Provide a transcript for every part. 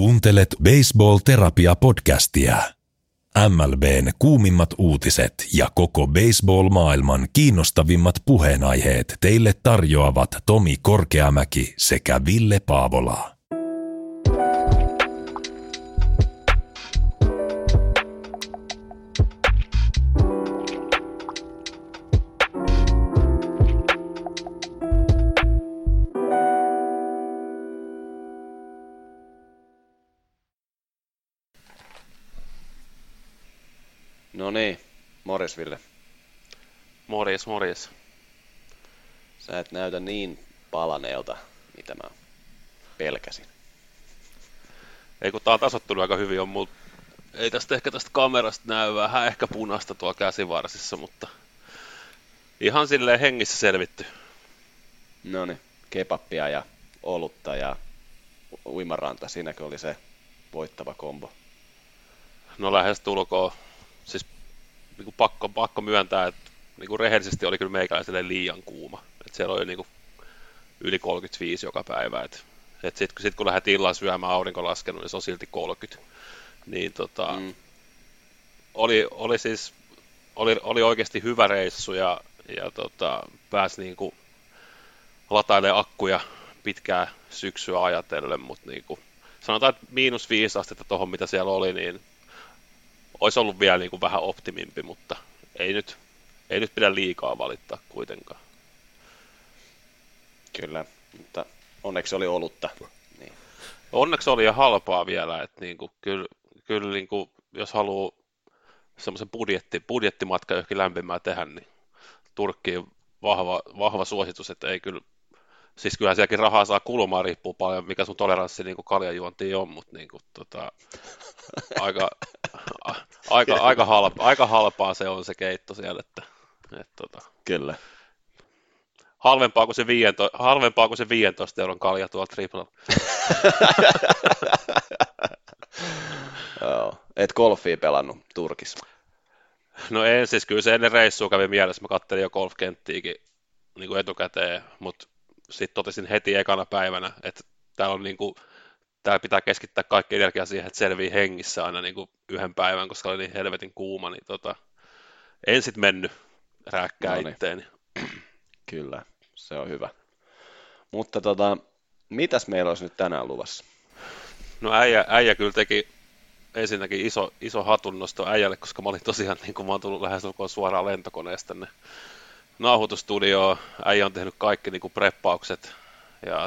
Kuuntelet Baseball-terapia-podcastia. MLBn kuumimmat uutiset ja koko baseball-maailman kiinnostavimmat puheenaiheet teille tarjoavat Tomi Korkeamäki sekä Ville Paavola. No niin, morjes Ville. Morjes. Sä et näytä niin palaneelta, mitä mä pelkäsin. Ei kun tää on tasottunut aika hyvin, ei tästä ehkä tästä kamerasta näy vähän ehkä punaista tuolla käsivarsissa, mutta ihan silleen hengissä selvitty. No niin, kebappia ja olutta ja uimaranta, siinäkö oli se voittava kombo? No lähestulkoon. Siis niin pakko myöntää, että niin rehellisesti oli kyllä meikäläiselle liian kuuma. Et siellä oli niin yli 35 joka päivä. Sitten kun lähdet illan syömään, aurinko laskenut, niin se on silti 30. Niin oli oikeasti hyvä reissu ja pääsi niin kuin latailemaan akkuja pitkää syksyä ajatellen, mutta niin kuin, sanotaan, että -5 astetta tuohon mitä siellä oli, niin olisi ollut vielä niin kuin vähän optimimpi, mutta ei nyt pidä liikaa valittaa kuitenkaan. Kyllä, mutta onneksi oli olutta. Niin. Onneksi oli ja halpaa vielä, että niin kuin, kyllä niin kuin, jos haluaa semmoisen budjettimatka johonkin lämpimään tehdä, niin Turkkiin vahva suositus, että ei kyllä, siis kyllähän sielläkin rahaa saa kulumaan, riippuu paljon mikä sun toleranssi niin kuin kaljajuontiin on, mutta niin kuin, aika halpaa se on se keitto siellä, että Kyllä. Halvempaa kuin se 15 euron kalja tuolla triplalla. Et golfia pelannut Turkissa? No en, siis kyllä se ennen reissua kävi mielessä, mä kattelin jo golfkenttiäkin niin kuin etukäteen, mutta sitten totesin heti ekana päivänä, että täällä pitää keskittää kaikki energia siihen, että selvii hengissä aina niin kuin yhden päivän, koska oli niin helvetin kuuma, niin en sitten mennyt rääkkää itteeni. Kyllä, se on hyvä. Mutta mitäs meillä olisi nyt tänään luvassa? No äijä kyllä teki ensinnäkin iso hatunnosto äijälle, koska mä olin tosiaan, niin kuin mä oon tullut lähes suoraan lentokoneesta tänne nauhoitustudioon. Äijä on tehnyt kaikki niin kuin preppaukset ja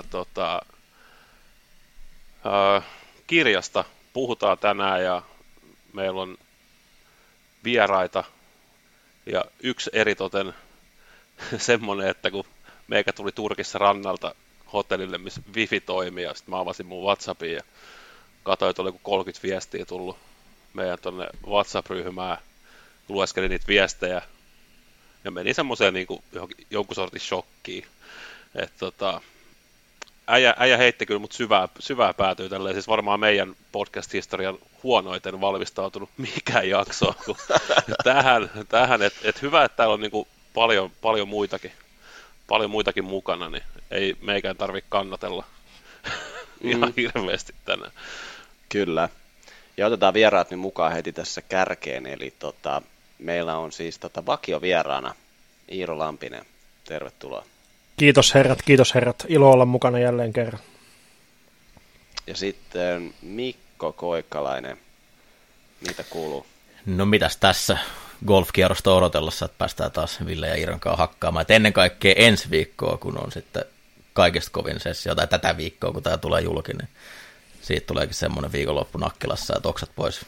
kirjasta puhutaan tänään ja meillä on vieraita ja yksi eritoten semmoinen, että kun meikä tuli Turkissa rannalta hotellille, missä wifi toimii ja sitten mä avasin mun WhatsAppin ja katsoin, että oli 30 viestiä tullut meidän tonne WhatsApp-ryhmään, lueskelin niitä viestejä ja meni semmoiseen niin jonkun sortin shokkiin, että äijä heitti kyllä mut syvää päätyy tälleen, siis varmaan meidän podcast-historian huonoiten valmistautunut mikään jakso tähän että hyvä, että täällä on niinku paljon muitakin mukana, niin ei meikään tarvitse kannatella ihan hirveästi tänään. Kyllä, ja otetaan vieraat nyt mukaan heti tässä kärkeen, eli meillä on siis vakiovieraana Iiro Lampinen, tervetuloa. Kiitos herrat. Ilo olla mukana jälleen kerran. Ja sitten Mikko Koikkalainen, mitä kuuluu? No mitäs tässä golfkierrosta odotellessa, että päästään taas Ville ja Iiron kanssa hakkaamaan. Et ennen kaikkea ensi viikkoa, kun on sitten kaikista kovin sessio, tai tätä viikkoa, kun tämä tulee julki, niin siitä tuleekin semmoinen viikonloppu Nakkilassa, että oksat pois.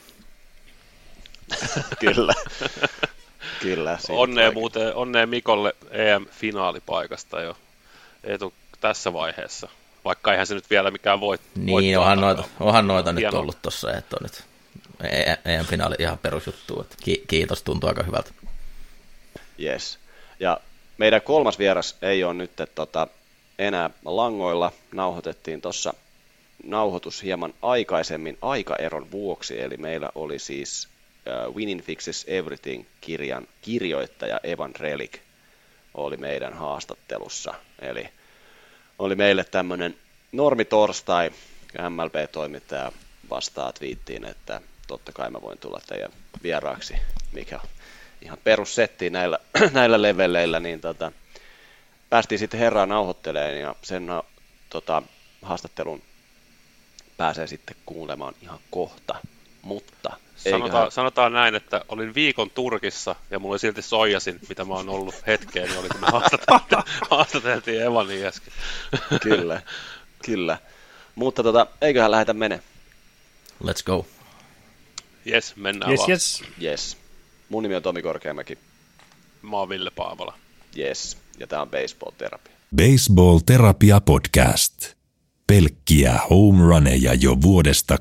Kyllä. Onnea Mikolle EM-finaalipaikasta jo tässä vaiheessa, vaikka eihän se nyt vielä mikään niin, onhan noita nyt ollut tuossa, että on nyt EM-finaali ihan perusjuttu, että kiitos, tuntuu aika hyvältä. Yes. Ja meidän kolmas vieras ei ole nyt enää langoilla, nauhoitettiin tuossa nauhoitus hieman aikaisemmin aikaeron vuoksi, eli meillä oli siis Winning Fixes Everything-kirjan kirjoittaja Evan Relic oli meidän haastattelussa, eli oli meille tämmöinen normitorstai, MLB-toimittaja vastaa twiittiin, että totta kai mä voin tulla teidän vieraaksi, mikä on ihan perussettiin näillä leveleillä, niin päästiin sitten herraa nauhoittelemaan ja sen haastattelun pääsee sitten kuulemaan ihan kohta, mutta sanotaan näin, että olin viikon Turkissa ja mulla oli silti soijasin, mitä mä oon ollut hetkeen, niin oli kun me haastateltiin Evanin äsken. Kyllä. Mutta eiköhän lähdetä mene. Let's go. Jes, mennään vaan. Yes. Mun nimi on Tomi Korkeamäki. Mä oon Ville Paavala. Yes, ja tää on Baseball Terapia. Baseball Terapia Podcast. Pelkkiä home runeja jo vuodesta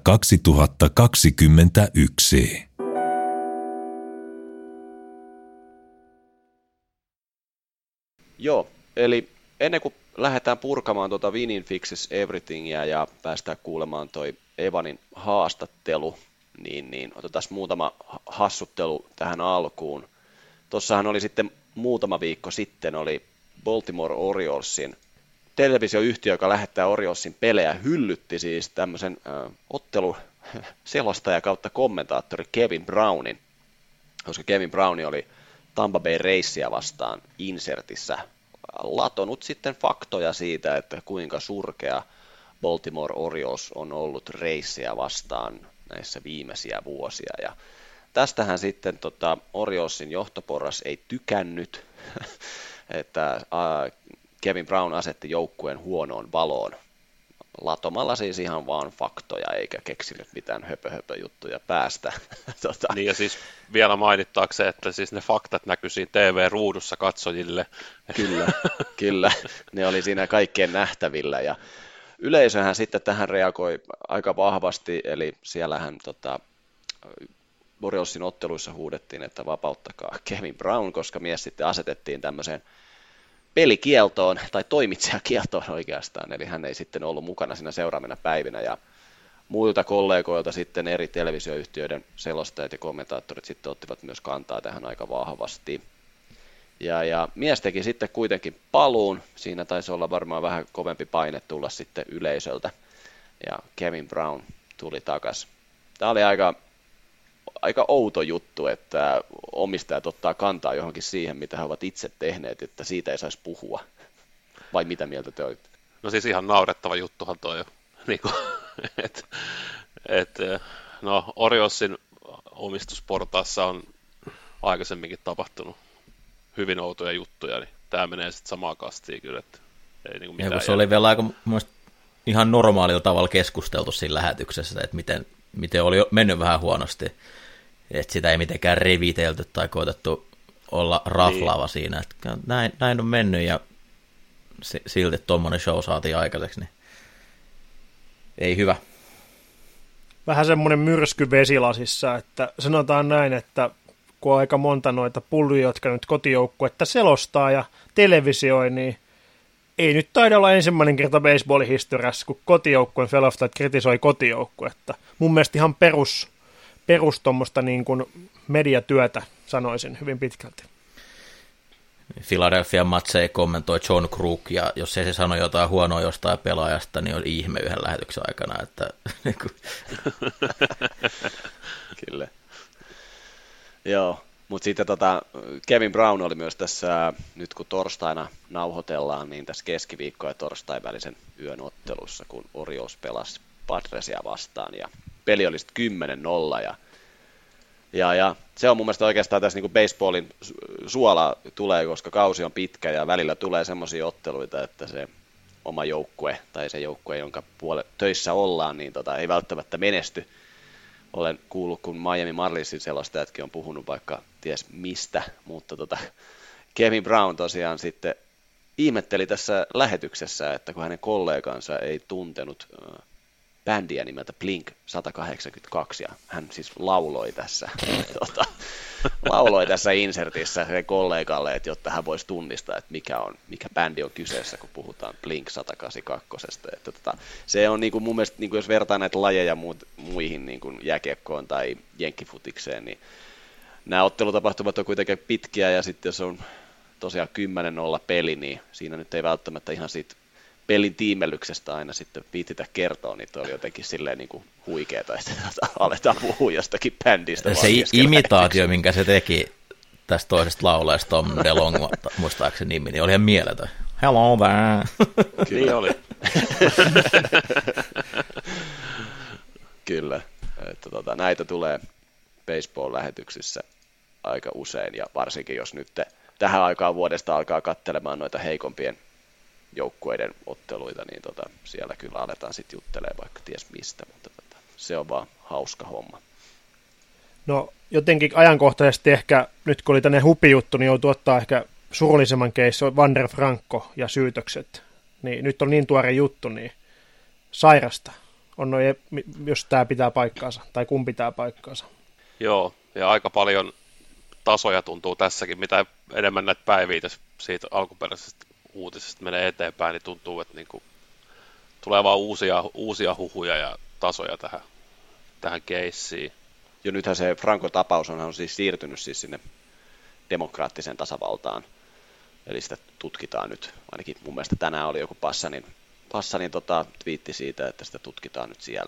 2021. Joo, eli ennen kuin lähdetään purkamaan Winning Fixes Everythingia ja päästään kuulemaan toi Evanin haastattelu, niin otetaan muutama hassuttelu tähän alkuun. Tossahan oli sitten muutama viikko sitten oli Baltimore Oriolesin televisioyhtiö, joka lähettää Oriolesin pelejä, hyllytti siis tämmöisen otteluselostaja kautta kommentaattori Kevin Brownin, koska Kevin Brown oli Tampa Bay Raysia vastaan insertissä latonut sitten faktoja siitä, että kuinka surkea Baltimore Orioles on ollut Raysia vastaan näissä viimeisiä vuosia. Ja tästähän sitten Oriolesin johtoporras ei tykännyt, että Kevin Brown asetti joukkueen huonoon valoon latomalla siis ihan vaan faktoja eikä keksinyt mitään höpö-juttuja päästä. Niin ja siis vielä mainittaakseen, että siis ne faktat näkyi siinä TV-ruudussa katsojille. Kyllä, ne oli siinä kaikkien nähtävillä ja yleisöhän sitten tähän reagoi aika vahvasti, eli siellähän Oriolesin otteluissa huudettiin, että vapauttakaa Kevin Brown, koska mies sitten asetettiin tämmöiseen pelikieltoon tai toimitsijakieltoon oikeastaan, eli hän ei sitten ollut mukana siinä seuraavina päivinä ja muilta kollegoilta sitten eri televisioyhtiöiden selostajat ja kommentaattorit sitten ottivat myös kantaa tähän aika vahvasti. Ja mies teki sitten kuitenkin paluun, siinä taisi olla varmaan vähän kovempi paine tulla sitten yleisöltä ja Kevin Brown tuli takaisin. Tämä oli aika outo juttu, että omistajat ottaa kantaa johonkin siihen, mitä he ovat itse tehneet, että siitä ei saisi puhua. Vai mitä mieltä te olitte? No siis ihan naurettava juttuhan toi jo. No Oriolesin omistusportaassa on aikaisemminkin tapahtunut hyvin outoja juttuja, niin tämä menee sitten samaan kastiin kyllä, että ei niinku mitään. Ja kun se oli vielä aika ihan normaalilla tavalla keskusteltu siinä lähetyksessä, että miten oli mennyt vähän huonosti, että sitä ei mitenkään revitelty tai koetettu olla raflaava siinä, että näin on mennyt ja silti tuommoinen show saatiin aikaiseksi, niin ei hyvä. Vähän semmoinen myrsky vesilasissa, että sanotaan näin, että kun on aika monta noita pulluja, jotka nyt kotijoukkuetta selostaa ja televisioi, niin ei nyt taida olla ensimmäinen kerta baseballin historiassa, kun kotijoukkueen selostajat kritisoi kotijoukkuetta. Mun mielestä ihan perus tuommoista niin kuin mediatyötä, sanoisin hyvin pitkälti. Philadelphia matseja kommentoi John Krug, ja jos ei se sano jotain huonoa jostain pelaajasta, niin on ihme yhden lähetyksen aikana. Että Kyllä. Joo, mutta sitten Kevin Brown oli myös tässä, nyt kun torstaina nauhoitellaan, niin tässä keskiviikko- ja torstain välisen yön ottelussa, kun Orioles pelasi Padresia vastaan, ja peli oli sitten 10-0, ja se on mun mielestä oikeastaan tässä niin kuin baseballin suola tulee, koska kausi on pitkä, ja välillä tulee semmoisia otteluita, että se oma joukkue, tai se joukkue, jonka töissä ollaan, niin ei välttämättä menesty. Olen kuullut, kun Miami Marlinsin selostajatkin on puhunut vaikka ties mistä, mutta Kevin Brown tosiaan sitten ihmetteli tässä lähetyksessä, että kun hänen kollegansa ei tuntenut bändiä nimeltä Blink 182, ja hän siis lauloi tässä insertissä sen kollegalle, että jotta hän voisi tunnistaa, että mikä bändi on kyseessä, kun puhutaan Blink 182. Että se on niin kuin mun mielestä, niin kuin jos vertaa näitä lajeja muihin niin kuin jääkiekkoon tai jenkkifutikseen, niin nämä ottelutapahtumat on kuitenkin pitkiä, ja sitten jos on tosiaan 10-0 peli, niin siinä nyt ei välttämättä ihan siitä pelin tiimellyksestä aina sitten viititä kertoa, niin oli jotenkin silleen niin kuin huikeeta, että aletaan puhua jostakin bändistä. Se imitaatio, minkä se teki tästä toisesta laulajasta, Tom DeLonge, muistaakseni nimi, niin oli ihan mieletön. Hello there. Niin oli. Kyllä, että näitä tulee baseball-lähetyksissä aika usein, ja varsinkin jos nyt tähän aikaan vuodesta alkaa katselemaan noita heikompien joukkueiden otteluita, niin siellä kyllä aletaan sitten juttelemaan vaikka ties mistä, mutta se on vaan hauska homma. No jotenkin ajankohtaisesti ehkä, nyt kun oli tänne hupijuttu, niin joutuu ottaa ehkä surullisemman keissin, Wander Franco ja syytökset. Niin, nyt on niin tuore juttu, niin sairasta on jos tämä pitää paikkaansa, tai kun pitää paikkaansa. Joo, ja aika paljon tasoja tuntuu tässäkin, mitä enemmän näitä päiviä siitä alkuperäisestä uutisesta menee eteenpäin, niin tuntuu, että niinku tulee vaan uusia huhuja ja tasoja tähän keissiin. Jo nythän se Franco-tapaus on siis siirtynyt siis sinne demokraattiseen tasavaltaan, eli sitä tutkitaan nyt, ainakin mun mielestä tänään oli joku Passanin twiitti siitä, että sitä tutkitaan nyt siellä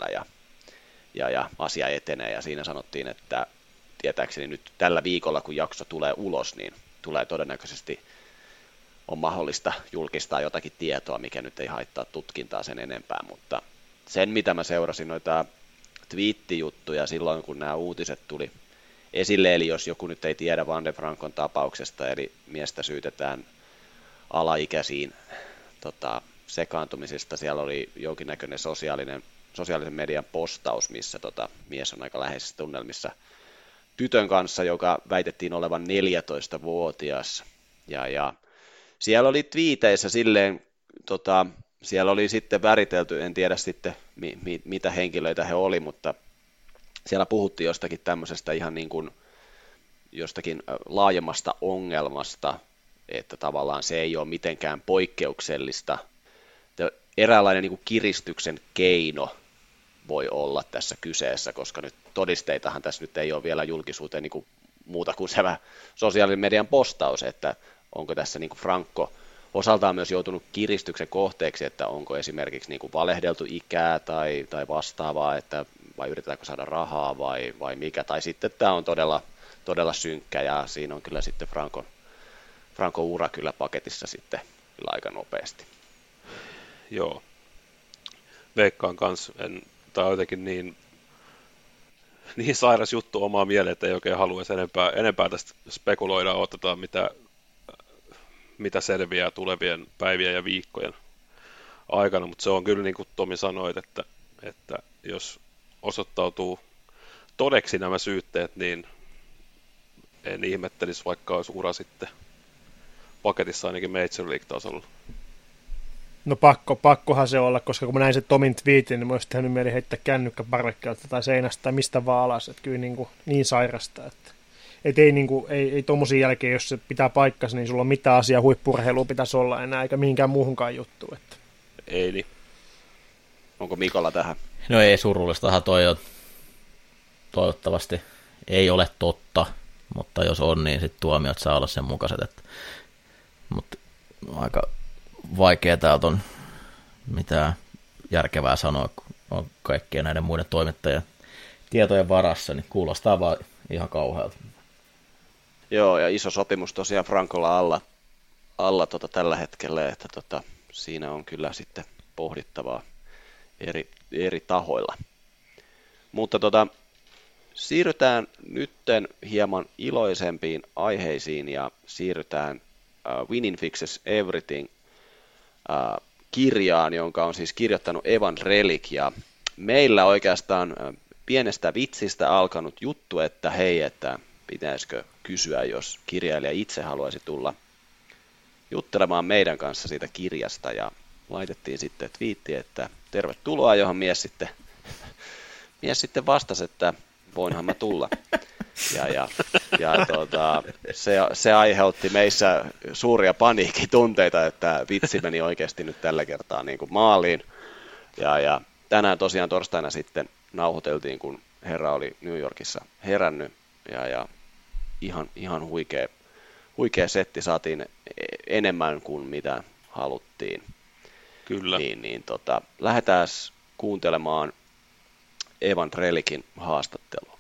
ja asia etenee, ja siinä sanottiin, että tietääkseni nyt tällä viikolla, kun jakso tulee ulos, niin tulee todennäköisesti on mahdollista julkistaa jotakin tietoa, mikä nyt ei haittaa tutkintaa sen enempää, mutta sen, mitä mä seurasin noita twiittijuttuja silloin, kun nämä uutiset tuli esille, eli jos joku nyt ei tiedä Wander Francon tapauksesta, eli miestä syytetään alaikäisiin sekaantumisesta, siellä oli jonkinnäköinen sosiaalisen median postaus, missä mies on aika läheisissä tunnelmissa tytön kanssa, joka väitettiin olevan 14-vuotias, ja siellä oli twiiteissä silleen, siellä oli sitten väritelty, en tiedä sitten mitä henkilöitä he oli, mutta siellä puhuttiin jostakin tämmöisestä ihan niin kuin jostakin laajemmasta ongelmasta, että tavallaan se ei ole mitenkään poikkeuksellista. Eräänlainen niin kuin kiristyksen keino voi olla tässä kyseessä, koska nyt todisteitahan tässä nyt ei ole vielä julkisuuteen niin kuin muuta kuin se sosiaalisen median postaus, että onko tässä niin kuin Franco osaltaan myös joutunut kiristyksen kohteeksi, että onko esimerkiksi niin kuin valehdeltu ikää tai vastaavaa, että vai yritetäänkö saada rahaa vai mikä, tai sitten tämä on todella synkkä, ja siinä on kyllä sitten Franco ura kyllä paketissa sitten kyllä aika nopeasti. Joo, veikkaan kanssa, tämä on jotenkin niin sairas juttu omaa mieleen, että ei oikein haluaisi enempää tästä spekuloida, otetaan mitä selviää tulevien päivien ja viikkojen aikana, mutta se on kyllä niin kuin Tomi sanoit, että jos osoittautuu todeksi nämä syytteet, niin en ihmettelisi, vaikka olisi ura sitten paketissa ainakin Major League-tasolla. No pakkohan se olla, koska kun mä näin sen Tomin twiitin, niin mä olisi tehnyt mieli heittää kännykkä parvekkeelta tai seinästä tai mistä vaan alas, että kyllä niin sairasta, että ei tommosin jälkeen, jos se pitää paikkansa, niin sulla on mitään asiaa huippu-urheilua pitäisi olla enää, eikä mihinkään muuhunkaan juttuun. Että. Ei niin. Onko Mikolla tähän? No ei, surullistahan toi on. Toivottavasti ei ole totta, mutta jos on, niin sitten tuomiot saa olla sen mukaiset. Mutta aika vaikea täältä on mitään järkevää sanoa, kun on kaikkien näiden muiden toimittajien tietojen varassa, niin kuulostaa vaan ihan kauhealta. Joo, ja iso sopimus tosiaan Francolla alla tällä hetkellä, että siinä on kyllä sitten pohdittavaa eri tahoilla. Mutta siirrytään nytten hieman iloisempiin aiheisiin ja siirrytään Winning Fixes Everything kirjaan, jonka on siis kirjoittanut Evan Relic, ja meillä oikeastaan pienestä vitsistä alkanut juttu, että hei, että pitäisikö kysyä, jos kirjailija itse haluaisi tulla juttelemaan meidän kanssa siitä kirjasta, ja laitettiin sitten twiitti, että tervetuloa, johon mies sitten vastasi, että voinhan mä tulla. Se aiheutti meissä suuria paniikkitunteita, että vitsi meni oikeasti nyt tällä kertaa niin kuin maaliin. Ja tänään tosiaan torstaina sitten nauhoiteltiin, kun herra oli New Yorkissa herännyt, ja ihan huikea setti, saatiin enemmän kuin mitä haluttiin. Kyllä. Lähdetään kuuntelemaan Evan Trelikin haastattelua.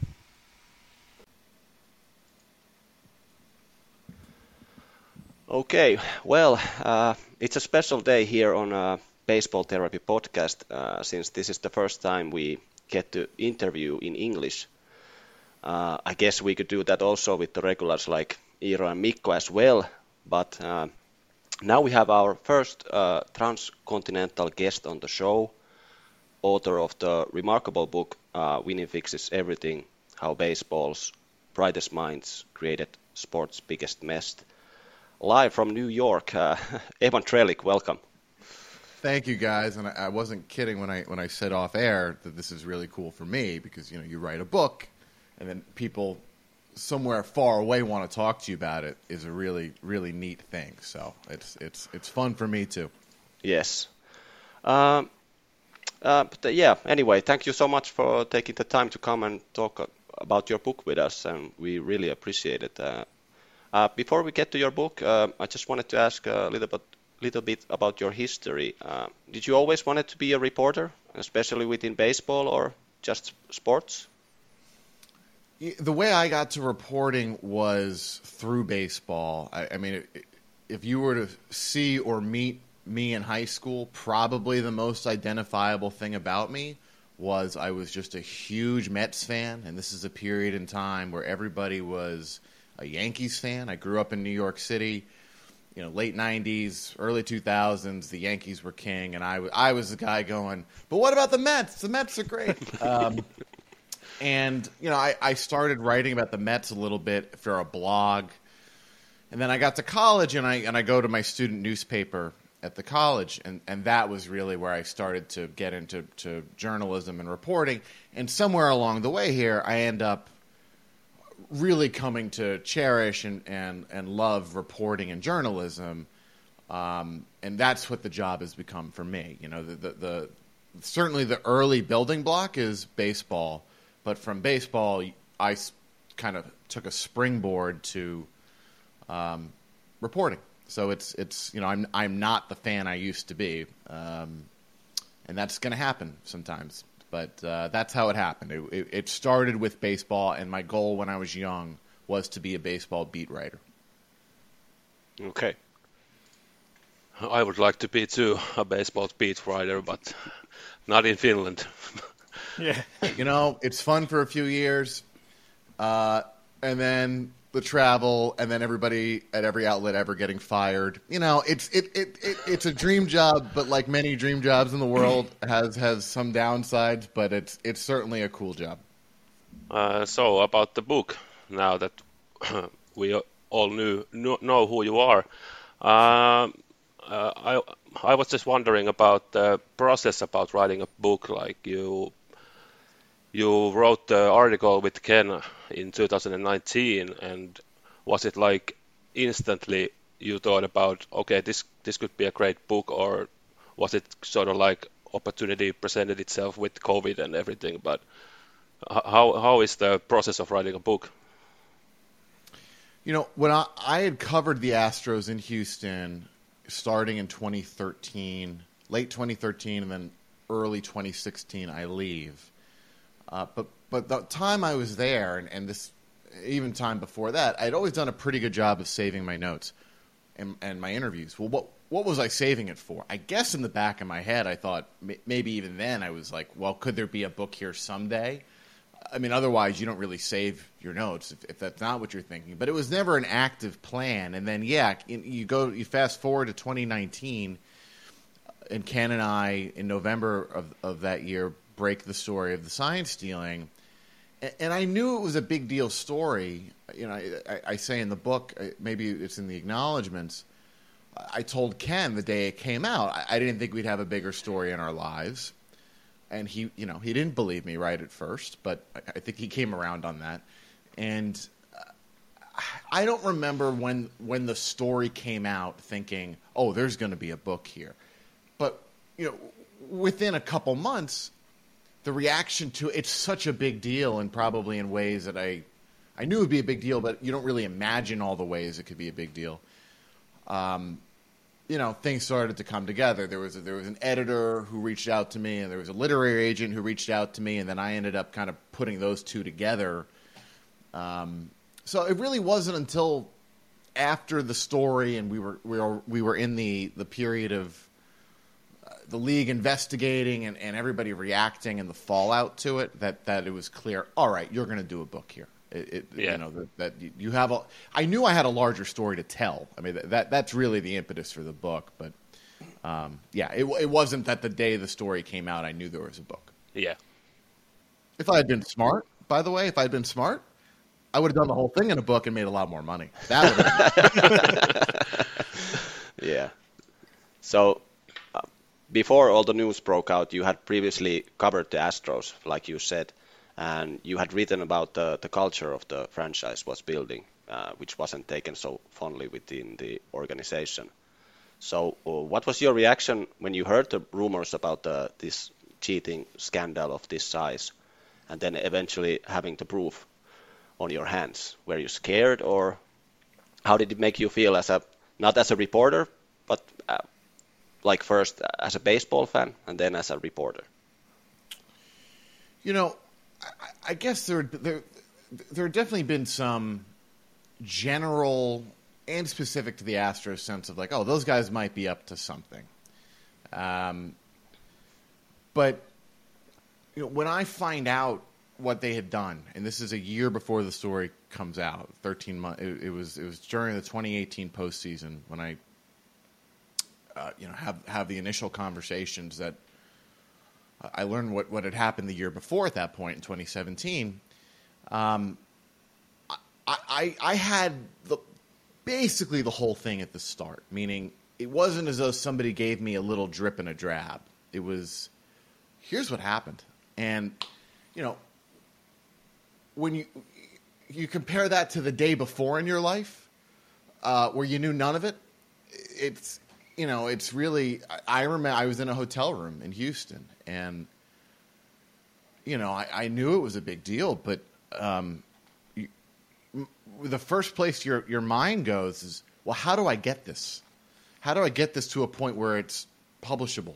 Okay, well, it's a special day here on Baseball Therapy podcast, since this is the first time we get to interview in English. I guess we could do that also with the regulars like Iiro and Mikko as well, but now we have our first transcontinental guest on the show, author of the remarkable book Winning Fixes Everything, How Baseball's Brightest Minds Created Sport's Biggest Mess. Live from New York, Evan Trelick, welcome. Thank you, guys. And I wasn't kidding when I said off air that this is really cool for me because you write a book, and then people somewhere far away want to talk to you about it is a really, really neat thing. So it's fun for me too. Yes. Anyway, thank you so much for taking the time to come and talk about your book with us, and we really appreciate it. Before we get to your book, I just wanted to ask a little bit about your history. Did you always wanted to be a reporter, especially within baseball, or just sports? The way I got to reporting was through baseball. I mean, if you were to see or meet me in high school, probably the most identifiable thing about me was I was just a huge Mets fan, and this is a period in time where everybody was a Yankees fan. I grew up in New York City, late 90s, early 2000s, the Yankees were king, and I was the guy going, but what about the Mets? The Mets are great. And, I started writing about the Mets a little bit for a blog, and then I got to college, and I go to my student newspaper at the college, and that was really where I started to get into journalism and reporting, and somewhere along the way here, I end up really coming to cherish and love reporting and journalism, and that's what the job has become for me. The certainly the early building block is baseball, but from baseball, I kind of took a springboard to reporting. So it's I'm not the fan I used to be, and that's going to happen sometimes. But that's how it happened. It started with baseball, and my goal when I was young was to be a baseball beat writer. Okay. I would like to be too a baseball beat writer, but not in Finland. Yeah. It's fun for a few years, and then the travel, and then everybody at every outlet ever getting fired. It's a dream job, but like many dream jobs in the world, has some downsides. But it's certainly a cool job. So about the book, now that we all know who you are, I was just wondering about the process about writing a book. Like you wrote the article with Ken in 2019, and was it like instantly you thought about, okay, this could be a great book, or was it sort of like opportunity presented itself with COVID and everything? But how is the process of writing a book? When I had covered the Astros in Houston starting in 2013, late 2013, and then early 2016, I leave. But the time I was there, and this even time before that, I'd always done a pretty good job of saving my notes and my interviews. Well, what was I saving it for? I guess in the back of my head, I thought maybe even then I was like, well, could there be a book here someday? I mean, otherwise you don't really save your notes if that's not what you're thinking. But it was never an active plan. And then, you fast forward to 2019, and Ken and I, in November of that year, break the story of the sign stealing. And I knew it was a big deal story. I say in the book, maybe it's in the acknowledgments, I told Ken the day it came out, I didn't think we'd have a bigger story in our lives. And he didn't believe me right at first, but I think he came around on that. And I don't remember when the story came out thinking, oh, there's going to be a book here. But, within a couple months, the reaction to it's such a big deal, and probably in ways that I knew it would be a big deal, but you don't really imagine all the ways it could be a big deal. things started to come together. There was an editor who reached out to me, and there was a literary agent who reached out to me, and then I ended up kind of putting those two together. So it really wasn't until after the story, and we were in the period of the league investigating and everybody reacting and the fallout to it that it was clear. All right, you're going to do a book here. That you have I knew I had a larger story to tell. I mean, that's really the impetus for the book. But it wasn't that the day the story came out I knew there was a book. Yeah. If I had been smart, by the way, I would have done the whole thing in a book and made a lot more money. That would have. Yeah. So before all the news broke out, you had previously covered the Astros, like you said. And you had written about the culture of the franchise was building, which wasn't taken so fondly within the organization. So what was your reaction when you heard the rumors about this cheating scandal of this size, and then eventually having the proof on your hands? Were you scared, or how did it make you feel not as a reporter, but like first as a baseball fan and then as a reporter? I guess there definitely been some general and specific to the Astros sense of like, oh, those guys might be up to something. But when I find out what they had done, and this is a year before the story comes out, 13 months. It was during the 2018 postseason when I have the initial conversations that. I learned what had happened the year before at that point in 2017. I had basically the whole thing at the start, meaning it wasn't as though somebody gave me a little drip and a drab. It was, here's what happened. And, when you compare that to the day before in your life where you knew none of it, it's really, I remember I was in a hotel room in Houston, and, I knew it was a big deal, but the first place your mind goes is, well, how do I get this? How do I get this to a point where it's publishable?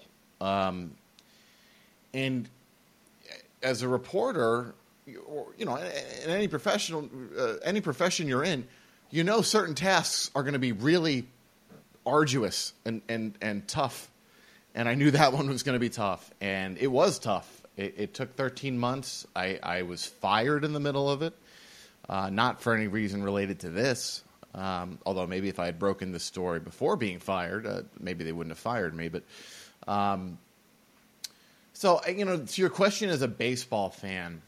And as a reporter, in any profession you're in, certain tasks are going to be really arduous and tough, and I knew that one was going to be tough, and it was tough. It took 13 months. I was fired in the middle of it, not for any reason related to this, although maybe if I had broken this story before being fired, maybe they wouldn't have fired me. But so to your question as a baseball fan,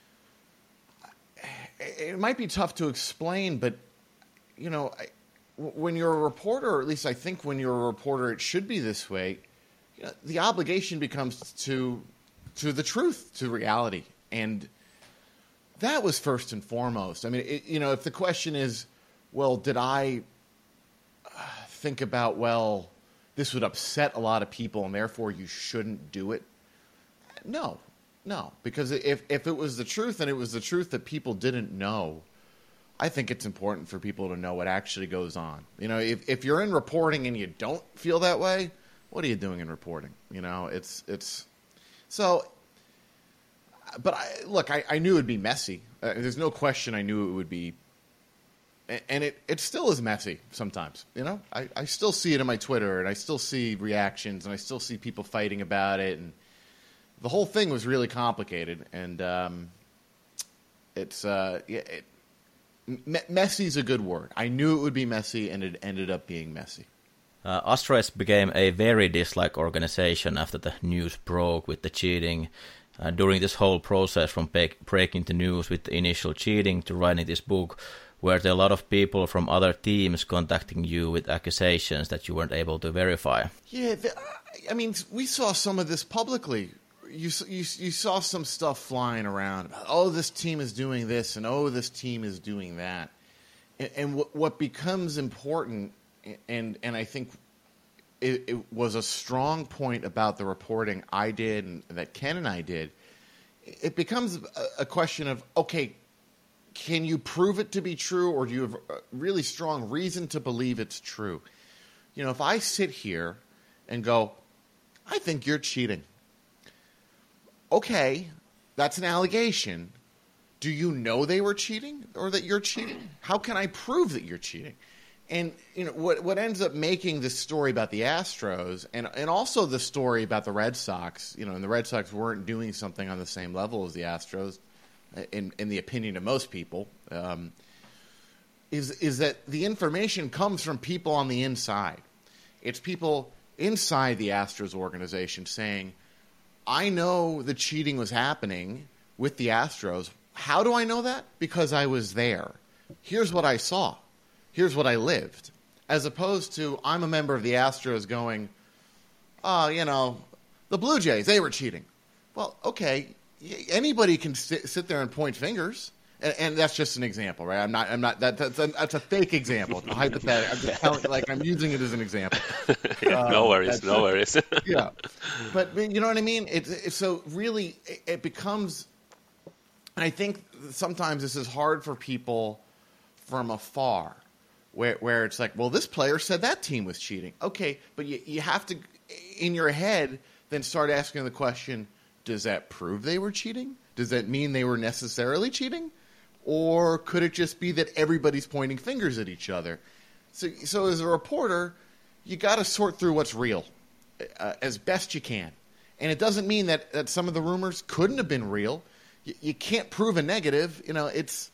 it might be tough to explain, but when you're a reporter, or at least I think when you're a reporter, it should be this way. The obligation becomes to the truth, to reality, and that was first and foremost. I mean, if the question is, well, did I think about, well, this would upset a lot of people, and therefore you shouldn't do it? No, because if it was the truth, and it was the truth that people didn't know, I think it's important for people to know what actually goes on. If you're in reporting and you don't feel that way, what are you doing in reporting? It's so. But I knew it would be messy. There's no question I knew it would be, and it still is messy sometimes. I still see it in my Twitter, and I still see reactions, and I still see people fighting about it, and the whole thing was really complicated. And messy is a good word. I knew it would be messy, and it ended up being messy. Astros became a very disliked organization after the news broke with the cheating. During this whole process, from breaking the news with the initial cheating to writing this book, were there a lot of people from other teams contacting you with accusations that you weren't able to verify? Yeah, we saw some of this publicly. You saw some stuff flying around about, oh, this team is doing this, and oh, this team is doing that. And what becomes important, and I think it was a strong point about the reporting I did and that Ken and I did, it becomes a question of, okay, can you prove it to be true, or do you have a really strong reason to believe it's true? if I sit here and go, I think you're cheating. Okay, that's an allegation. Do you know they were cheating or that you're cheating? How can I prove that you're cheating? And what ends up making this story about the Astros and also the story about the Red Sox, and the Red Sox weren't doing something on the same level as the Astros, in the opinion of most people, is that the information comes from people on the inside. It's people inside the Astros organization saying, I know the cheating was happening with the Astros. How do I know that? Because I was there. Here's what I saw. Here's what I lived. As opposed to, I'm a member of the Astros going, the Blue Jays, they were cheating. Well, okay, anybody can sit there and point fingers. And that's just an example, right? That's a fake example. It's a hypothetical. I'm just telling, I'm using it as an example. No worries. Yeah. But you know what I mean? So really, it becomes, and I think sometimes this is hard for people from afar, where it's like, well, this player said that team was cheating. Okay, but you have to, in your head, then start asking the question, does that prove they were cheating? Does that mean they were necessarily cheating? Or could it just be that everybody's pointing fingers at each other? So as a reporter, you got to sort through what's real as best you can. And it doesn't mean that some of the rumors couldn't have been real. You can't prove a negative. It's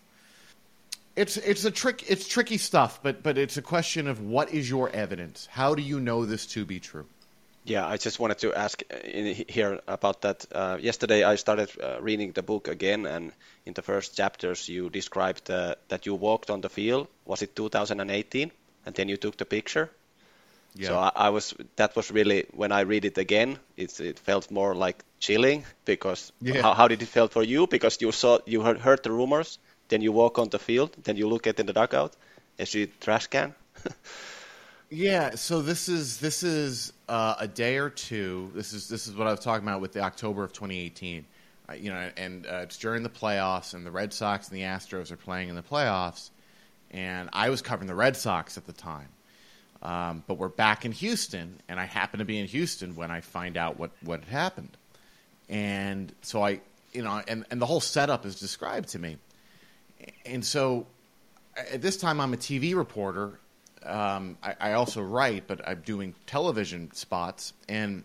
tricky stuff, but it's a question of what is your evidence? How do you know this to be true? Yeah, I just wanted to ask here about that. Yesterday I started reading the book again, and in the first chapters you described that you walked on the field. Was it 2018? And then you took the picture. Yeah. So that was really, when I read it again, it felt more like chilling, because how did it feel for you? Because you heard the rumors, then you walk on the field, then you look at in the dugout, and see trash can. Yeah, so this is a day or two. This is what I was talking about with the October of 2018. It's during the playoffs, and the Red Sox and the Astros are playing in the playoffs, and I was covering the Red Sox at the time. But we're back in Houston, and I happen to be in Houston when I find out what had happened. And so and the whole setup is described to me. And so at this time I'm a TV reporter. I also write, but I'm doing television spots, and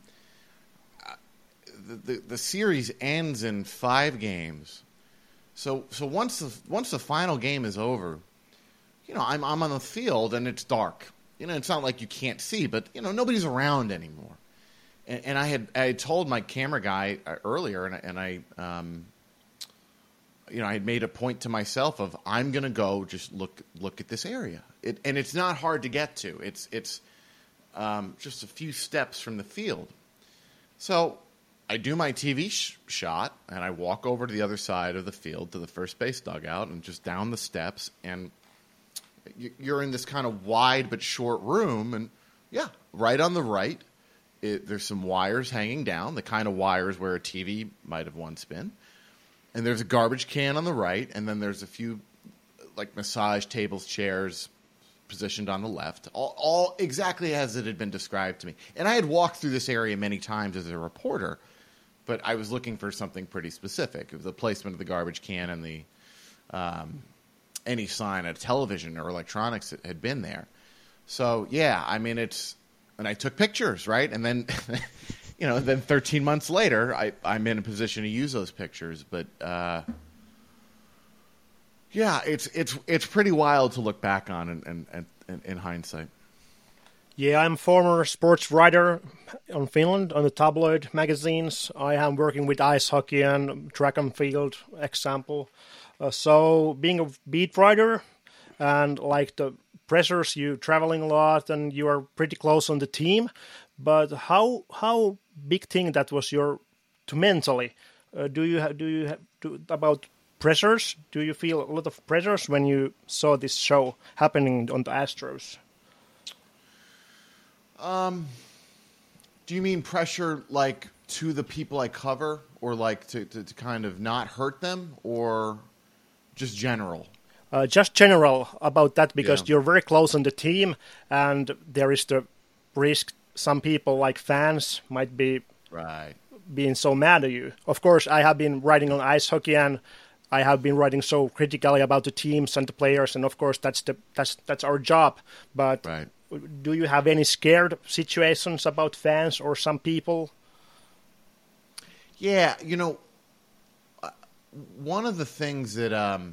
the series ends in 5 games. So once the final game is over, I'm on the field and it's dark. It's not like you can't see, but nobody's around anymore. And I had told my camera guy earlier, and I had made a point to myself of, I'm going to go just look at this area. And it's not hard to get to. It's just a few steps from the field. So I do my TV shot, and I walk over to the other side of the field to the first base dugout and just down the steps. And you're in this kind of wide but short room. And, right on the right, there's some wires hanging down, the kind of wires where a TV might have once been. And there's a garbage can on the right, and then there's a few massage tables, chairs positioned on the left, all exactly as it had been described to me. And I had walked through this area many times as a reporter, but I was looking for something pretty specific. It was the placement of the garbage can and the any sign of television or electronics that had been there. So, and I took pictures, right? And then... then 13 months later, I'm in a position to use those pictures. But it's pretty wild to look back on and in hindsight. Yeah, I'm a former sports writer on Finland on the tabloid magazines. I am working with ice hockey and track and field example. So being a beat writer and the pressures, you traveling a lot and you are pretty close on the team. But how big thing that was to mentally? Do you have about pressures? Do you feel a lot of pressures when you saw this show happening on the Astros? Do you mean pressure to the people I cover, or to kind of not hurt them, or just general? Just general about that, because you're very close on the team, and there is the risk some people, like fans, might be Right. being so mad at you. Of course, I have been writing on ice hockey, and I have been writing so critically about the teams and the players, and of course that's our job. But Right. do you have any scared situations about fans or some people? Yeah, one of the things that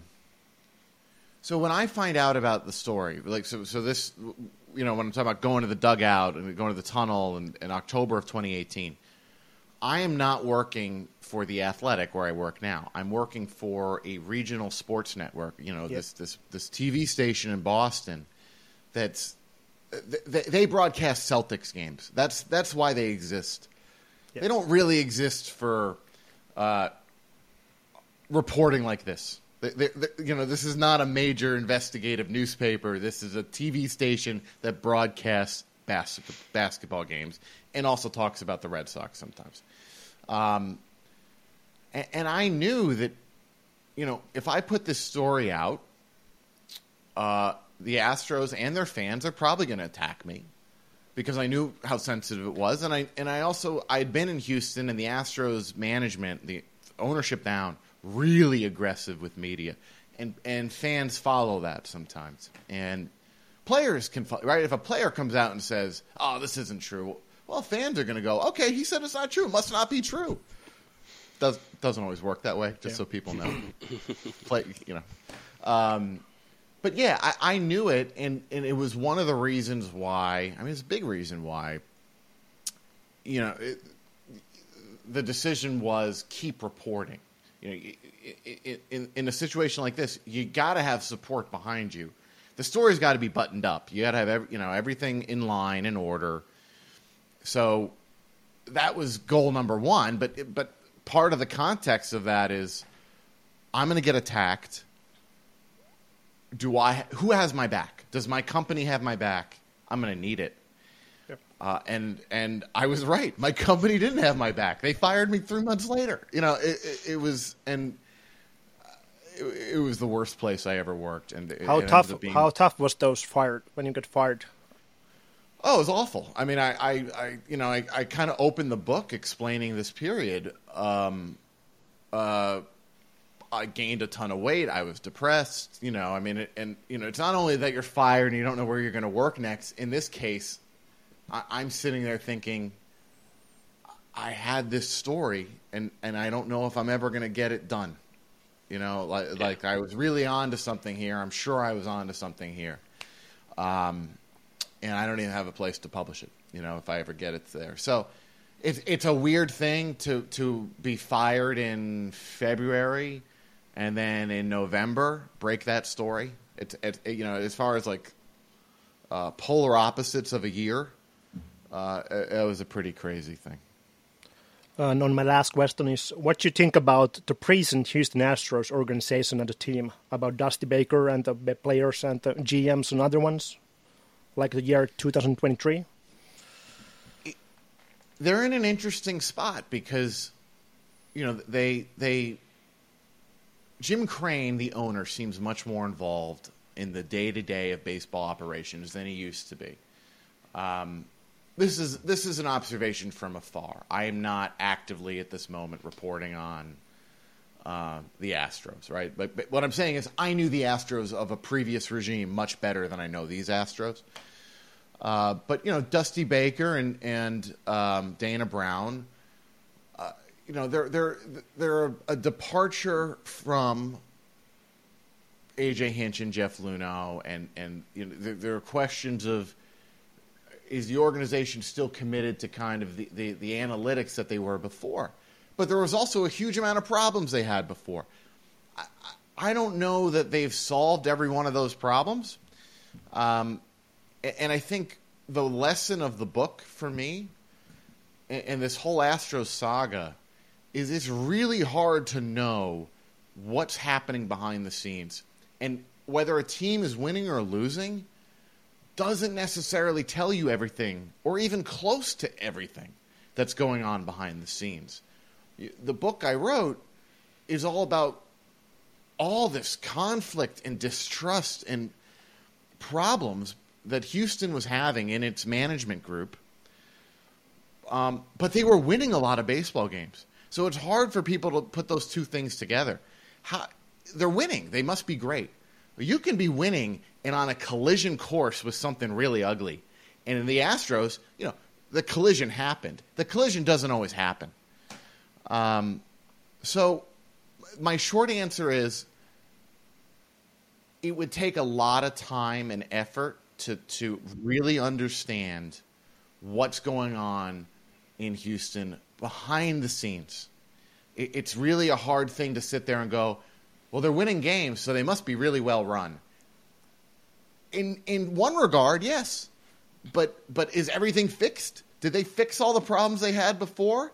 so when I find out about the story, like so this, when I'm talking about going to the dugout and going to the tunnel in October of 2018, I am not working for The Athletic where I work now. I'm working for a regional sports network, this TV station in Boston that's they broadcast Celtics games. That's why they exist. Yeah. They don't really exist for reporting like this. This is not a major investigative newspaper. This is a TV station that broadcasts basketball games and also talks about the Red Sox sometimes. And I knew that, if I put this story out, the Astros and their fans are probably going to attack me because I knew how sensitive it was. And I'd been in Houston, and the Astros management, the ownership down, really aggressive with media, and fans follow that sometimes. And players can, right? If a player comes out and says, "Oh, this isn't true," well, fans are going to go, "Okay, he said it's not true. It must not be true." Doesn't always work that way, just so people know. But yeah, I knew it, and it was one of the reasons why. I mean, it's a big reason why. The decision was keep reporting. In a situation like this, you got to have support behind you. The story's got to be buttoned up. You got to have everything in line, in order. So that was goal number one. But part of the context of that is, I'm going to get attacked. Who has my back? Does my company have my back? I'm going to need it. Yep. And I was right. My company didn't have my back. They fired me 3 months later. It was the worst place I ever worked. And how tough was when you got fired? Oh, it was awful. I mean, I kind of opened the book explaining this period. I gained a ton of weight. I was depressed. It's not only that you're fired and you don't know where you're going to work next. In this case, I'm sitting there thinking, I had this story, and I don't know if I'm ever going to get it done. Like I was really on to something here. I'm sure I was on to something here. And I don't even have a place to publish it, if I ever get it there. So it's a weird thing to be fired in February and then in November break that story. It's as far as like polar opposites of a year, it was a pretty crazy thing. And on my last question is, what do you think about the present Houston Astros organization and the team, about Dusty Baker and the players and the GMs and other ones, like the year 2023? They're in an interesting spot because, Jim Crane, the owner, seems much more involved in the day-to-day of baseball operations than he used to be. This is an observation from afar. I am not actively at this moment reporting on the Astros, right? But what I'm saying is I knew the Astros of a previous regime much better than I know these Astros. But Dusty Baker and Dana Brown, they're a departure from AJ Hinch and Jeff Luhnow, and there are questions of, is the organization still committed to kind of the analytics that they were before? But there was also a huge amount of problems they had before. I don't know that they've solved every one of those problems. And I think the lesson of the book for me and this whole Astros saga is it's really hard to know what's happening behind the scenes. And whether a team is winning or losing doesn't necessarily tell you everything or even close to everything that's going on behind the scenes. The book I wrote is all about all this conflict and distrust and problems that Houston was having in its management group But they were winning a lot of baseball games. So it's hard for people to put those two things together. They're winning. They must be great. You can be winning and on a collision course with something really ugly. And in the Astros, the collision happened. The collision doesn't always happen. So my short answer is it would take a lot of time and effort to really understand what's going on in Houston behind the scenes. It's really a hard thing to sit there and go, well, they're winning games, so they must be really well run. In one regard, yes. But is everything fixed? Did they fix all the problems they had before?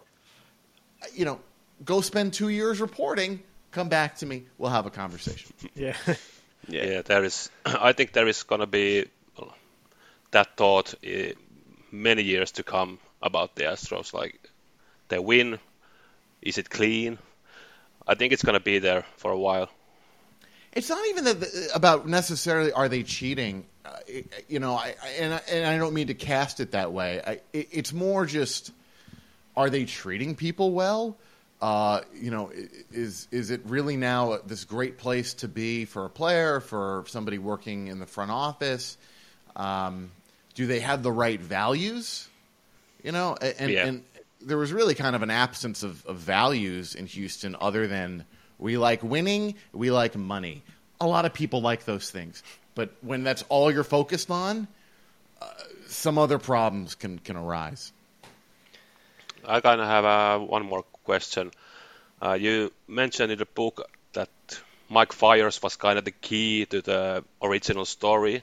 Go spend 2 years reporting, come back to me, we'll have a conversation. Yeah. Yeah, there is. I think there is going to be that thought many years to come about the Astros. Like, they win, is it clean? I think it's going to be there for a while. It's not even about necessarily are they cheating, and I don't mean to cast it that way. It's more just, are they treating people well? Is it really now this great place to be for a player, for somebody working in the front office? Do they have the right values? And there was really kind of an absence of values in Houston other than we like winning, we like money. A lot of people like those things. But when that's all you're focused on, some other problems can arise. I kind of have one more question. You mentioned in the book that Mike Fiers was kind of the key to the original story.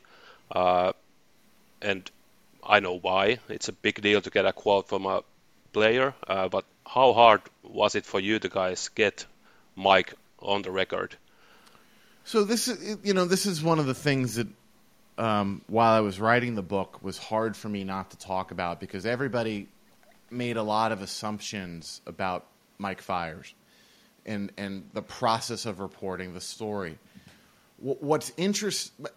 And I know why. It's a big deal to get a quote from a player. But how hard was it for you to guys get Mike on the record? So this is one of the things that while I was writing the book was hard for me not to talk about because everybody made a lot of assumptions about Mike Fiers and the process of reporting the story. What's interesting,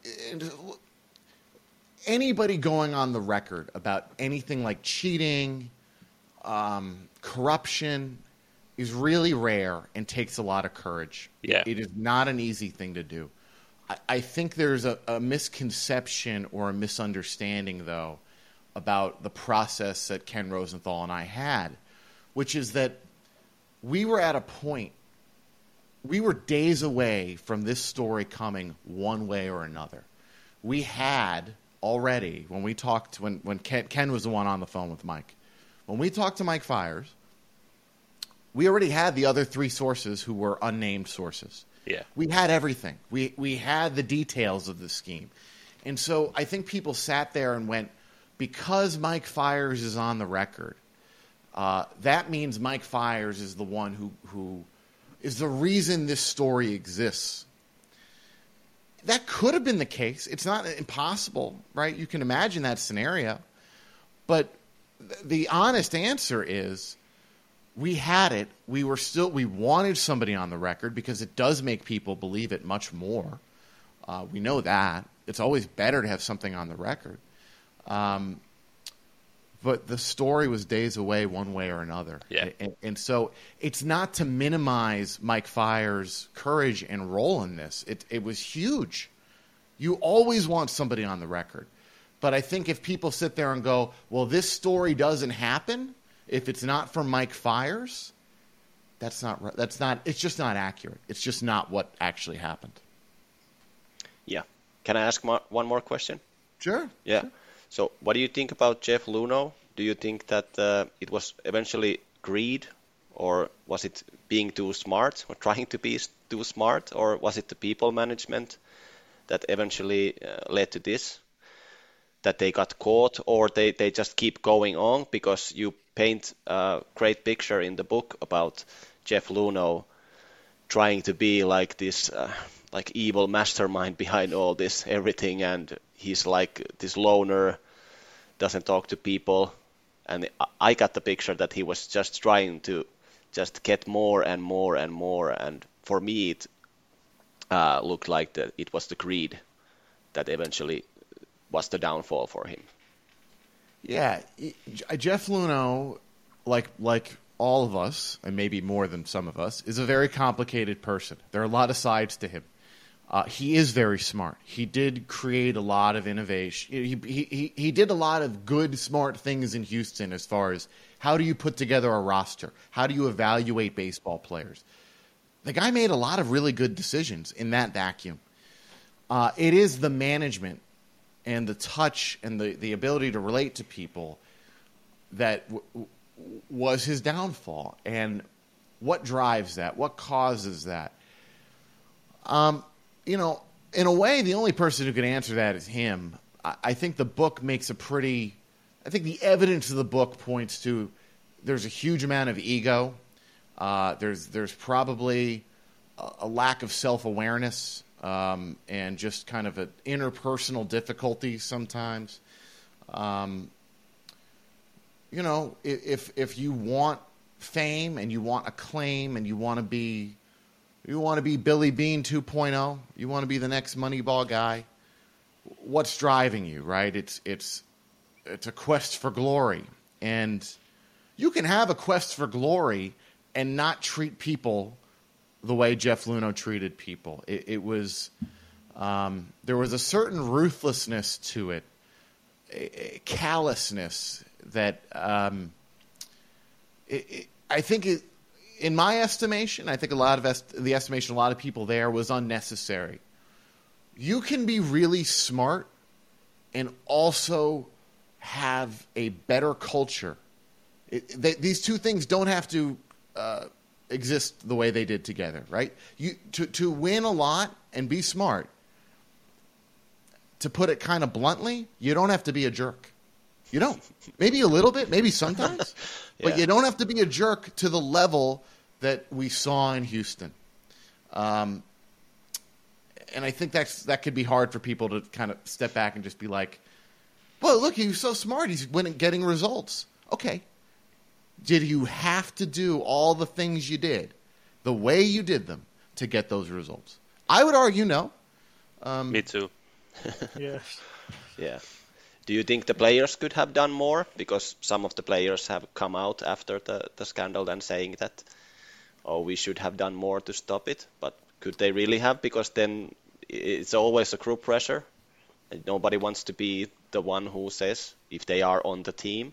anybody going on the record about anything like cheating, corruption is really rare and takes a lot of courage. Yeah. It is not an easy thing to do. I think there's a misconception or a misunderstanding, though, about the process that Ken Rosenthal and I had, which is that we were at a point, we were days away from this story coming one way or another. We had already, when we talked, when Ken was the one on the phone with Mike, when we talked to Mike Fiers, we already had the other three sources who were unnamed sources. Yeah. We had everything. We had the details of the scheme. And so I think people sat there and went, because Mike Fiers is on the record, that means Mike Fiers is the one who is the reason this story exists. That could have been the case. It's not impossible, right? You can imagine that scenario. But the honest answer is we had it. We wanted somebody on the record because it does make people believe it much more. We know that. It's always better to have something on the record. But the story was days away one way or another. Yeah. And so it's not to minimize Mike Fiers' courage and role in this. It was huge. You always want somebody on the record. But I think if people sit there and go, well, this story doesn't happen if it's not from Mike Fiers, it's just not accurate. It's just not what actually happened. Yeah. Can I ask one more question? Sure. Yeah. Sure. So what do you think about Jeff Luhnow? Do you think that it was eventually greed, or was it being too smart, or trying to be too smart, or was it the people management that eventually led to this, that they got caught, or they just keep going on? Because you paint a great picture in the book about Jeff Luhnow trying to be like this like evil mastermind behind all this everything, and he's like this loner, doesn't talk to people, and I got the picture that he was just trying to just get more and more and more, and for me it looked like that it was the greed that eventually was the downfall for him. Yeah, Jeff Luhnow like all of us, and maybe more than some of us, is a very complicated person. There are a lot of sides to him. He is very smart. He did create a lot of innovation. He did a lot of good, smart things in Houston as far as how do you put together a roster? How do you evaluate baseball players? The guy made a lot of really good decisions in that vacuum. It is the management and the touch and the ability to relate to people that was his downfall. And what drives that? What causes that? You know, in a way, the only person who can answer that is him. I think the book makes a pretty... I think the evidence of the book points to there's a huge amount of ego. There's probably a lack of self-awareness and just kind of an interpersonal difficulty sometimes. You know, if you want fame and you want acclaim and you want to be Billy Beane 2.0, you want to be the next Moneyball guy, what's driving you, right? It's a quest for glory. And you can have a quest for glory and not treat people the way Jeff Luhnow treated people. It was there was a certain ruthlessness to it, a callousness that I think in my estimation, I think the estimation of a lot of people there was unnecessary. You can be really smart and also have a better culture. These two things don't have to exist the way they did together, right? To win a lot and be smart, to put it kind of bluntly, you don't have to be a jerk. You don't. Maybe a little bit, maybe sometimes. But you don't have to be a jerk to the level that we saw in Houston. And I think that could be hard for people to kind of step back and just be like, well, look, he's so smart. He's getting results. Okay. Did you have to do all the things you did the way you did them to get those results? I would argue no. Me too. Yes. Yeah. Do you think the players could have done more? Because some of the players have come out after the scandal and saying that, oh, we should have done more to stop it. But could they really have? Because then it's always a group pressure. And nobody wants to be the one who says if they are on the team.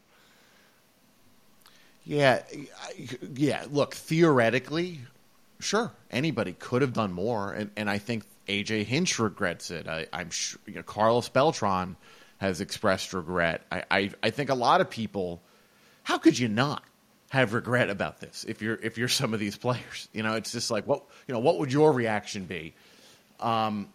Yeah. Look, theoretically, sure, anybody could have done more. And I think A.J. Hinch regrets it. I'm sure Carlos Beltran has expressed regret. I think a lot of people, how could you not have regret about this if you're some of these players? It's just like, what would your reaction be? And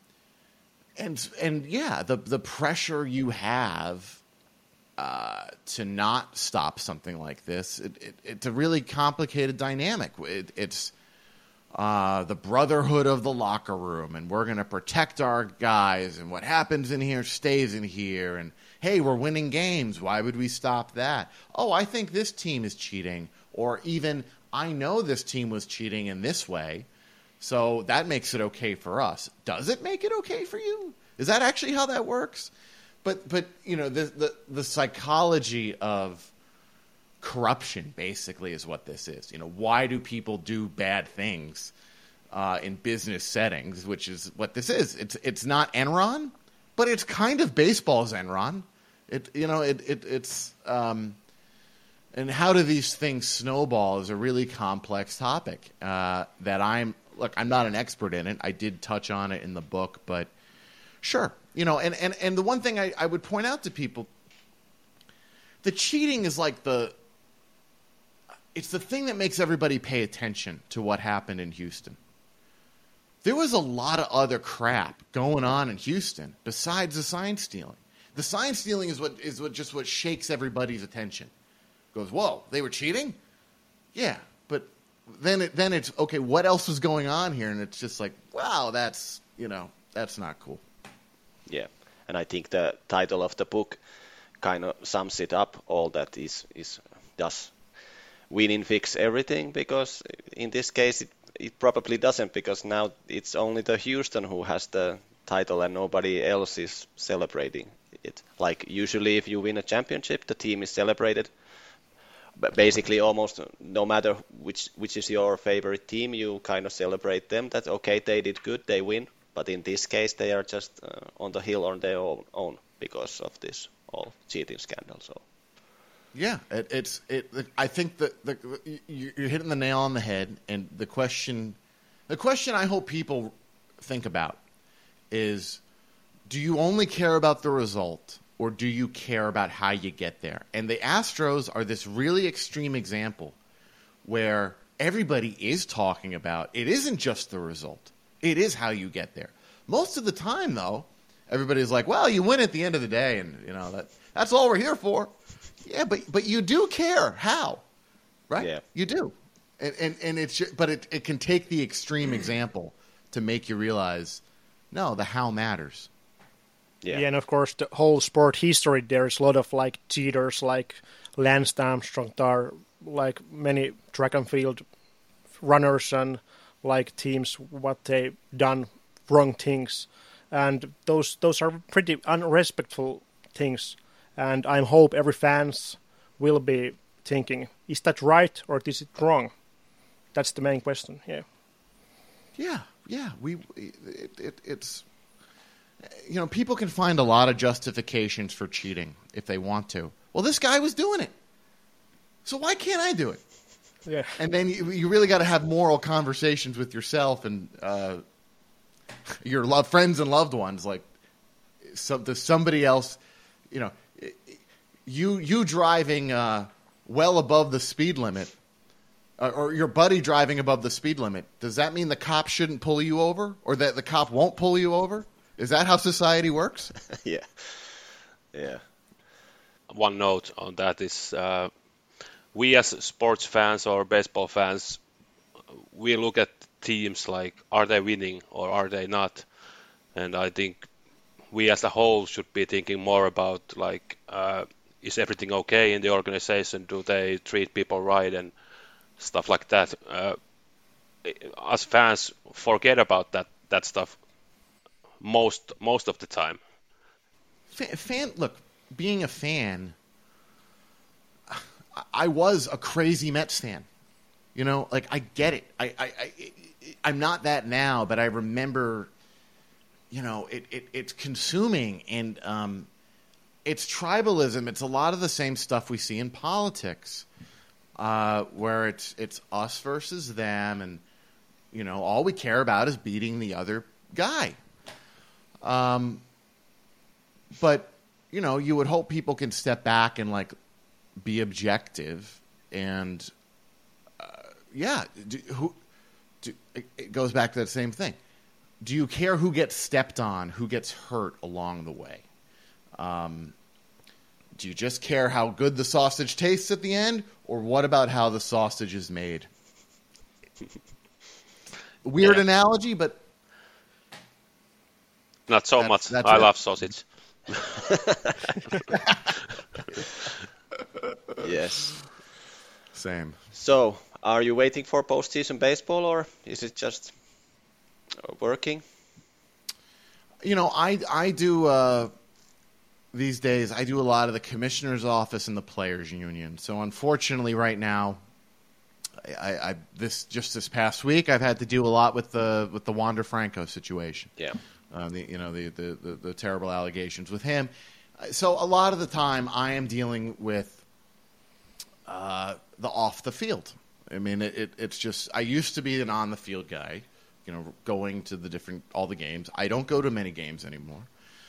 yeah, the pressure you have to not stop something like this, it's a really complicated dynamic. It's the brotherhood of the locker room, and we're going to protect our guys, and what happens in here stays in here, and hey, we're winning games. Why would we stop that? Oh, I think this team is cheating, or even I know this team was cheating in this way, so that makes it okay for us. Does it make it okay for you? Is that actually how that works? But the psychology of corruption basically is what this is. Why do people do bad things in business settings, which is what this is. It's not Enron, but it's kind of baseball's Enron. It's and how do these things snowball is a really complex topic that I'm not an expert in it. I did touch on it in the book, but sure. And the one thing I would point out to people, the cheating is like it's the thing that makes everybody pay attention to what happened in Houston. There was a lot of other crap going on in Houston besides the sign stealing. The sign stealing is what shakes everybody's attention. Goes, whoa, they were cheating? Yeah, but then it's okay. What else was going on here? And it's just like, wow, that's not cool. Yeah, and I think the title of the book kind of sums it up. All that does winning fix everything? Because in this case, it probably doesn't, because now it's only the Houston who has the title and nobody else is celebrating it. Like usually if you win a championship, the team is celebrated basically almost no matter which is your favorite team, you kind of celebrate them. That okay, they did good, they win. But in this case, they are just on the hill on their own because of this whole cheating scandal. So. Yeah, I think that you're hitting the nail on the head, and the question I hope people think about is, do you only care about the result, or do you care about how you get there? And the Astros are this really extreme example where everybody is talking about it isn't just the result, it is how you get there. Most of the time, though, everybody's like, well, you win at the end of the day, and that's all we're here for. Yeah, but you do care how, right? Yeah. You do, and it's just, but it can take the extreme example to make you realize, no, the how matters. Yeah, and of course the whole sport history, there's a lot of like cheaters, like Lance Armstrong, there like many track and field runners and like teams what they done wrong things, and those are pretty unrespectful things. And I hope every fans will be thinking, is that right or is it wrong? That's the main question. Yeah. Yeah. It's people can find a lot of justifications for cheating if they want to. Well, this guy was doing it, so why can't I do it? Yeah. And then you really got to have moral conversations with yourself and your friends and loved ones. Like, does somebody else, you driving well above the speed limit, or your buddy driving above the speed limit, does that mean the cop shouldn't pull you over, or that the cop won't pull you over? Is that how society works? Yeah. One note on that is we as sports fans or baseball fans, we look at teams like, are they winning or are they not? And I think we as a whole should be thinking more about like, is everything okay in the organization? Do they treat people right and stuff like that? Us fans forget about that stuff most of the time. Look, being a fan, I was a crazy Mets fan. Like I get it. I'm not that now, but I remember. It's consuming, and it's tribalism. It's a lot of the same stuff we see in politics, where it's us versus them, and all we care about is beating the other guy. But you would hope people can step back and like be objective, and it goes back to that same thing. Do you care who gets stepped on, who gets hurt along the way? Do you just care how good the sausage tastes at the end, or what about how the sausage is made? Weird analogy, but not so much. I love sausage. Yes. Same. So, are you waiting for postseason baseball, or is it just working? I do these days. I do a lot of the commissioner's office and the players' union. So unfortunately, right now, this past week, I've had to do a lot with the Wander Franco situation. Yeah. The terrible allegations with him. So a lot of the time, I am dealing with the off the field. I mean, it's just, I used to be an on the field guy, going to all the games. I don't go to many games anymore.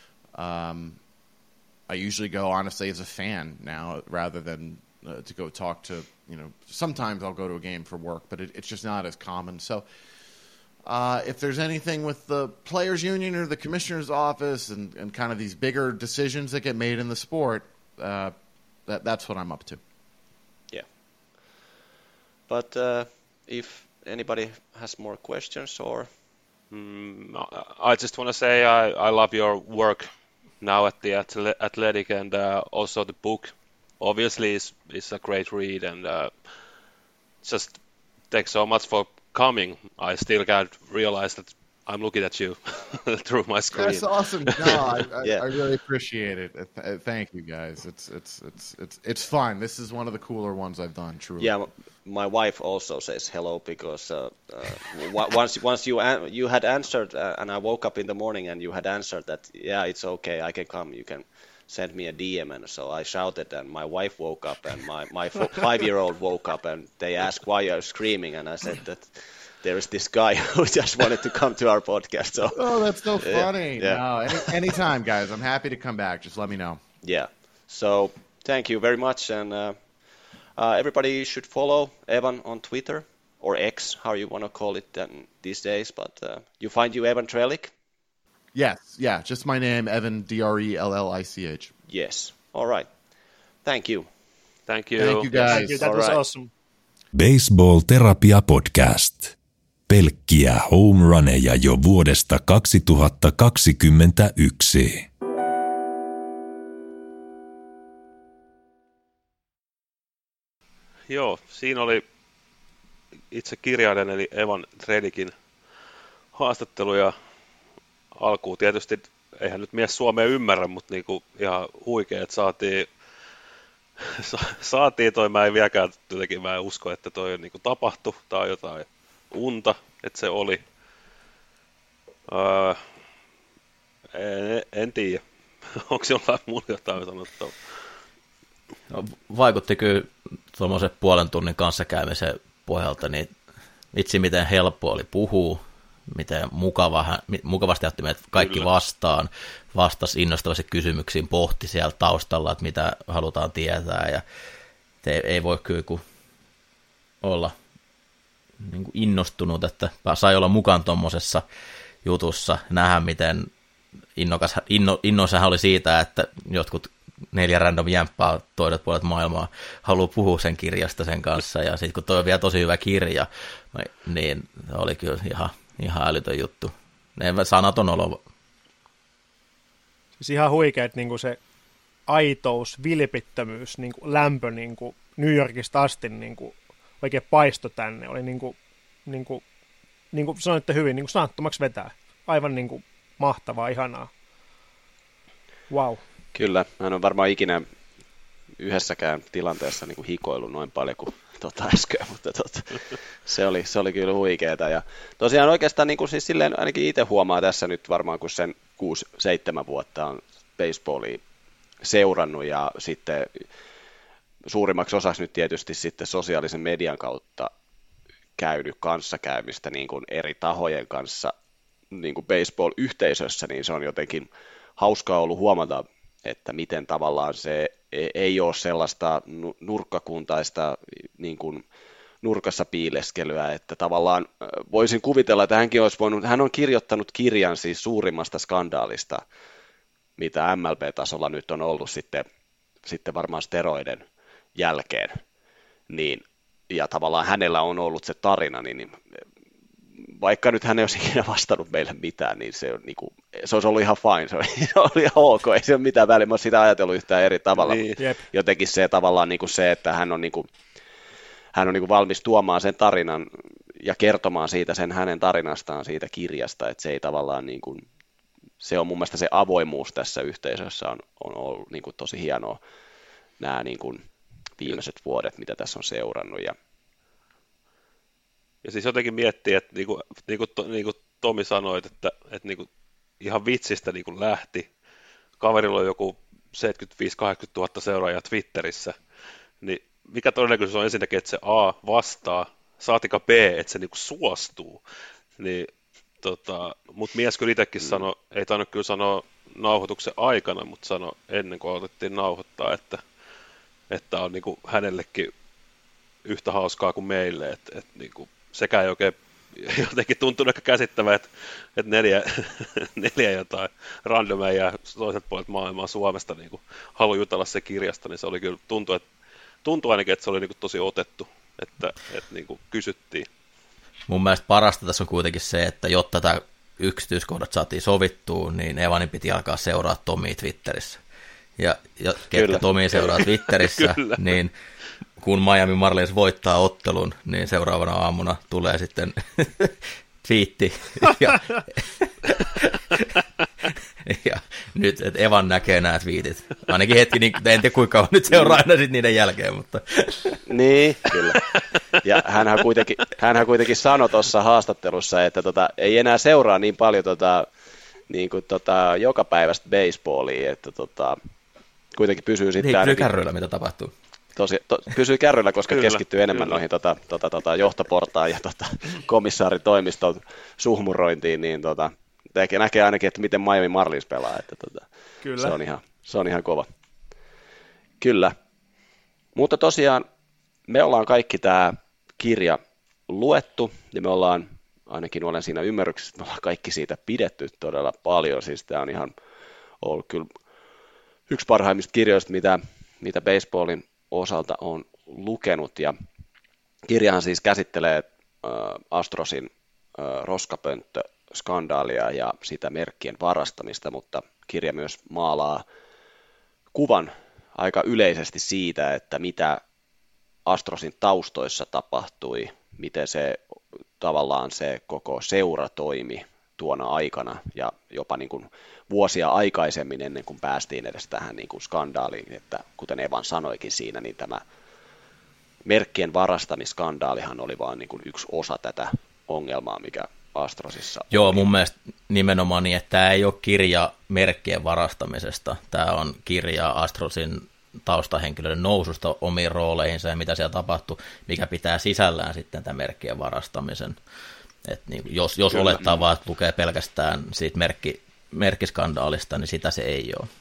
I usually go, honestly, as a fan now, rather than to go talk to, sometimes I'll go to a game for work, but it's just not as common. So if there's anything with the players' union or the commissioner's office and kind of these bigger decisions that get made in the sport, that's what I'm up to. Yeah. But if anybody has more questions or... I just want to say I love your work now at the Athletic, and also the book obviously is a great read, and just thanks so much for coming. I still can't realize that I'm looking at you through my screen. That's awesome. No, Yeah. I really appreciate it. Thank you guys. It's fun. This is one of the cooler ones I've done. Truly. Yeah, my wife also says hello because once you had answered, and I woke up in the morning and you had answered that, yeah, it's okay, I can come, you can send me a DM, and so I shouted, and my wife woke up, and my 5-year-old woke up, and they asked why you're screaming, and I said that there is this guy who just wanted to come to our podcast. So Oh, that's so funny. Yeah. No, anytime, guys. I'm happy to come back. Just let me know. yeah, so thank you very much, and everybody should follow Evan on Twitter or X, how you want to call it these days. But you find you Evan Trellick? Yes, yeah. Just my name, Evan Drellich. Yes. All right. Thank you. Thank you. Thank you, guys. Thank you. That All was right. awesome. Baseball Terapia Podcast. Pelkkiä home runeja jo vuodesta 2021. Joo, siinä oli itse kirjailijan eli Evan Trellickin haastattelu ja alkuun tietysti, eihän nyt mies suomea ymmärrä, mutta niinku ihan huikea, että saatiin toi, mä en vieläkään jotenkin, mä en usko, että toi niinku tapahtui, tai jotain unta, että se oli. En tiedä, onko jollain muulla jotain sanottavaa? No, vaikutti kyllä tuommoisen puolen tunnin kanssakäymisen pohjalta, niin vitsi miten helppo oli puhua, miten mukavasti otti meidät kaikki Kyllä. vastaan, vastasi innostavasti kysymyksiin, pohti siellä taustalla, että mitä halutaan tietää, ja ei voi kyllä kuin olla niin kuin innostunut, että sai olla mukaan tuommoisessa jutussa, nähdä miten innoissaan oli siitä, että jotkut 4 random jämppää toiset puolet maailmaa haluaa puhua sen kirjasta sen kanssa, ja sitten kun toi on vielä tosi hyvä kirja, niin oli kyllä ihan älytön juttu. Sanaton olo. Siis ihan huikea, että niinku se aitous, vilpittömyys, niinku lämpö niinku New Yorkista asti niinku oikein paisto tänne. Oli niinku sanoitte hyvin, niinku sanattomaksi vetää. Aivan niinku mahtavaa, ihanaa. Wow. Kyllä, mä en ole varmaan ikinä yhdessäkään tilanteessa niin kuin hikoillut noin paljon kuin äsken, mutta se oli kyllä huikeeta. Ja tosiaan oikeastaan niin kuin siis silleen ainakin itse huomaa tässä nyt varmaan, kun sen 6-7 vuotta on baseballia seurannut ja sitten suurimmaksi osaksi nyt tietysti sitten sosiaalisen median kautta käynyt kanssakäymistä niin kuin eri tahojen kanssa niin kuin baseball-yhteisössä, niin se on jotenkin hauskaa ollut huomata, että miten tavallaan se ei ole sellaista nurkkakuntaista niin kuin nurkassa piileskelyä, että tavallaan voisin kuvitella, että hän on kirjoittanut kirjan siis suurimmasta skandaalista, mitä MLB-tasolla nyt on ollut sitten varmaan steroiden jälkeen, niin, ja tavallaan hänellä on ollut se tarina, niin vaikka nyt hän ei olisi ikinä vastannut meille mitään, niin se olisi ollut ihan fine, se oli ihan ok, ei se ole mitään väliä, mä olen sitä ajatellut yhtään eri tavalla, Niin. Jep. se tavallaan niin kuin se, että hän on niin kuin valmis tuomaan sen tarinan ja kertomaan siitä sen hänen tarinastaan siitä kirjasta, että se ei tavallaan niin kuin, se on mun mielestä se avoimuus tässä yhteisössä on ollut niin kuin tosi hienoa nämä niin kuin viimeiset vuodet, mitä tässä on seurannut. Ja siis jotenkin miettii, että niin kuin Tomi sanoit, että niin kuin ihan vitsistä niin kuin lähti. Kaverilla on joku 75-80 000 seuraajaa Twitterissä. Niin mikä todennäköisyys on ensinnäkin, että se A vastaa, saatika B, että se niin kuin suostuu. Niin, mutta mies kyllä itsekin sanoi, ei tainnut kyllä sanoa nauhoituksen aikana, mutta sanoi ennen kuin otettiin nauhoittaa, että on niin kuin hänellekin yhtä hauskaa kuin meille, että niin kuin sekään ei oikein jotenkin tuntuu aika käsittävää, että 4 jotain randomia ja toiset puolet maailmaa Suomesta niin kuin haluaa jutella se kirjasta, niin se oli kyllä, tuntui ainakin, että se oli niin kuin tosi otettu, että niin kuin kysyttiin. Mun mielestä parasta tässä on kuitenkin se, että jotta tämä yksityiskohdat saatiin sovittua, niin Evanin piti alkaa seuraa Tomia Twitterissä. Ja ketkä Tomia seuraa Twitterissä, niin kun Miami Marlins voittaa ottelun, niin seuraavana aamuna tulee sitten twiitti. Ja nyt, että Evan näkee nämä twiitit. Ainakin hetki, niin, en tiedä kuinka kauan nyt seuraa aina sitten niiden jälkeen, mutta... Niin, kyllä. Ja hänhän kuitenkin sanoi tuossa haastattelussa, että ei enää seuraa niin paljon jokapäiväistä baseballia, että kuitenkin pysyy sitten... Pysyy kärryillä, mitä tapahtuu. Pysyy kärryillä, koska keskittyy enemmän noihin johtoportaan ja komissaaritoimiston suhmurointiin, niin näkee ainakin, että miten Miami Marlins pelaa, että Kyllä. Se on ihan kova. Kyllä. Mutta tosiaan me ollaan kaikki tämä kirja luettu, ja me ollaan, ainakin olen siinä ymmärryksessä, että me ollaan kaikki siitä pidetty todella paljon, siis tämä on ihan ollut kyllä yksi parhaimmista kirjoista, mitä baseballin osalta on lukenut, ja kirjahan siis käsittelee Astrosin roskapönttöskandaalia ja sitä merkkien varastamista, mutta kirja myös maalaa kuvan aika yleisesti siitä, että mitä Astrosin taustoissa tapahtui, miten tavallaan se koko seura toimi tuona aikana ja jopa niin kuin vuosia aikaisemmin ennen kuin päästiin edes tähän niin kuin skandaaliin, että kuten Evan sanoikin siinä, niin tämä merkkien varastamiskandaalihan oli vain niin kuin yksi osa tätä ongelmaa, mikä Astrosissa Joo, oli. mun mielestä nimenomaan niin, että tämä ei ole kirja merkkien varastamisesta, tämä on kirja Astrosin taustahenkilöiden noususta omiin rooleihinsa ja mitä siellä tapahtui, mikä pitää sisällään sitten tämän merkkien varastamisen. Et niin, jos olettaa vaan, että lukee pelkästään siitä merkkiskandaalista, niin sitä se ei ole.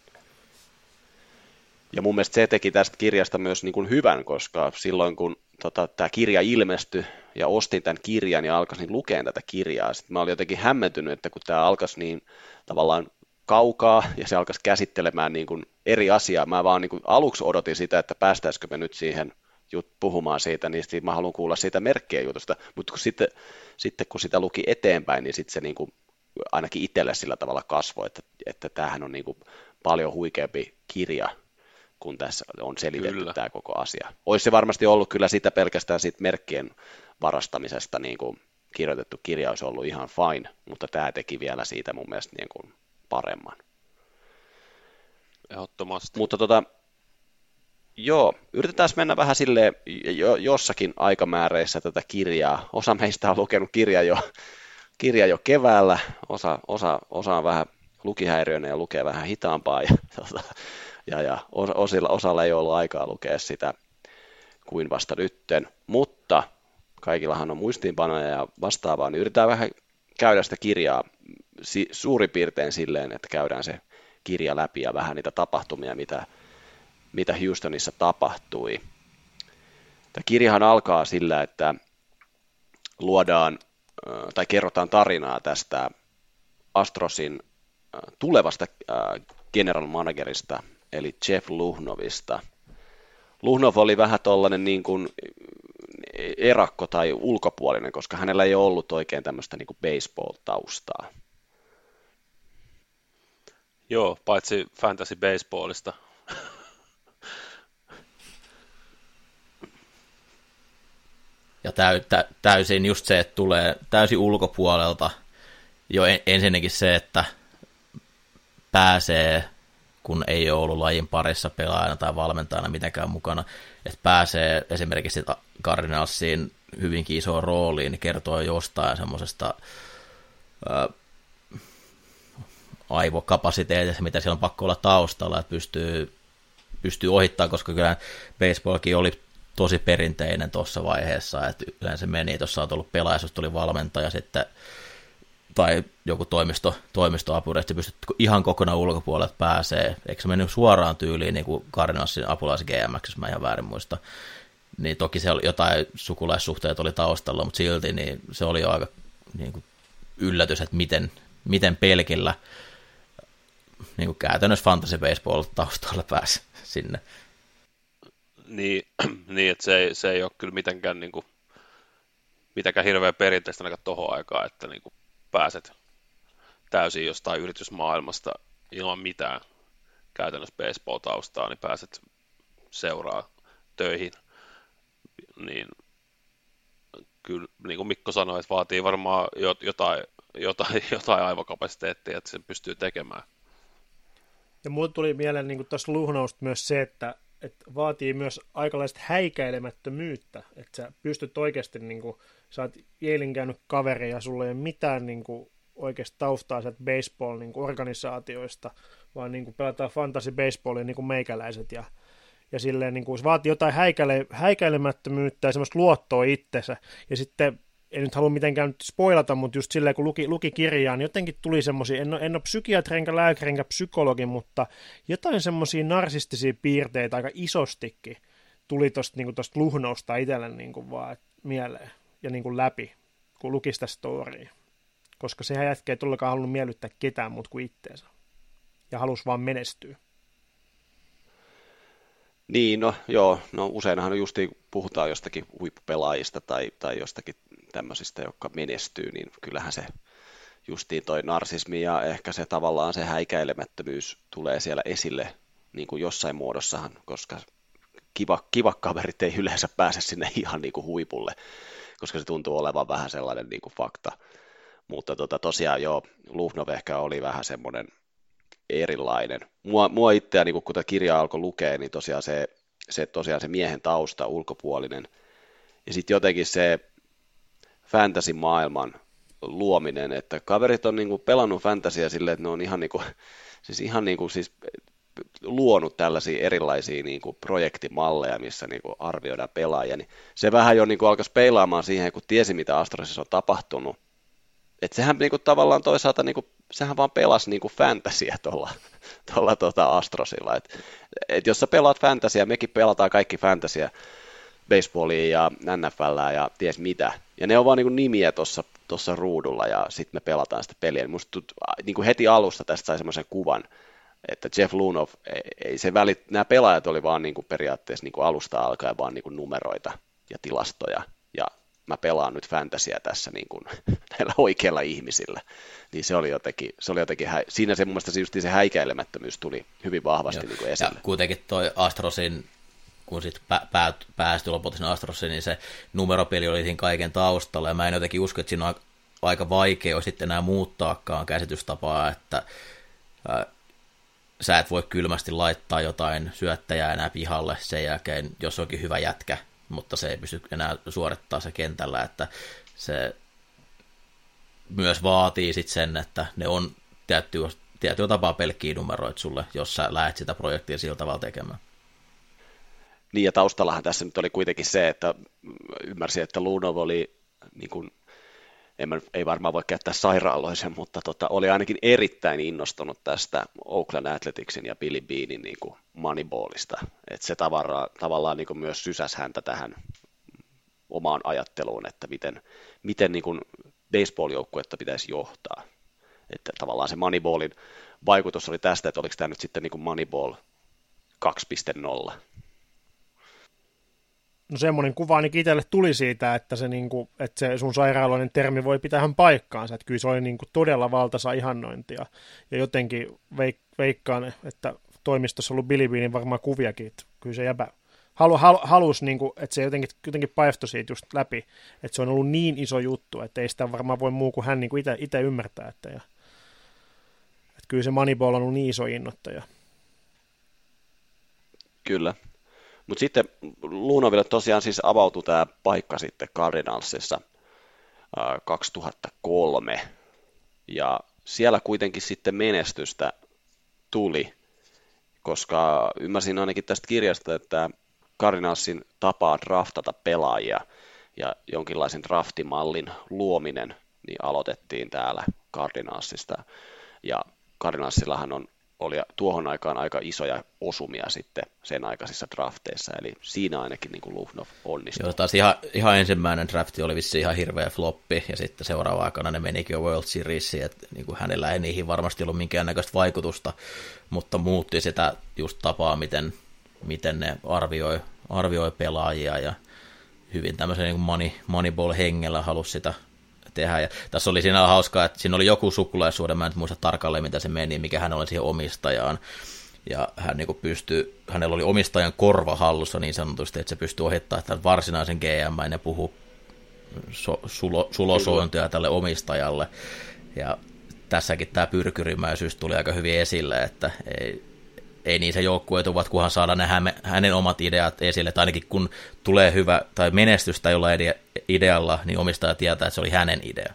Ja mun mielestä se teki tästä kirjasta myös niin kuin hyvän, koska silloin kun tämä kirja ilmestyi ja ostin tämän kirjan ja alkaisin lukea tätä kirjaa, sitten mä olin jotenkin hämmentynyt, että kun tämä alkaisi niin tavallaan kaukaa ja se alkaisi käsittelemään niin kuin eri asiaa, mä vaan niin kuin aluksi odotin sitä, että päästäisikö me nyt siihen puhumaan siitä, niin sitten mä haluan kuulla siitä merkkien jutusta, mutta sitten kun sitä luki eteenpäin, niin sitten se niin kuin ainakin itselle sillä tavalla kasvoi, että tämähän on niin kuin paljon huikeampi kirja, kun tässä on selitetty tämä koko asia. Olisi se varmasti ollut kyllä sitä pelkästään siitä merkkien varastamisesta niin kuin kirjoitettu kirja olisi ollut ihan fine, mutta tämä teki vielä siitä mun mielestä niin kuin paremman. Ehdottomasti. Mutta joo, yritetään mennä vähän silleen jossakin aikamääreissä tätä kirjaa. Osa meistä on lukenut kirja jo keväällä, osa on vähän lukihäiriöinen ja lukee vähän hitaampaa, ja osalla ei ollut aikaa lukea sitä kuin vasta nytten, mutta kaikillahan on muistiinpanoja ja vastaavaa, niin yritetään vähän käydä sitä kirjaa suurin piirtein silleen, että käydään se kirja läpi ja vähän niitä tapahtumia, mitä Houstonissa tapahtui. Tämä kirjahan alkaa sillä, että luodaan tai kerrotaan tarinaa tästä Astrosin tulevasta general managerista, eli Jeff Luhnowista. Luhnow oli vähän tollainen niin kuin erakko tai ulkopuolinen, koska hänellä ei ole ollut oikein tämmöistä niin kuin baseball-taustaa. Joo, paitsi fantasy baseballista. Ja täysin just se, että tulee täysin ulkopuolelta jo ensinnäkin se, että pääsee, kun ei ole ollut lajin parissa pelaajana tai valmentajana mitenkään mukana, että pääsee esimerkiksi Cardinalsiin hyvinkin isoon rooliin, niin kertoo jostain semmoisesta aivokapasiteetista, mitä siellä on pakko olla taustalla, että pystyy ohittamaan, koska kyllä baseballkin oli tosi perinteinen tuossa vaiheessa, että yleensä meni, että jos sä oot ollut pelaaja, jos tuli valmentaja sitten, tai joku toimistoapuri, että pystyt ihan kokonaan ulkopuolelta pääsee, eikö se mennyt suoraan tyyliin niin kuin Cardinalsin apulais GMX, jos mä ihan väärin muista, niin toki se oli jotain sukulaissuhteet oli taustalla, mutta silti niin se oli jo aika niin kuin yllätys, että miten pelkillä niin kuin käytännössä fantasy baseball taustalla pääsi sinne. Niin että se ei ole kyllä mitenkään hirveän perinteistä ainakaan tohon aikaan, että niin kuin pääset täysin jostain yritysmaailmasta ilman mitään käytännössä baseball-taustaa, niin pääset seuraa töihin. Niin kyllä, niin kuin Mikko sanoi, että vaatii varmaan jotain aivokapasiteettia, että sen pystyy tekemään. Ja mulle tuli mieleen niin tuossa Luhnousta myös se, että vaatii myös aikalaista häikäilemättömyyttä, että sä pystyt oikeasti, niin kuin, sä oot Yalein käynyt kaveri ja sulla ei ole mitään niin kuin, oikeasti taustaa sieltä baseball-organisaatioista, vaan niin kuin, pelataan fantasy baseballia niin kuin meikäläiset ja silleen niin kuin, se vaatii jotain häikäilemättömyyttä ja semmoista luottoa itsensä. Ja sitten, en nyt halua mitenkään nyt spoilata, mutta just silleen kun luki kirjaa, niin jotenkin tuli semmoisia, en ole psykiatri enkä lääkäri enkä psykologi, mutta jotain semmoisia narsistisia piirteitä aika isostikin tuli tuosta niin Luhnousta itselle niin kuin vaan mieleen ja niin kuin läpi, kun luki sitä storya. Koska sehän jätkä ei todellakaan halunnut miellyttää ketään muuta kuin itteensä. Ja halusi vaan menestyä. Niin, no joo, no useinhan justiin puhutaan jostakin huippupelaajista tai jostakin tämmöisistä, jotka menestyy, niin kyllähän se justiin toi narsismi ja ehkä se tavallaan se häikäilemättömyys tulee siellä esille niin kuin jossain muodossahan, koska kiva kaverit ei yleensä pääse sinne ihan niin kuin huipulle, koska se tuntuu olevan vähän sellainen niin kuin fakta. Mutta tosiaan joo, Luhnov ehkä oli vähän semmoinen erilainen. Mua itseä, niin kun tätä kirjaa alkoi lukea, niin tosiaan se miehen tausta, ulkopuolinen, ja sitten jotenkin se fantasy-maailman luominen, että kaverit on niin kuin pelannut fantasyä silleen, että ne on ihan luonut tällaisia erilaisia niin kuin projektimalleja, missä niin kuin arvioidaan pelaajia, niin se vähän jo niin kuin alkoi peilaamaan siihen, kun tiesi, mitä Astrosissa on tapahtunut. Että sehän niin kuin tavallaan toisaalta, niin kuin, sehän vaan pelasi niin kuin fantasyä tuolla Astrosilla. Et jos sä pelaat fantasyä, mekin pelataan kaikki fantasyä, baseballia ja NFLää ja ties mitä. Ja ne on vaan niin kuin nimiä tuossa ruudulla ja sitten me pelataan sitä peliä. Musta niin kuin heti alusta tästä sai semmoisen kuvan, että Jeff Luhnow, nämä pelaajat oli vaan niin kuin periaatteessa niin kuin alusta alkaen vaan niin kuin numeroita ja tilastoja. Ja mä pelaan nyt fantasyä tässä niin kuin näillä oikeilla ihmisillä. Niin se oli jotenkin siinä se mun mielestä just se häikäilemättömyys tuli hyvin vahvasti niin kuin esille. Ja kuitenkin toi Astrosin, kun sitten päästyi lopulta sinne Astrosiin, niin se numeropeli oli siinä kaiken taustalla, ja mä en jotenkin usko, että siinä on aika vaikea sitten enää muuttaakaan käsitystapaa, että sä et voi kylmästi laittaa jotain syöttäjää enää pihalle sen jälkeen, jos onkin hyvä jätkä, mutta se ei pysty enää suorittaa se kentällä, että se myös vaatii sitten sen, että ne on tietyllä tapaa pelkkiä numeroita sulle, jos sä lähdet sitä projektia sillä tavalla tekemään. Niin, ja taustallahan tässä nyt oli kuitenkin se, että ymmärsin, että Luhnow oli, niin kuin, ei varmaan voi käyttää sairaaloisen, mutta oli ainakin erittäin innostunut tästä Oakland Athleticsin ja Billy Beanin niin kuin Moneyballista. Että se tavallaan niin kuin myös sysäsi häntä tähän omaan ajatteluun, että miten niin kuin baseball-joukkuetta pitäisi johtaa. Että tavallaan se Moneyballin vaikutus oli tästä, että oliko tämä nyt sitten niin kuin Moneyball 2.0. No semmoinen kuva ainakin itselle tuli siitä, että se sun sairaaloinen termi voi pitää ihan paikkaansa, että kyllä se oli niinku todella valtaisa ihannointia. Ja jotenkin veikkaan, että toimistossa on ollut Billy Beanin varmaan kuviakin, että kyllä se jäbä halusi, niinku, että se jotenkin paistoi siitä just läpi, että se on ollut niin iso juttu, että ei sitä varmaan voi muu kuin hän niinku itse ymmärtää, että kyllä se Moneyball on ollut niin iso innoittaja. Kyllä. Mutta sitten Luhnowille tosiaan siis avautui tämä paikka sitten Cardinalsissa 2003, ja siellä kuitenkin sitten menestystä tuli, koska ymmärsin ainakin tästä kirjasta, että Cardinalsin tapaa draftata pelaajia ja jonkinlaisen draftimallin luominen niin aloitettiin täällä Cardinalsista, ja Cardinalsillahan oli tuohon aikaan aika isoja osumia sitten sen aikaisissa drafteissa, eli siinä ainakin niin kuin Luhnow onnistui. Joo, taas ihan ensimmäinen drafti oli vissiin ihan hirveä floppi, ja sitten seuraava aikana ne menikin jo World Seriesiin, että niin kuin hänellä ei niihin varmasti ollut minkäännäköistä vaikutusta, mutta muutti sitä just tapaa, miten ne arvioi pelaajia, ja hyvin tämmöisen niin Moneyball-hengellä halusi sitä tehdä. Ja tässä oli siinä hauskaa, että siinä oli joku sukulaisuuden, mä en muista tarkalleen, mitä se meni, mikä hän oli siihen omistajaan. Ja hän niin hänellä oli omistajan korva hallussa niin sanotusti, että se pystyi ohittamaan tämän varsinaisen GM, ja ne sulosointia tälle omistajalle. Ja tässäkin tämä pyrkyrimäisyys tuli aika hyvin esille, että ei niin se joukkueetuvat, kunhan saadaan hänen omat ideat esille, tai ainakin kun tulee hyvä tai menestystä jollain idealla, niin omistaja tietää, että se oli hänen idea.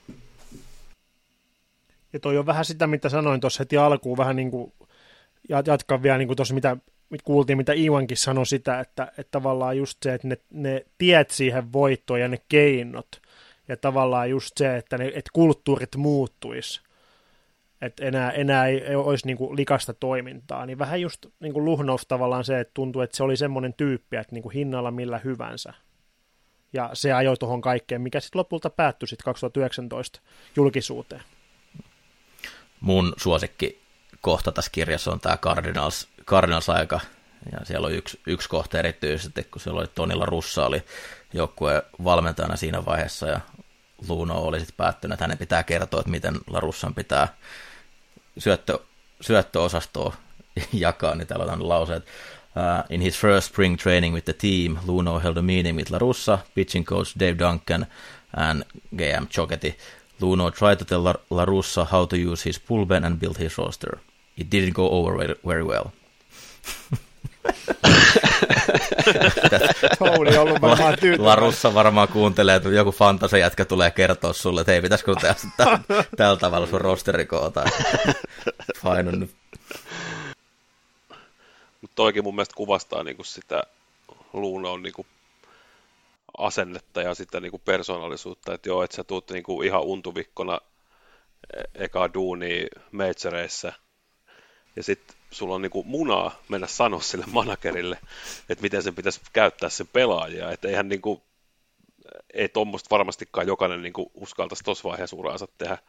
Ja toi on vähän sitä, mitä sanoin tuossa heti alkuun, vähän niin kuin jatkan vielä niin kuin tuossa, mitä kuultiin, mitä Ivankin sanoi sitä, että tavallaan just se, että ne tiet siihen voittoon ja ne keinot, ja tavallaan just se, että kulttuurit muuttuisi, että enää ei olisi niin kuin likasta toimintaa, niin vähän just niin kuin Luhnov tavallaan se, että tuntuu, että se oli semmoinen tyyppi, että niin kuin hinnalla millä hyvänsä, ja se ajoi tuohon kaikkeen, mikä sitten lopulta päättyi sitten 2019 julkisuuteen. Mun suosikki kohta tässä kirjassa on tämä Cardinals-aika, ja siellä on yksi kohta erityisesti, kun siellä oli Tony La Russa oli joukkueen valmentajana siinä vaiheessa, ja Luno oli sitten päättynyt, että hänen pitää kertoa, että miten La Russan pitää syöttöosastoa jakaa, niin täällä on lauseet. In his first spring training with the team, Luno held a meeting with La Russa, pitching coach Dave Duncan, and GM Choketti. Luno tried to tell La Russa how to use his bullpen and build his roster. It didn't go over very well. Touli on ollut varmaan tyytyväinen. La Russa varmaan kuuntelee, että joku fantasia-jätkä tulee kertoa sulle, että hei, pitäisikö tehdä tällä tavalla sun rosteri koota. Fine on nyt. Mutta toikin mun mielestä kuvastaa niinku sitä Lunon niinku asennetta ja sitä niinku persoonallisuutta, että joo, että sä tuut niinku ihan untuvikkona eka duunia majoreissa ja sitten sulla on niinku munaa mennä sanoa sille managerille, että miten sen pitäisi käyttää sen pelaajia, että eihän niinku, ei tuommoista varmastikaan jokainen niinku uskaltaisi tuossa vaiheessa uraansa tehdä.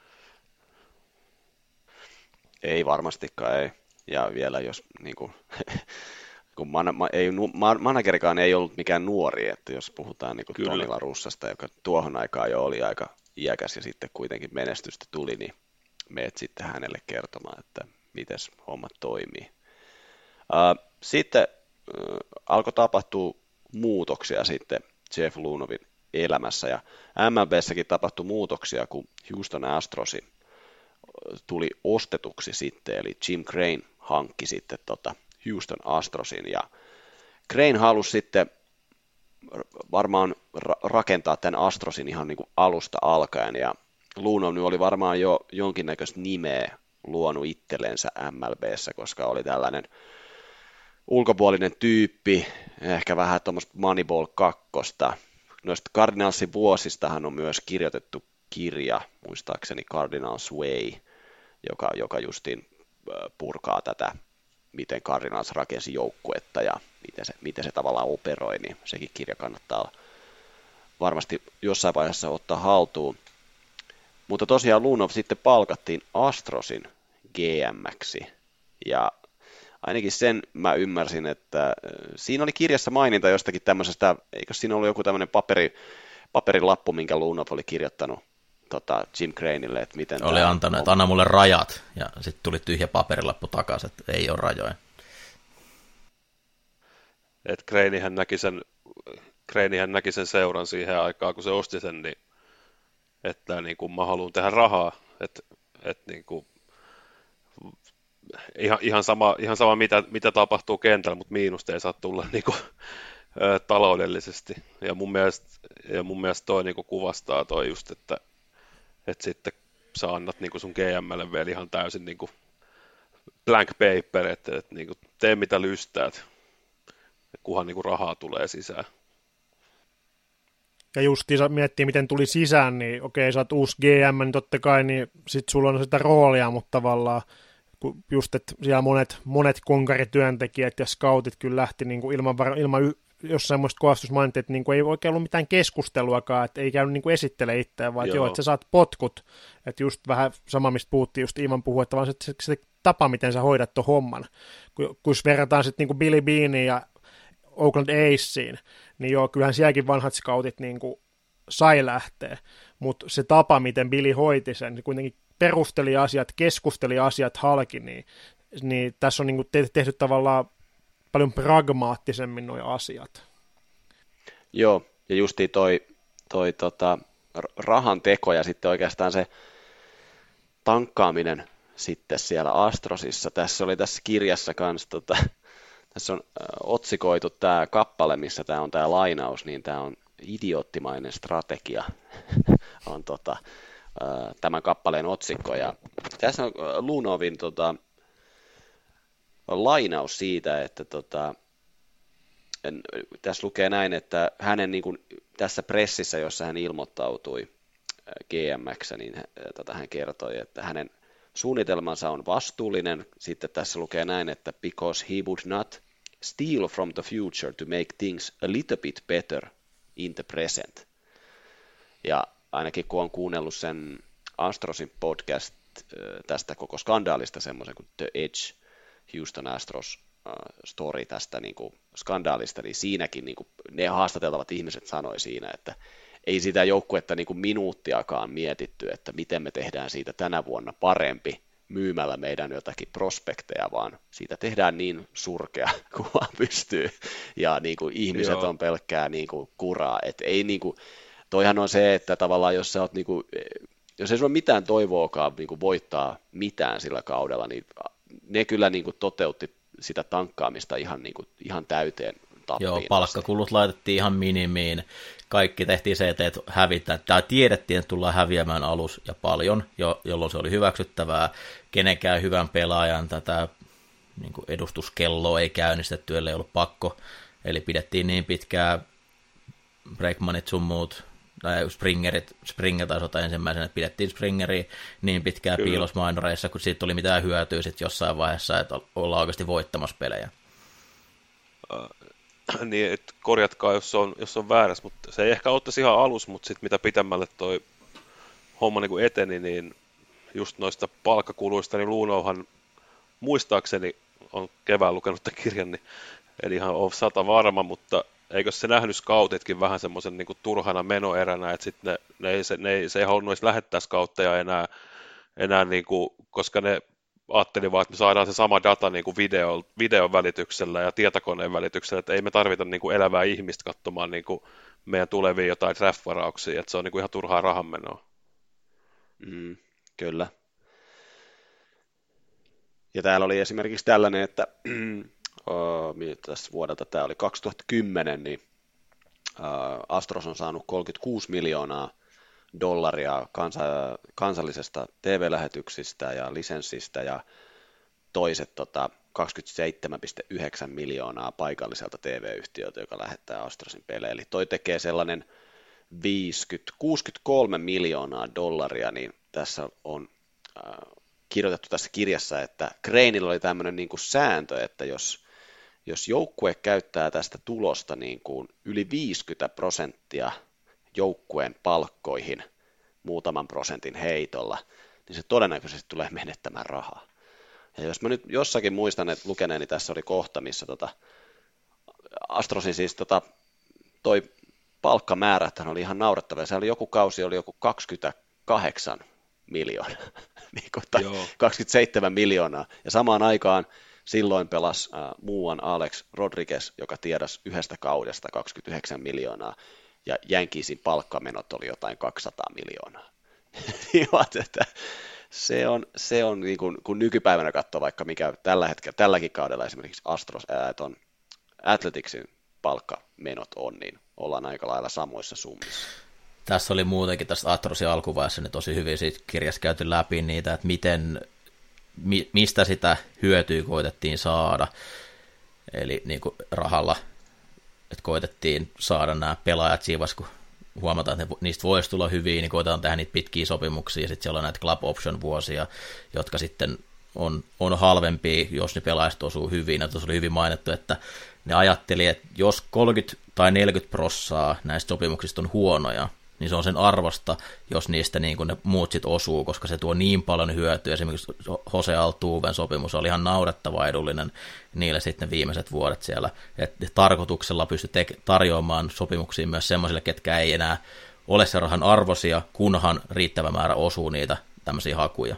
Ei varmastikaan, ei. Ja vielä jos niinku, kun managerikaan ei ollut mikään nuori, että jos puhutaan niinku Tony La Russasta, joka tuohon aikaan jo oli aika iäkäs ja sitten kuitenkin menestystä tuli, niin meet sitten hänelle kertomaan, että miten hommat toimii. Sitten alkoi tapahtua muutoksia sitten Jeff Luhnovin elämässä, ja MLBssäkin tapahtui muutoksia, kun Houston Astrosi tuli ostetuksi sitten, eli Jim Crane hankki sitten Houston Astrosin, ja Crane halusi sitten varmaan rakentaa tämän Astrosin ihan niin kuin alusta alkaen, ja Luhnov oli varmaan jo jonkinnäköistä nimeä luonut itsellensä MLBssä, koska oli tällainen ulkopuolinen tyyppi, ehkä vähän tuommoista Moneyball 2. Noista Cardinalsin vuosistahan on myös kirjoitettu kirja, muistaakseni Cardinals Way, joka justiin purkaa tätä, miten Cardinals rakensi joukkuetta ja miten se tavallaan operoi, niin sekin kirja kannattaa varmasti jossain vaiheessa ottaa haltuun. Mutta tosiaan Luhnov sitten palkattiin Astrosin GM:ksi, ja ainakin sen mä ymmärsin, että siinä oli kirjassa maininta jostakin tämmöisestä, eikö siinä ollut joku tämmöinen paperilappu, minkä Luhnov oli kirjoittanut Jim Craneille, että miten... Oli antanut, että anna mulle rajat, ja sitten tuli tyhjä paperilappu takaisin, että ei ole rajoja. Että Cranehän näki sen seuran siihen aikaan, kun se osti sen, niin että niin kuin mä haluan tehdä rahaa, että niin kuin, ihan sama mitä tapahtuu kentällä, mutta miinusta ei saa tulla niin kuin, taloudellisesti. Ja mun mielestä toi niin kuin kuvastaa toi just, että sitten sä annat niin kuin sun GM:lle vielä ihan täysin niin kuin blank paper, että niin kuin tee mitä lystäät, kunhan niin kuin rahaa tulee sisään. Ja justiinsa miettii, miten tuli sisään, niin okei, sä oot uusi GM, niin totta kai, niin sit sulla on sitä roolia, mutta tavallaan just, että siellä monet konkarityöntekijät ja scoutit kyllä lähti niin kuin ilman jossain muista kohdassa mainittiin, että niin kuin ei oikein ollut mitään keskusteluakaan, että ei käynyt niin kuin esittele itseään, vaan että sä saat potkut, että just vähän sama, mistä puhuttiin, just Ivan puhui, että vaan se tapa, miten sä hoidat tuon homman, kun verrataan sitten niin kuin Billy Beaneen ja Oakland Acesiin, niin joo, kyllähän sielläkin vanhat scoutit niin kuin sai lähteä, mutta se tapa, miten Billy hoiti sen, niin kuitenkin perusteli asiat, keskusteli asiat halki, niin tässä on niin kuin tehty tavallaan paljon pragmaattisemmin nuo asiat. Joo, ja justiin toi rahan teko ja sitten oikeastaan se tankkaaminen sitten siellä Astrosissa. Tässä kirjassa kanssa, tässä on otsikoitu tämä kappale, missä tämä on tämä lainaus, niin tämä on idioottimainen strategia, on tämän kappaleen otsikko. Ja tässä on Lunovin lainaus siitä, että tässä lukee näin, että hänen niin kuin, tässä pressissä, jossa hän ilmoittautui GM:ksi, niin hän kertoi, että hänen suunnitelmansa on vastuullinen. Sitten tässä lukee näin, että because he would not steal from the future to make things a little bit better in the present. Ja ainakin kun on kuunnellut sen Astrosin podcast tästä koko skandaalista, semmoisen kuin The Edge, Houston Astros story tästä niin kuin skandaalista, niin siinäkin niin kuin ne haastateltavat ihmiset sanoi siinä, että ei sitä joukkuetta niin kuin minuuttiakaan mietitty, että miten me tehdään siitä tänä vuonna parempi myymällä meidän jotakin prospekteja, vaan siitä tehdään niin surkea kuin vaan pystyy, ja niin kuin ihmiset on pelkkää niin kuin kuraa, että ei niin kuin, toihan on se, että tavallaan jos sä oot niin kuin, jos ei sulla mitään toivoakaan niin kuin voittaa mitään sillä kaudella, niin ne kyllä niin kuin toteutti sitä tankkaamista ihan täyteen tappiin. Joo, palkkakulut laitettiin ihan minimiin. Kaikki tehtiin se, että hävitään. Tämä tiedettiin, että tullaan häviämään alus ja paljon, jolloin se oli hyväksyttävää. Kenenkään hyvän pelaajan tätä niin kuin edustuskelloa ei käynnistetty, ellei ollut pakko. Eli pidettiin niin pitkään Bregmanit sun muut, tai Springer taisi ottaa ensimmäisenä, että pidettiin Springeriä niin pitkään piilosmainoreissa, kun siitä tuli mitään hyötyä sitten jossain vaiheessa, että ollaan oikeasti voittamassa pelejä. Niin, että korjatkaa, jos on väärässä, mutta se ei ehkä ottaisi ihan alus, mutta sitten mitä pitemmälle toi homma niin kuin eteni, niin just noista palkkakuluista, niin Luunouhan muistaakseni on kevään lukenut tämän kirjan, niin en ihan ole 100 varma, mutta eikö se nähnyt scoutitkin vähän semmoisen niin kuin turhana menoeränä, että sitten se ei halunnut edes lähettää scoutteja enää niin kuin, koska ne ajatteli vaan, että me saadaan se sama data niin kuin videon välityksellä ja tietokoneen välityksellä, että ei me tarvita niin kuin elävää ihmistä katsomaan niin kuin meidän tulevia jotain draft-varauksia, että se on niin kuin ihan turhaa rahanmenoa. Kyllä. Ja täällä oli esimerkiksi tällainen, että tässä vuodelta tämä oli 2010, niin Astros on saanut $36 miljoonaa kansallisesta TV-lähetyksistä ja lisenssistä ja toiset 27,9 miljoonaa paikalliselta TV-yhtiöltä, joka lähettää Astrosin pelejä. Eli toi tekee sellainen $63 miljoonaa, niin tässä on kirjoitettu tässä kirjassa, että Craneilla oli tämmöinen niin kuin sääntö, että jos joukkue käyttää tästä tulosta niin kuin yli 50% joukkueen palkkoihin muutaman prosentin heitolla, niin se todennäköisesti tulee menettämään rahaa. Ja jos mä nyt jossakin muistan, että lukeneeni tässä oli kohta, missä Astrosin siis toi palkkamäärät oli ihan naurettava. Se oli joku kausi, oli joku 28 miljoonaa, niin 27 miljoonaa. Ja samaan aikaan silloin pelasi muuan Alex Rodriguez, joka tiedasi yhdestä kaudesta 29 miljoonaa. Ja Yankeesin palkkamenot oli jotain 200 miljoonaa. Se on niin kun nykypäivänä katsoo vaikka mikä tälläkin kaudella esimerkiksi Athleticsin palkkamenot on, niin ollaan aika lailla samoissa summissa. Tässä oli muutenkin tässä Astrosin alkuvaiheessa niin tosi hyvin siitä kirjassa käyty läpi niitä, että mistä sitä hyötyä koitettiin saada. Eli niin kuin rahalla, että koitettiin saada nämä pelaajat siinä vaiheessa, kun huomataan, että niistä voisi tulla hyviä, niin koitetaan tehdä niitä pitkiä sopimuksia, ja sitten siellä on näitä club option vuosia, jotka sitten on halvempia, jos ne pelaajat osuu hyvin. Ja tuossa oli hyvin mainittu, että ne ajatteli, että jos 30 tai 40% näistä sopimuksista on huonoja, niin se on sen arvosta, jos niistä niin kuin ne muut sit osuu, koska se tuo niin paljon hyötyä. Esimerkiksi Jose Altuven sopimus oli ihan naurettava edullinen niille sitten viimeiset vuodet siellä. Että tarkoituksella pystyi tarjoamaan sopimuksia myös semmoisille, ketkä ei enää ole se rahan arvoisia, kunhan riittävä määrä osuu niitä tämmöisiä hakuja.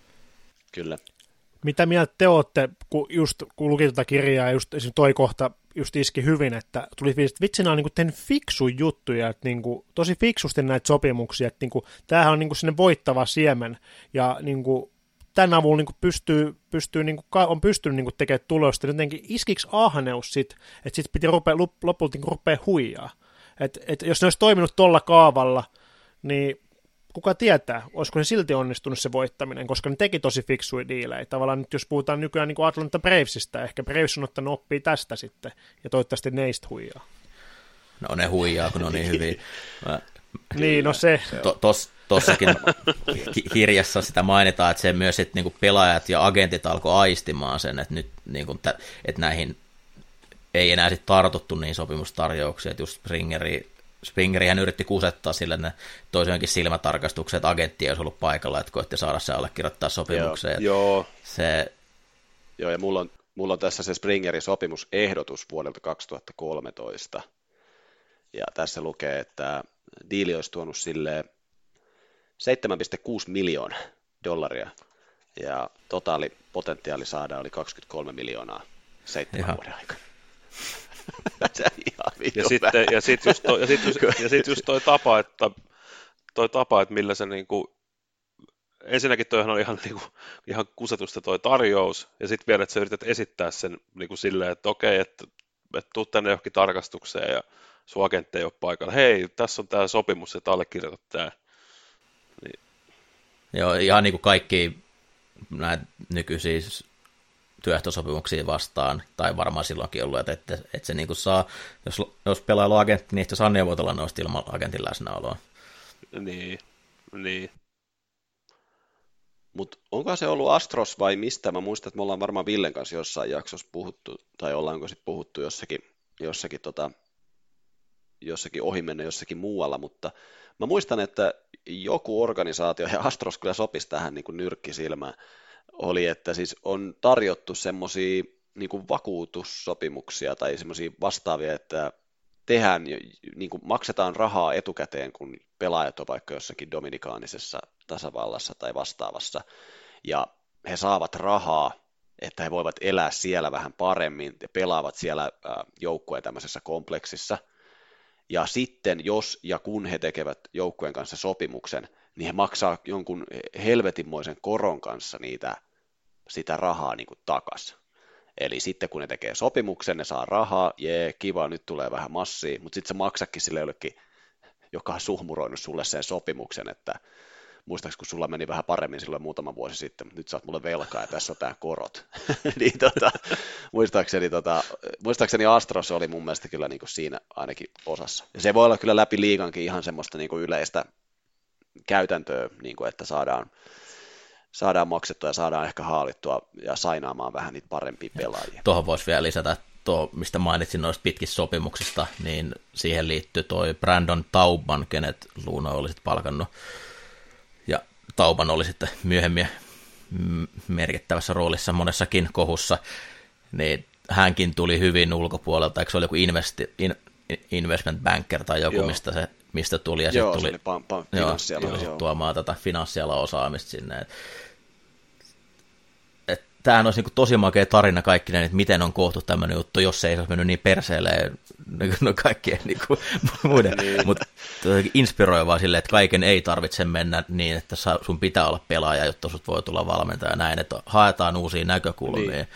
Kyllä. Mitä mieltä te olette, kun luki tuota kirjaa, just esimerkiksi toi kohta just iski hyvin, että tuli fiilis, että vitsi, nämä on niin tehnyt fiksuja juttuja, että niin kuin, tosi fiksusti näitä sopimuksia, että niin kuin, tämähän on niin kuin sinne voittava siemen, ja niin kuin, tämän avulla niin pystyy niin kuin, on pystynyt niin kuin, tekemään tulosta, jotenkin iskiksi ahneus sit, että sitten piti lopulta niin rupea huijaa. Että jos ne olisi toiminut tuolla kaavalla, niin kuka tietää, olisiko ne silti onnistunut se voittaminen, koska ne teki tosi fiksuja diilejä. Tavallaan nyt jos puhutaan nykyään niin kuin Atlanta Bravesista, ehkä Braves on ottanut oppia tästä sitten, ja toivottavasti neistä huijaa. No ne huijaa, kun ne on niin hyviä. Niin, no se. Tossakin kirjassa sitä mainitaan, että se myös, että niinku pelaajat ja agentit alkoi aistimaan sen, että nyt niinku, että näihin ei enää sit tartuttu niin sopimustarjouksia, että just Springerihän yritti kusettaa sille, että ne toisiaankin silmätarkastukset, että agentti ei olisi ollut paikalla, että koitti saada se allekirjoittaa sopimukseen. Joo, ja mulla on tässä se Springerin sopimusehdotus vuodelta 2013, ja tässä lukee, että diili olisi tuonut sille $7.6 miljoonaa, ja totaalipotentiaali saada oli 23 miljoonaa 7 vuoden aikana. Ja sitten just toi tapa, että millä se niinku, ensinnäkin toihan on ihan kusetusta toi tarjous, ja sitten vielä, että sä yrität esittää sen niinku silleen, että okei, että tuu tänne johonkin tarkastukseen, ja sun agentti ei ole paikalla. Hei, tässä on tämä sopimus, että allekirjoitat tämä. Niin. Joo, ihan niin kuin kaikki näitä nykyisiä työehtosopimuksia vastaan, tai varmaan silloinkin ollut, että se niin kuin saa, jos pelailla on agentti, niin sitä saa neuvotella noista ilman agentin läsnäoloa. Niin. Mutta onko se ollut Astros vai mistä? Mä muistan, että me ollaan varmaan Villen kanssa jossain jaksossa puhuttu, tai ollaanko sitten puhuttu jossakin ohimenne jossakin muualla, mutta mä muistan, että joku organisaatio, ja Astros kyllä sopisi tähän niin kuin nyrkkisilmään, oli, että siis on tarjottu semmoisia niin kuin vakuutussopimuksia tai semmoisia vastaavia, että tehdään, niin kuin maksetaan rahaa etukäteen, kun pelaajat on vaikka jossakin Dominikaanisessa tasavallassa tai vastaavassa, ja he saavat rahaa, että he voivat elää siellä vähän paremmin ja pelaavat siellä joukkueen tämmöisessä kompleksissa. Ja sitten, jos ja kun he tekevät joukkueen kanssa sopimuksen, niin he maksaa jonkun helvetinmoisen koron kanssa sitä rahaa niin kuin takaisin. Eli sitten kun ne tekee sopimuksen, ne saa rahaa, kiva, nyt tulee vähän massia, mutta sitten se maksakin sille jollekin, joka on suhmuroinut sulle sen sopimuksen, että muistaakseni kun sulla meni vähän paremmin silloin muutama vuosi sitten, mutta nyt sä oot mulle velkaa ja tässä on tää korot. Niin muistaakseni Astros oli mun mielestä kyllä niin kuin siinä ainakin osassa. Ja se voi olla kyllä läpi liigankin ihan semmoista niin kuin yleistä käytäntöä, niin kuin että saadaan maksettua ja saadaan ehkä haalittua ja sainaamaan vähän niitä parempia pelaajia. Tuohon voisi vielä lisätä, mistä mainitsin noista pitkistä sopimuksista, niin siihen liittyy toi Brandon Taubman, kenet Luuno oli sitten palkannut. Ja Tauban oli sitten myöhemmin merkittävässä roolissa monessakin kohussa, niin hänkin tuli hyvin ulkopuolelta, eikö se oli joku investment banker tai joku, mistä tuli, ja sitten tuli tuomaan tätä finanssialan osaamista sinne. Tämähän olisi niin tosi makea tarina kaikkinen, että miten on koottu tämmöinen juttu, jos se ei olisi mennyt niin perseelleen kaikkien niin muiden, mutta inspiroivaa silleen, että kaiken ei tarvitse mennä niin, että sun pitää olla pelaaja, jotta sut voi tulla valmentaja näin, että haetaan uusia näkökulmia. Niin.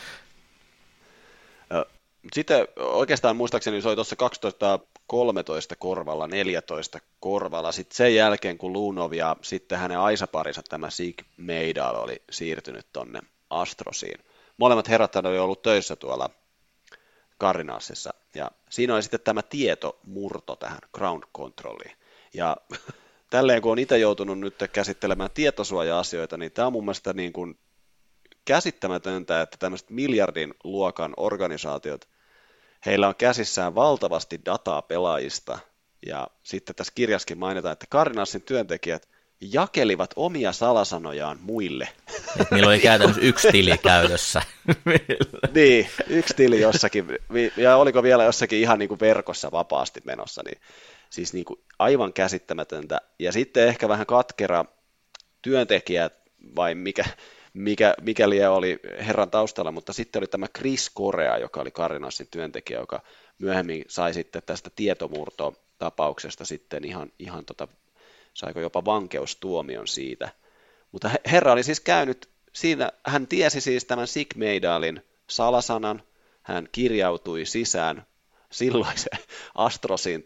Sitten oikeastaan muistaakseni se oli tuossa 2013 korvalla, 14 korvalla, sitten sen jälkeen kun Lunov ja sitten hänen aisaparinsa tämä Sig Mejdal oli siirtynyt tonne Astrosiin. Molemmat herrat oli ollut töissä tuolla Cardinalsissa, ja siinä oli sitten tämä tietomurto tähän ground controliin. Ja tälleen kun on itse joutunut nyt käsittelemään tietosuoja-asioita, niin tämä on mun mielestä niin kuin käsittämätöntä, että tämmöiset miljardin luokan organisaatiot, heillä on käsissään valtavasti dataa pelaajista, ja sitten tässä kirjassakin mainitaan, että Cardinalsin työntekijät jakelivat omia salasanojaan muille. Niillä oli käytännössä yksi tili käytössä. Niin, yksi tili jossakin, ja oliko vielä jossakin ihan niin kuin verkossa vapaasti menossa, niin siis niin kuin aivan käsittämätöntä. Ja sitten ehkä vähän katkera työntekijät, vai mikä oli herran taustalla, mutta sitten oli tämä Chris Correa, joka oli Cardinalsin työntekijä, joka myöhemmin sai sitten tästä tietomurtotapauksesta sitten ihan saiko jopa vankeustuomion siitä. Mutta herra oli siis käynyt siinä, hän tiesi siis tämän Sig Mejdalin salasanan, hän kirjautui sisään silloisen Astrosin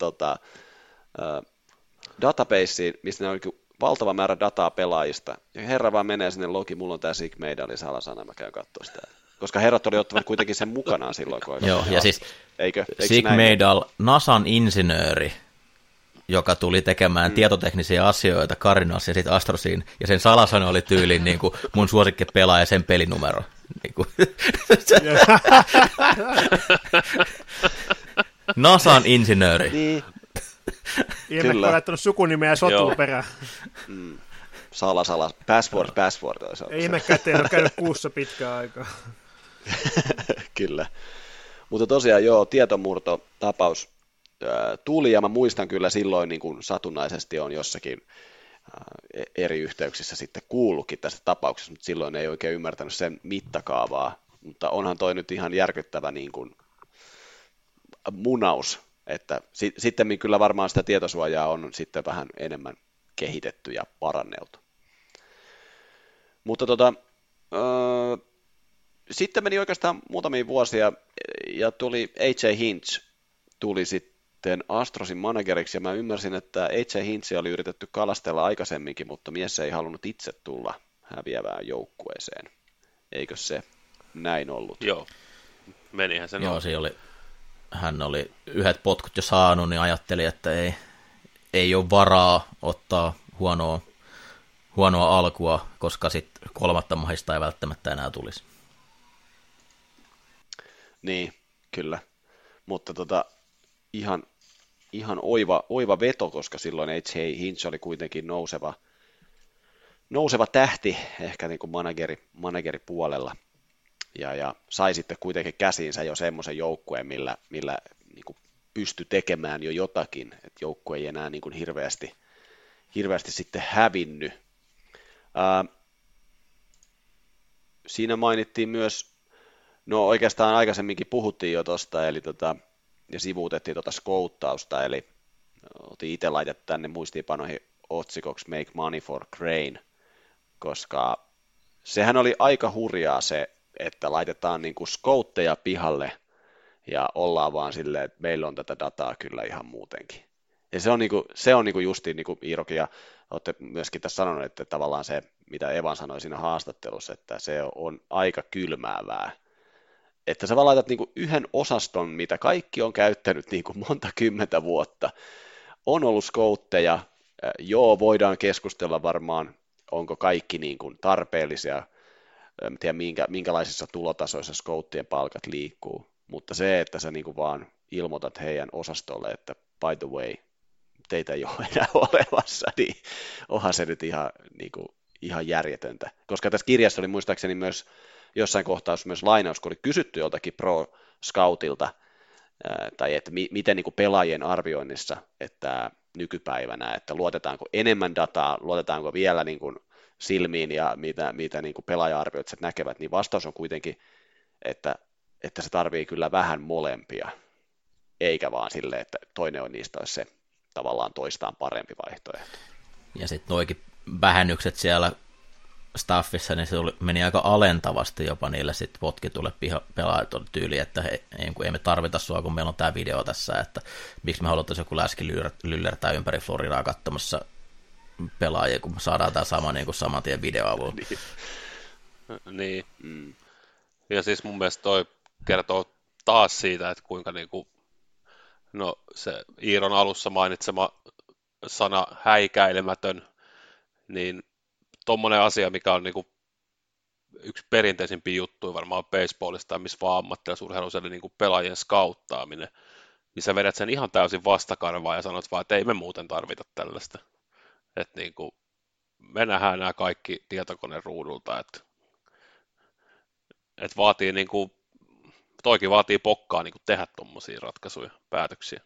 databaseen, missä ne oli valtava määrä dataa pelaajista. Ja herra vaan menee sinne logi, mulla on tämä Sig Mejdalin salasana, mä käyn katsoa sitä. Koska herrat oli ottavat kuitenkin sen mukanaan silloin, kun joo, ja siis eikö Sig Mejdal, NASAn insinööri, joka tuli tekemään tietoteknisiä asioita Cardinalsiin ja sitten Astrosiin, ja sen salasana oli tyyliin niin kuin mun suosikki pelaaja sen pelinumero. Niin kuin. NASAn insinööri. Niin. Ihme, on laittanut sukunimeä ja sotua perään. Sala. Password. Ei ihmekään, ettei ole käynyt kuussa pitkään aikaa. Kyllä. Mutta tosiaan joo, tietomurtotapaus tuli, ja mä muistan kyllä silloin niin kuin satunnaisesti on jossakin eri yhteyksissä sitten kuullutkin tästä tapauksesta, mutta silloin ei oikein ymmärtänyt sen mittakaavaa, mutta onhan toi nyt ihan järkyttävä niin kuin munaus, että sitten kyllä varmaan sitä tietosuojaa on sitten vähän enemmän kehitetty ja paranneltu. Mutta sitten meni oikeastaan muutamia vuosia ja tuli A.J. Hinch, tuli sitten Astrosin manageriksi, ja mä ymmärsin, että A.J. Hinchia oli yritetty kalastella aikaisemminkin, mutta mies ei halunnut itse tulla häviävään joukkueeseen. Eikö se näin ollut? Joo, menihän sen. Joo, hän oli yhdet potkut jo saanut, niin ajatteli, että ei ole varaa ottaa huonoa alkua, koska sitten kolmatta mahista ei välttämättä enää tulisi. Niin, kyllä. Mutta ihan oiva veto, koska silloin H.J. Hinch oli kuitenkin nouseva tähti ehkä niin kuin manageripuolella. Ja sai sitten kuitenkin käsiinsä jo semmoisen joukkueen, millä niin kuin pystyi tekemään jo jotakin, että joukkue ei enää niin kuin hirveästi sitten hävinnyt. Siinä mainittiin myös, no oikeastaan aikaisemminkin puhuttiin jo tuosta, eli ja sivuutettiin skouttausta, eli otin itse laitettu tänne muistiinpanoihin otsikoksi Make Money for Crane, koska sehän oli aika hurjaa se, että laitetaan niin kuin scoutteja pihalle ja ollaan vaan silleen, että meillä on tätä dataa kyllä ihan muutenkin. Ja se on justiin niin kuin Iirokin, ja olette myöskin tässä sanonut, että tavallaan se, mitä Evan sanoi siinä haastattelussa, että se on aika kylmäävää. Että sä vaan laitat niin kuin yhden osaston, mitä kaikki on käyttänyt niin kuin monta kymmentä vuotta. On ollut scoutteja, joo, voidaan keskustella varmaan, onko kaikki niin kuin tarpeellisia, en tiedä minkälaisissa tulotasoissa scouttien palkat liikkuu, mutta se, että sä niin kuin vaan ilmoitat heidän osastolle, että by the way, teitä ei ole enää olemassa, niin onhan se nyt ihan järjetöntä. Koska tässä kirjassa oli muistaakseni myös jossain kohtaa myös lainaus, kun oli kysytty joltakin pro-scoutilta, tai että miten niin kuin pelaajien arvioinnissa, että nykypäivänä, että luotetaanko enemmän dataa, luotetaanko vielä niin kuin silmiin ja mitä niin kuin pelaaja-arvioitsijat näkevät, niin vastaus on kuitenkin, että se tarvii kyllä vähän molempia, eikä vaan silleen, että toinen on niistä olisi se tavallaan toistaan parempi vaihtoehto. Ja sitten noikin vähennykset siellä staffissa, niin se meni aika alentavasti jopa niille sitten potkitulle pelaajat tyyliin, että ei me tarvita sua, kun meillä on tämä video tässä, että miksi me haluttaisiin joku läski lyllertää ympäri Floridaa katsomassa pelaajia, kun saadaan tämä sama niin kuin saman tien videoavulla. Niin. Ja siis mun mielestä toi kertoo taas siitä, että kuinka niinku, no se Iiron alussa mainitsema sana häikäilemätön, niin tommonen asia, mikä on niinku yksi perinteisimpiä juttuja varmaan baseballista, missä vaan ammattilaisurheilussa, eli niinku pelaajien skauttaaminen, niin sä vedät sen ihan täysin vastakarvaan ja sanot vaan, että ei me muuten tarvita tällaista. Että niinku, me nähdään nämä kaikki tietokoneen ruudulta, että vaatii niinku, toikin vaatii pokkaa niinku tehdä tommosia ratkaisuja, päätöksiä.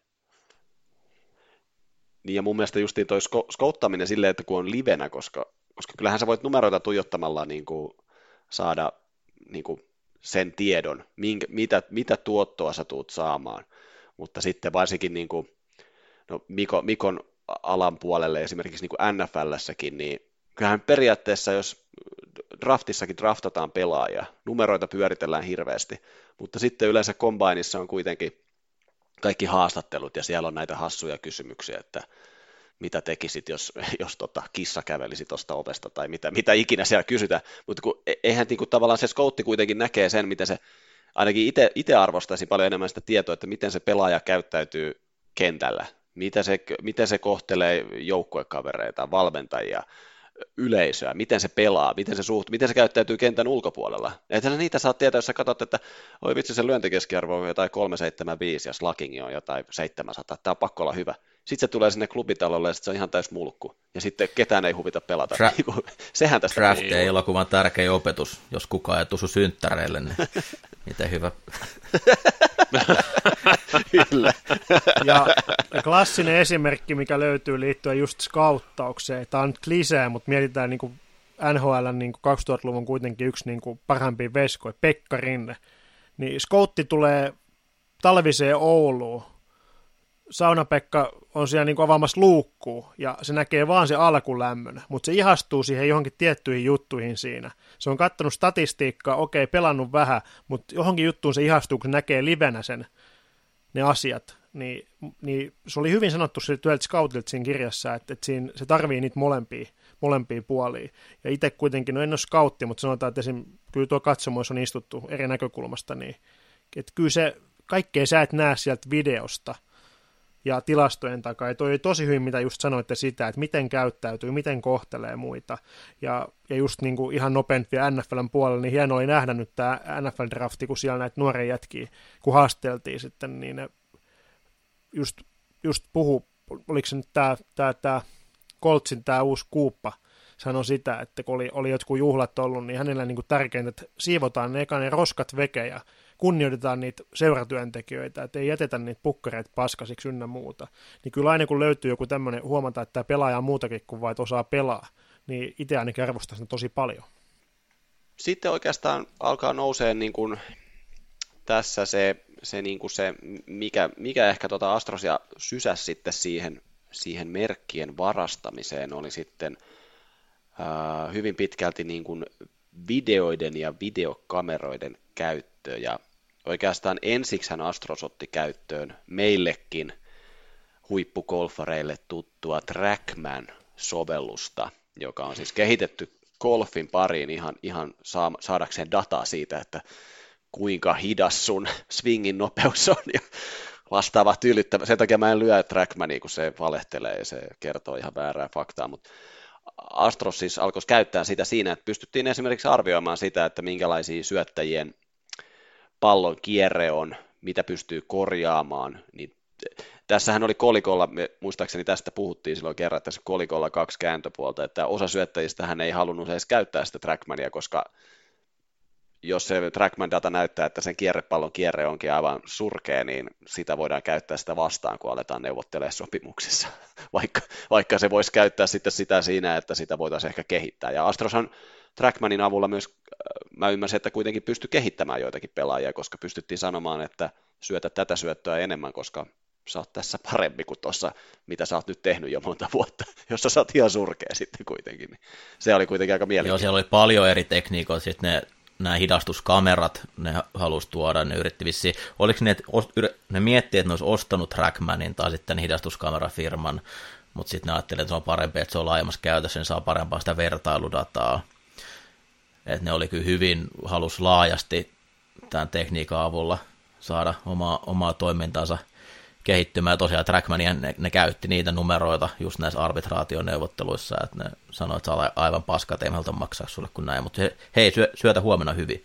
Niin ja mun mielestä justiin toi skouttaminen silleen, että kun on livenä, koska kyllähän sä voit numeroita tuijottamalla niin kuin saada niin kuin sen tiedon, mitä tuottoa sä tuut saamaan. Mutta sitten varsinkin niin kuin, no Mikon alan puolelle esimerkiksi niin kuin NFL:ssäkin, niin kyllähän periaatteessa, jos draftissakin draftataan pelaajia, numeroita pyöritellään hirveästi, mutta sitten yleensä combineissa on kuitenkin kaikki haastattelut ja siellä on näitä hassuja kysymyksiä, että mitä tekisit, jos kissa kävelisi tuosta ovesta tai mitä ikinä siellä kysytään, mutta eihän niin kuin, tavallaan se scoutti kuitenkin näkee sen, miten se, ainakin itse arvostaisin paljon enemmän sitä tietoa, että miten se pelaaja käyttäytyy kentällä, miten se kohtelee joukkuekavereita, valmentajia, yleisöä, miten se pelaa, miten se käyttäytyy kentän ulkopuolella. Ethän niitä saa tietää, jos sä katsot, että oi vitsi, se lyöntikeskiarvo on jotain 375 ja slacking on jotain 700, tämä on pakko olla hyvä. Sitten se tulee sinne klubitalolle ja sitten se on ihan täys mulkku. Ja sitten ketään ei huvita pelata. Sehän tästä Draft-elokuvan tärkein opetus, jos kukaan ei tusu synttäreille, niin miten hyvä. Kyllä. Ja klassinen esimerkki, mikä löytyy liittyen just skauttaukseen. Tämä on nyt klisee, mutta mietitään niin kuin NHL:n niin kuin 2000-luvun kuitenkin yksi niin kuin parhaimpia veskoja, Pekka Rinne. Niin skoutti tulee talviseen Ouluun. Sauna-Pekka on siellä niin kuin avaamassa luukkuu, ja se näkee vaan se alkulämmön, mutta se ihastuu siihen johonkin tiettyihin juttuihin siinä. Se on katsonut statistiikkaa, okei, pelannut vähän, mutta johonkin juttuun se ihastuu, kun se näkee livenä ne asiat. Niin se oli hyvin sanottu yhdeltä scoutilta siinä kirjassa, että siinä, se tarvii niitä molempia puolia. Ja itse kuitenkin, no en ole scoutti, mutta sanotaan, että kyllä tuo katsomoissa on istuttu eri näkökulmasta, niin että kyllä se kaikkea sä et näe sieltä videosta ja tilastojen takaa. Ja toi oli tosi hyvin, mitä just sanoitte sitä, että miten käyttäytyy, miten kohtelee muita. Ja just niin kuin ihan nopeampi vielä NFLn puolella, niin hieno oli nähdä nyt tämä NFL-drafti, kun siellä näitä nuoria jätkiä, kun haasteltiin sitten, niin ne just puhu, oliko se nyt tämä Coltsin tämä uusi kuuppa, sanoi sitä, että kun oli jotkut juhlat ollut, niin hänellä niin kuin tärkeintä, että siivotaan ne roskat veke ja kunnioitetaan niitä seuratyöntekijöitä, että ei jätetä niitä pukkareita paskasiksi ynnä muuta. Niin kyllä aina kun löytyy joku tämmöinen, huomata, että tämä pelaaja on muutakin kuin vain, että osaa pelaa, niin itse ainakin arvostaa sitä tosi paljon. Sitten oikeastaan alkaa nousee niin kuin tässä se, niin kuin se mikä ehkä Astrosia sysäsi sitten siihen merkkien varastamiseen, oli sitten hyvin pitkälti niin kuin videoiden ja videokameroiden käyttö, ja oikeastaan ensiksihän Astros otti käyttöön meillekin huippugolfareille tuttua Trackman-sovellusta, joka on siis kehitetty golfin pariin ihan saadakseen dataa siitä, että kuinka hidas sun swingin nopeus on ja vastaava tyydyttävä. Sen takia mä en lyö Trackmania, kun se valehtelee ja se kertoo ihan väärää faktaa, mutta Astros siis alkoi käyttää sitä siinä, että pystyttiin esimerkiksi arvioimaan sitä, että minkälaisia syöttäjien pallon kierre on, mitä pystyy korjaamaan. Niin tässähän oli kolikolla, muistaakseni tästä puhuttiin silloin kerran, että tässä kolikolla 2 kääntöpuolta, että osa syöttäjistä hän ei halunnut edes käyttää sitä Trackmania, koska jos se Trackman-data näyttää, että sen kierrepallon kierre onkin aivan surkea, niin sitä voidaan käyttää sitä vastaan, kun aletaan neuvottelemaan sopimuksissa, vaikka se voisi käyttää sitten sitä siinä, että sitä voitaisiin ehkä kehittää. Ja Astroshan Trackmanin avulla myös, mä ymmärsin, että kuitenkin pystyi kehittämään joitakin pelaajia, koska pystyttiin sanomaan, että syötä tätä syöttöä enemmän, koska sä oot tässä parempi kuin tuossa, mitä sä oot nyt tehnyt jo monta vuotta, jossa sä oot ihan surkea sitten kuitenkin. Niin se oli kuitenkin aika mielenkiintoista. Joo, siellä oli paljon eri tekniikoita, sitten nämä hidastuskamerat, ne halusi tuoda, ne yritti vissiin, oliko ne miettii, että ne olisi ostanut Trackmanin tai sitten hidastuskamerafirman, mutta sitten ne ajattelivat, että se on parempi, että se on laajemmassa käytössä, niin saa parempaa sitä vertailudataa. Että ne oli kyllä halusi laajasti tämän tekniikan avulla saada omaa toimintaansa kehittymään. Ja tosiaan Trackmania ne käytti niitä numeroita just näissä arbitraationeuvotteluissa, että ne sanoi, että saa aivan paskaa, että ei me haluta maksaa sulle kuin näin, mutta hei, syötä huomenna hyvin.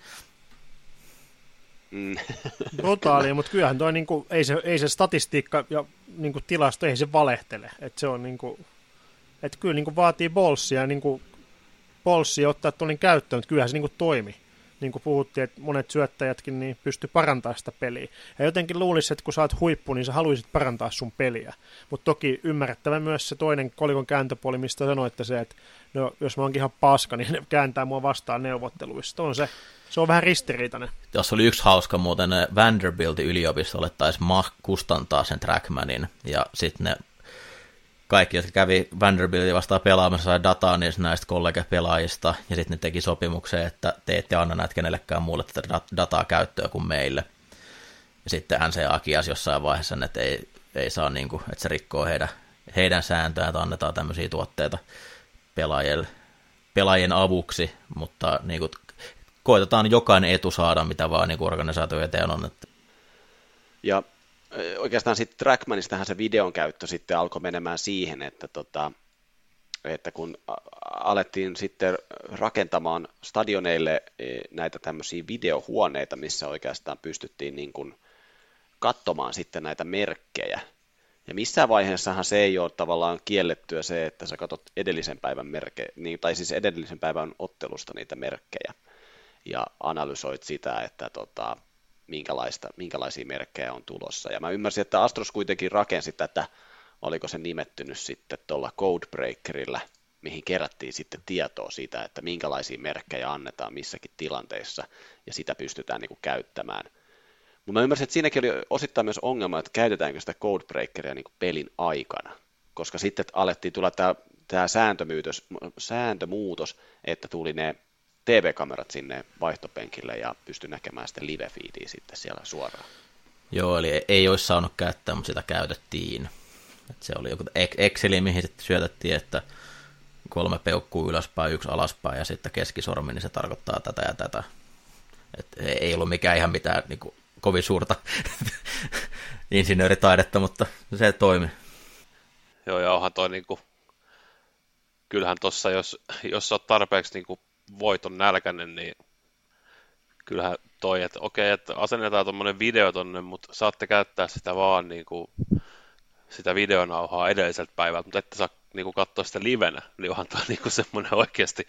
Brutaalia, mutta kyllähän toi niinku, ei se statistiikka ja niinku tilasto, ei se valehtele, että se on niinku, kyllä niinku vaatii bolssia ottaa tuollainen käyttöön, mutta kyllähän se niinku toimi. niin kuin puhuttiin, että monet syöttäjätkin niin pystyy parantamaan sitä peliä. Ja jotenkin luulisi, että kun sä oot huippu, niin sä haluaisit parantaa sun peliä. Mutta toki ymmärrettävä myös se toinen kolikon kääntöpuoli, mistä sanoitte se, että no, jos mä oonkin ihan paska, niin ne kääntää mua vastaan neuvotteluissa. Se on vähän ristiriitainen. Tuossa oli yksi hauska muuten, Vanderbiltin yliopistolle taisi kustantaa sen Trackmanin, ja sitten ne kaikki, jotka kävi Vanderbiltin vastaan pelaamassa, sai dataa näistä kollegapelaajista, ja sitten ne teki sopimuksen, että te ette anna näitä kenellekään muulle tätä dataa käyttöä kuin meille. Ja sitten NCAA kiasi jossain vaiheessa, että ei saa, niin kuin, että se rikkoo heidän sääntöään, että annetaan tämmöisiä tuotteita pelaajien avuksi, mutta niin kuin, koitetaan jokainen etu saada, mitä vaan niin organisaatio eteen on. Ja oikeastaan sitten Trackmanistähän se videon käyttö sitten alkoi menemään siihen, että kun alettiin sitten rakentamaan stadioneille näitä tämmöisiä videohuoneita, missä oikeastaan pystyttiin niin kuin katsomaan sitten näitä merkkejä. Ja missään vaiheessahan se ei ole tavallaan kiellettyä se, että sä katsot edellisen päivän tai siis edellisen päivän ottelusta niitä merkkejä ja analysoit sitä, että minkälaisia merkkejä on tulossa. Ja mä ymmärsin, että Astros kuitenkin rakensi tätä, oliko se nimettynyt sitten tuolla Codebreakerilla, mihin kerättiin sitten tietoa siitä, että minkälaisia merkkejä annetaan missäkin tilanteissa, ja sitä pystytään niin kuin käyttämään. Mutta mä ymmärsin, että siinäkin oli osittain myös ongelma, että käytetäänkö sitä Codebreakeria niin kuin pelin aikana, koska sitten alettiin tulla tämä sääntömuutos, että tuli ne TV-kamerat sinne vaihtopenkille ja pystyi näkemään sitten live-feediä sitten siellä suoraan. Joo, eli ei olisi saanut käyttää, mutta sitä käytettiin. Että se oli joku Exceli, mihin sitten syötettiin, että 3 peukkuu ylöspäin, 1 alaspäin ja sitten keskisormi, niin se tarkoittaa tätä ja tätä. Et ei ollut mikään ihan mitään niin kuin, kovin suurta insinööritaidetta, mutta se toimi. Joo, ja onhan toi niinku, kyllähän tossa, jos oot tarpeeksi niinku voiton nälkäinen, niin kyllähän toi, että okei, että asennetaan tuommoinen video tonne, mutta saatte käyttää sitä vaan niinku, sitä videonauhaa edelliseltä päivältä, mutta ette saa niinku katsoa sitä livenä, niin onhan toi niinku semmoinen oikeasti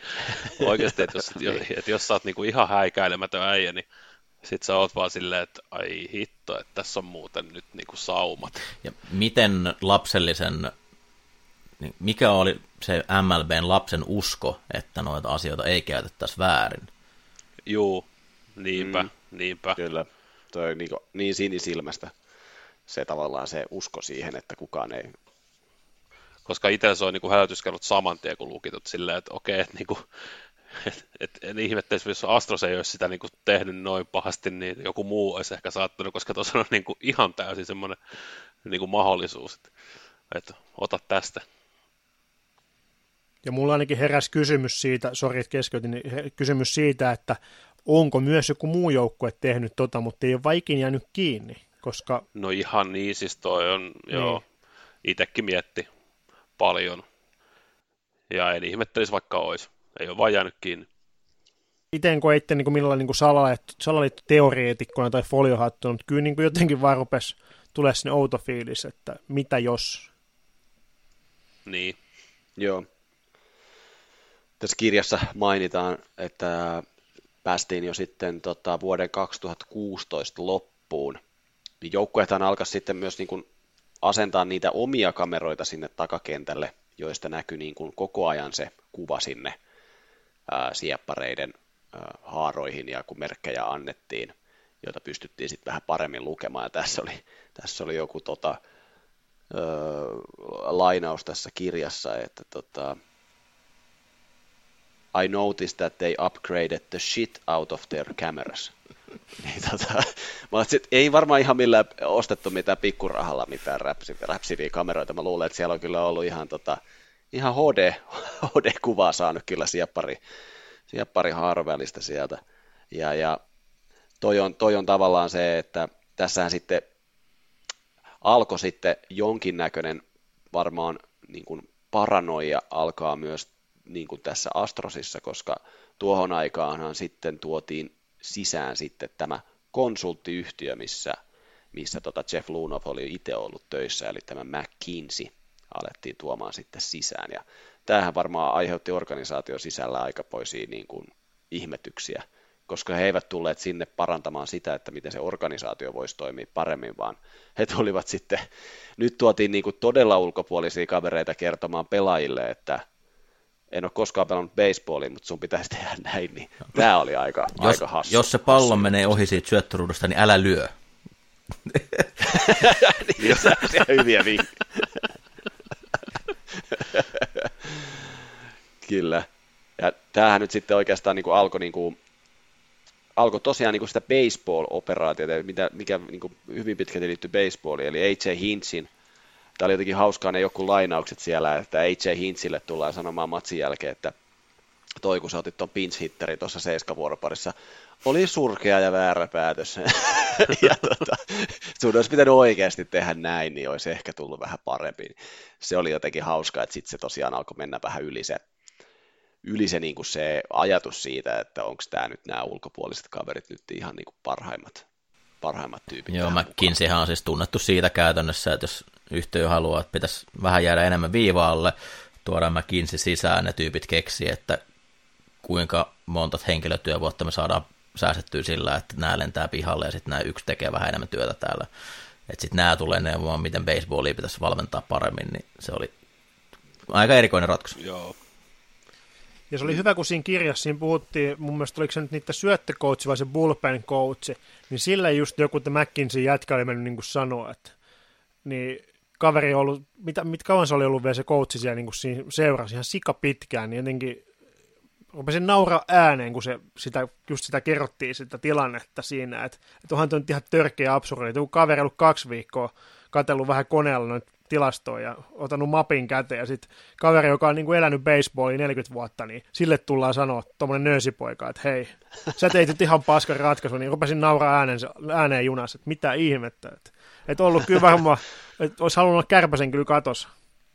että jos sä oot niinku ihan häikäilemätön äijä, niin sit sä oot vaan silleen, että ai hitto, että tässä on muuten nyt niinku saumat. Ja miten lapsellisen, mikä oli se MLBn lapsen usko, että noita asioita ei käytettäisi väärin? Juu, niinpä. Kyllä, toi on niin sinisilmästä se tavallaan se usko siihen, että kukaan ei. Koska itsellä se on niinku hälytyskellot saman tien, kun lukitut silleen, että okei, että niinku, en ihmettelisi, jos Astros ei olisi sitä niinku tehnyt noin pahasti, niin joku muu olisi ehkä saattanut, koska tuossa on niinku ihan täysin semmoinen niinku mahdollisuus, että ota tästä. Ja mulla ainakin heräsi kysymys siitä, sori että keskeytin, niin kysymys siitä, että onko myös joku muu joukkue tehnyt mutta ei ole vaan ikinä jäänyt kiinni, koska. No ihan niin, siis toi on, joo, itsekin mietti paljon, ja en ihmettelisi vaikka olisi, ei ole vaan jäänyt kiinni. Itse koitte niin millään niin salaliittoteoreetikkona tai foliohattuna, mutta kyllä niin jotenkin vaan rupesi tulemaan sinne outo fiilis, että mitä jos. Niin. Joo. Tässä kirjassa mainitaan, että päästiin jo sitten vuoden 2016 loppuun, niin joukkueethan alkaisi sitten myös niin kuin asentaa niitä omia kameroita sinne takakentälle, joista näkyi niin kuin koko ajan se kuva sinne sieppareiden haaroihin, ja kun merkkejä annettiin, joita pystyttiin sitten vähän paremmin lukemaan, ja tässä oli joku lainaus tässä kirjassa, että I noticed that they upgraded the shit out of their cameras. Niin, mä ajattelin, että ei varmaan ihan millään ostettu mitään pikkurahalla mitään räpsiviä kameroita. Mä luulen, että siellä on kyllä ollut ihan HD-kuvaa saanut kyllä sieppari haarovälistä sieltä. Ja toi on tavallaan se, että tässähän sitten alkoi sitten jonkinnäköinen varmaan niin kuin paranoia alkaa myös niin kuin tässä Astrosissa, koska tuohon aikaanhan sitten tuotiin sisään sitten tämä konsulttiyhtiö, missä Jeff Luhnow oli itse ollut töissä, eli tämä McKinsey alettiin tuomaan sitten sisään, ja tämähän varmaan aiheutti organisaation sisällä aikamoisia niin kuin ihmetyksiä, koska he eivät tulleet sinne parantamaan sitä, että miten se organisaatio voisi toimia paremmin, vaan he tulivat sitten, nyt tuotiin niin kuin todella ulkopuolisia kavereita kertomaan pelaajille, että en ole koskaan pelannut baseballia, mutta sun pitäisi tehdä näin, niin tämä oli aika hassu. Jos se pallo menee ohi siitä syöttöruudusta, niin älä lyö. Niin, se on hyviä vinkkejä. Kyllä. Ja tämähän nyt sitten oikeastaan niin kuin alkoi tosiaan niin kuin sitä baseball-operaatiota, mikä niin kuin hyvin pitkälti liittyy baseballiin, eli A.J. Hinchin. Tämä oli jotenkin hauskaa ne joku lainaukset siellä, että A.J. Hinchille tullaan sanomaan matsin jälkeen, että toi kun sä otit ton pinch-hitteri tuossa 7-vuoroparissa, oli surkea ja väärä päätös. Ja sun olisi pitänyt oikeasti tehdä näin, niin olisi ehkä tullut vähän parempi. Se oli jotenkin hauskaa, että sitten se tosiaan alkoi mennä vähän yli se, niin kuin se ajatus siitä, että onko tämä nyt nämä ulkopuoliset kaverit nyt ihan niin kuin parhaimmat tyypit. Joo, McKinseyhän on siis tunnettu siitä käytännössä, että jos yhtiö haluaa, että pitäisi vähän jäädä enemmän viivaalle, tuodaan McKinsey sisään, ne tyypit keksii, että kuinka monta henkilötyövuotta me saadaan säästettyä sillä, että nämä lentää pihalle ja sitten nämä yksi tekee vähän enemmän työtä täällä. Että sitten nämä tulee neuvomaan, miten baseballia pitäisi valmentaa paremmin, niin se oli aika erikoinen ratkaisu. Joo. Ja se oli hyvä, kun siinä kirjassa siinä puhuttiin, mun mielestä oliko se nyt niitä syöttökoutsi vai se bullpen coachi, niin sillä just joku McKinsey jätkä oli mennyt niin kuin sanoa, että niin kaveri on ollut, mitä kauan se oli ollut vielä se coachi siellä niin kuin siinä seurasi ihan sika pitkään, niin jotenkin rupesin nauraa ääneen, kun just sitä kerrottiin, sitä tilannetta siinä, että onhan tuo nyt ihan törkeä absurdi. Joku kaveri ollut 2 viikkoa katsellut vähän koneella noita tilastoja ja ottanut mapin käteen, ja sitten kaveri, joka on niin kuin elänyt baseballia 40 vuotta, niin sille tullaan sanoa tuommoinen nöösipoika, että hei, sä teit nyt ihan paskan ratkaisu, niin rupesin nauraa ääneen junassa, että mitä ihmettä, että ollut kyllä varmaan, että olisi halunnut olla Kärpäsen kyllä katossa.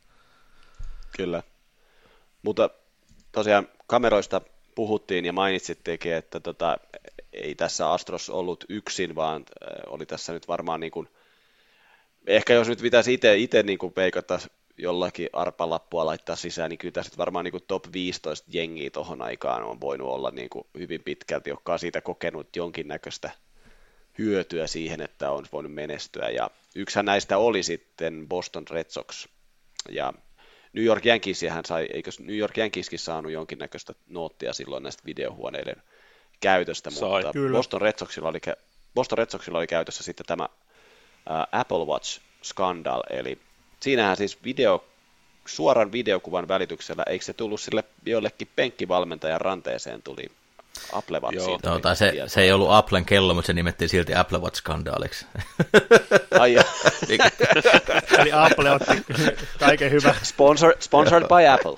Kyllä, mutta tosiaan kameroista puhuttiin ja mainitsittekin, että ei tässä Astros ollut yksin, vaan oli tässä nyt varmaan niin kuin, ehkä jos nyt pitäisi itse niin kuin peikata jollakin arpalappua laittaa sisään, niin kyllä tässä varmaan niin kuin top 15 jengiä tuohon aikaan on voinut olla niin kuin hyvin pitkälti, joka on siitä kokenut jonkinnäköistä hyötyä siihen, että on voinut menestyä. Ja yksihän näistä oli sitten Boston Red Sox, ja New York Yankeesihän sai, eikö New York Yankeeskin saanut jonkinnäköistä noottia silloin näistä videohuoneiden käytöstä, mutta Boston Red Soxilla oli käytössä sitten tämä Apple Watch Scandal, eli siinähän siis suoran videokuvan välityksellä, eikö se tullut sille jollekin penkkivalmentajan ranteeseen tuli Apple Watch. Joo, tai se ei ollut Applen kello, mutta se nimettiin silti Apple Watch-skandaaliksi. Ai eli Apple otti kaiken hyvä. Sponsored by Apple.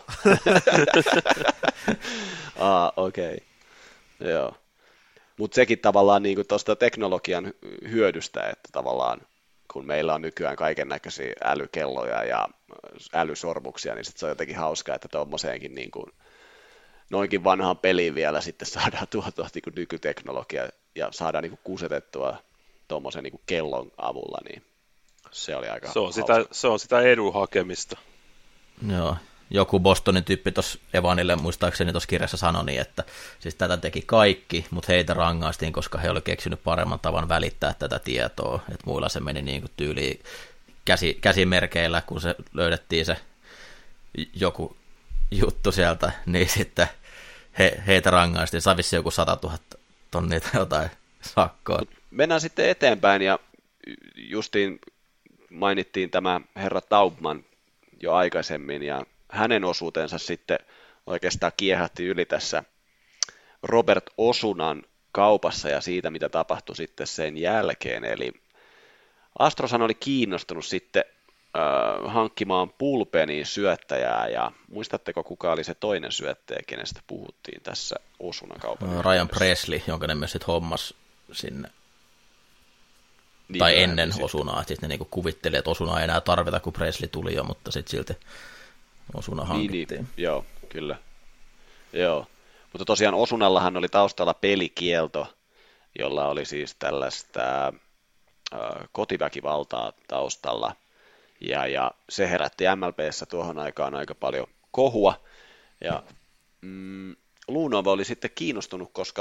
Okei. Joo. Mutta sekin tavallaan niin tuosta teknologian hyödystä, että tavallaan kun meillä on nykyään kaiken näköisiä älykelloja ja älysormuksia, niin sit se on jotenkin hauskaa, että tuommoiseenkin niin kuin noinkin vanhaan peliin vielä sitten saadaan tuotua niin nykyteknologia ja saadaan niin kusetettua tuommoisen niin kellon avulla, niin se oli aika se on sitä edun hakemista. Joo. Joku Bostonin tyyppi tuossa Evanille muistaakseni tuossa kirjassa sanoi niin, että siis tätä teki kaikki, mutta heitä rangaistiin, koska he olivat keksinyt paremman tavan välittää tätä tietoa, että muilla se meni niin kuin tyyliin käsimerkeillä, kun se löydettiin se joku juttu sieltä, niin sitten heitä rangaistiin, sai vissiin joku 100 000 tonnia tai jotain sakkoa. Mennään sitten eteenpäin, ja justiin mainittiin tämä herra Taubman jo aikaisemmin, ja hänen osuutensa sitten oikeastaan kiehätti yli tässä Robert Osunan kaupassa ja siitä, mitä tapahtui sitten sen jälkeen. Eli Astroshan oli kiinnostunut sitten hankkimaan bullpeniin syöttäjää, ja muistatteko, kuka oli se toinen syöttäjä, kenestä puhuttiin tässä Osunan kaupan Ryan Presley, jonka ne myös sitten hommas sinne. Niin, tai ennen Osunaa, että sitten ne niinku kuvitteli, että Osunaa ei enää tarvita, kun Presley tuli jo, mutta sitten silti Osuna hankittiin. Niin, joo, kyllä. Joo. Mutta tosiaan Osunallahan oli taustalla pelikielto, jolla oli siis tällaista kotiväkivaltaa taustalla, ja se herätti MLB:ssä tuohon aikaan aika paljon kohua, ja Luunova oli sitten kiinnostunut, koska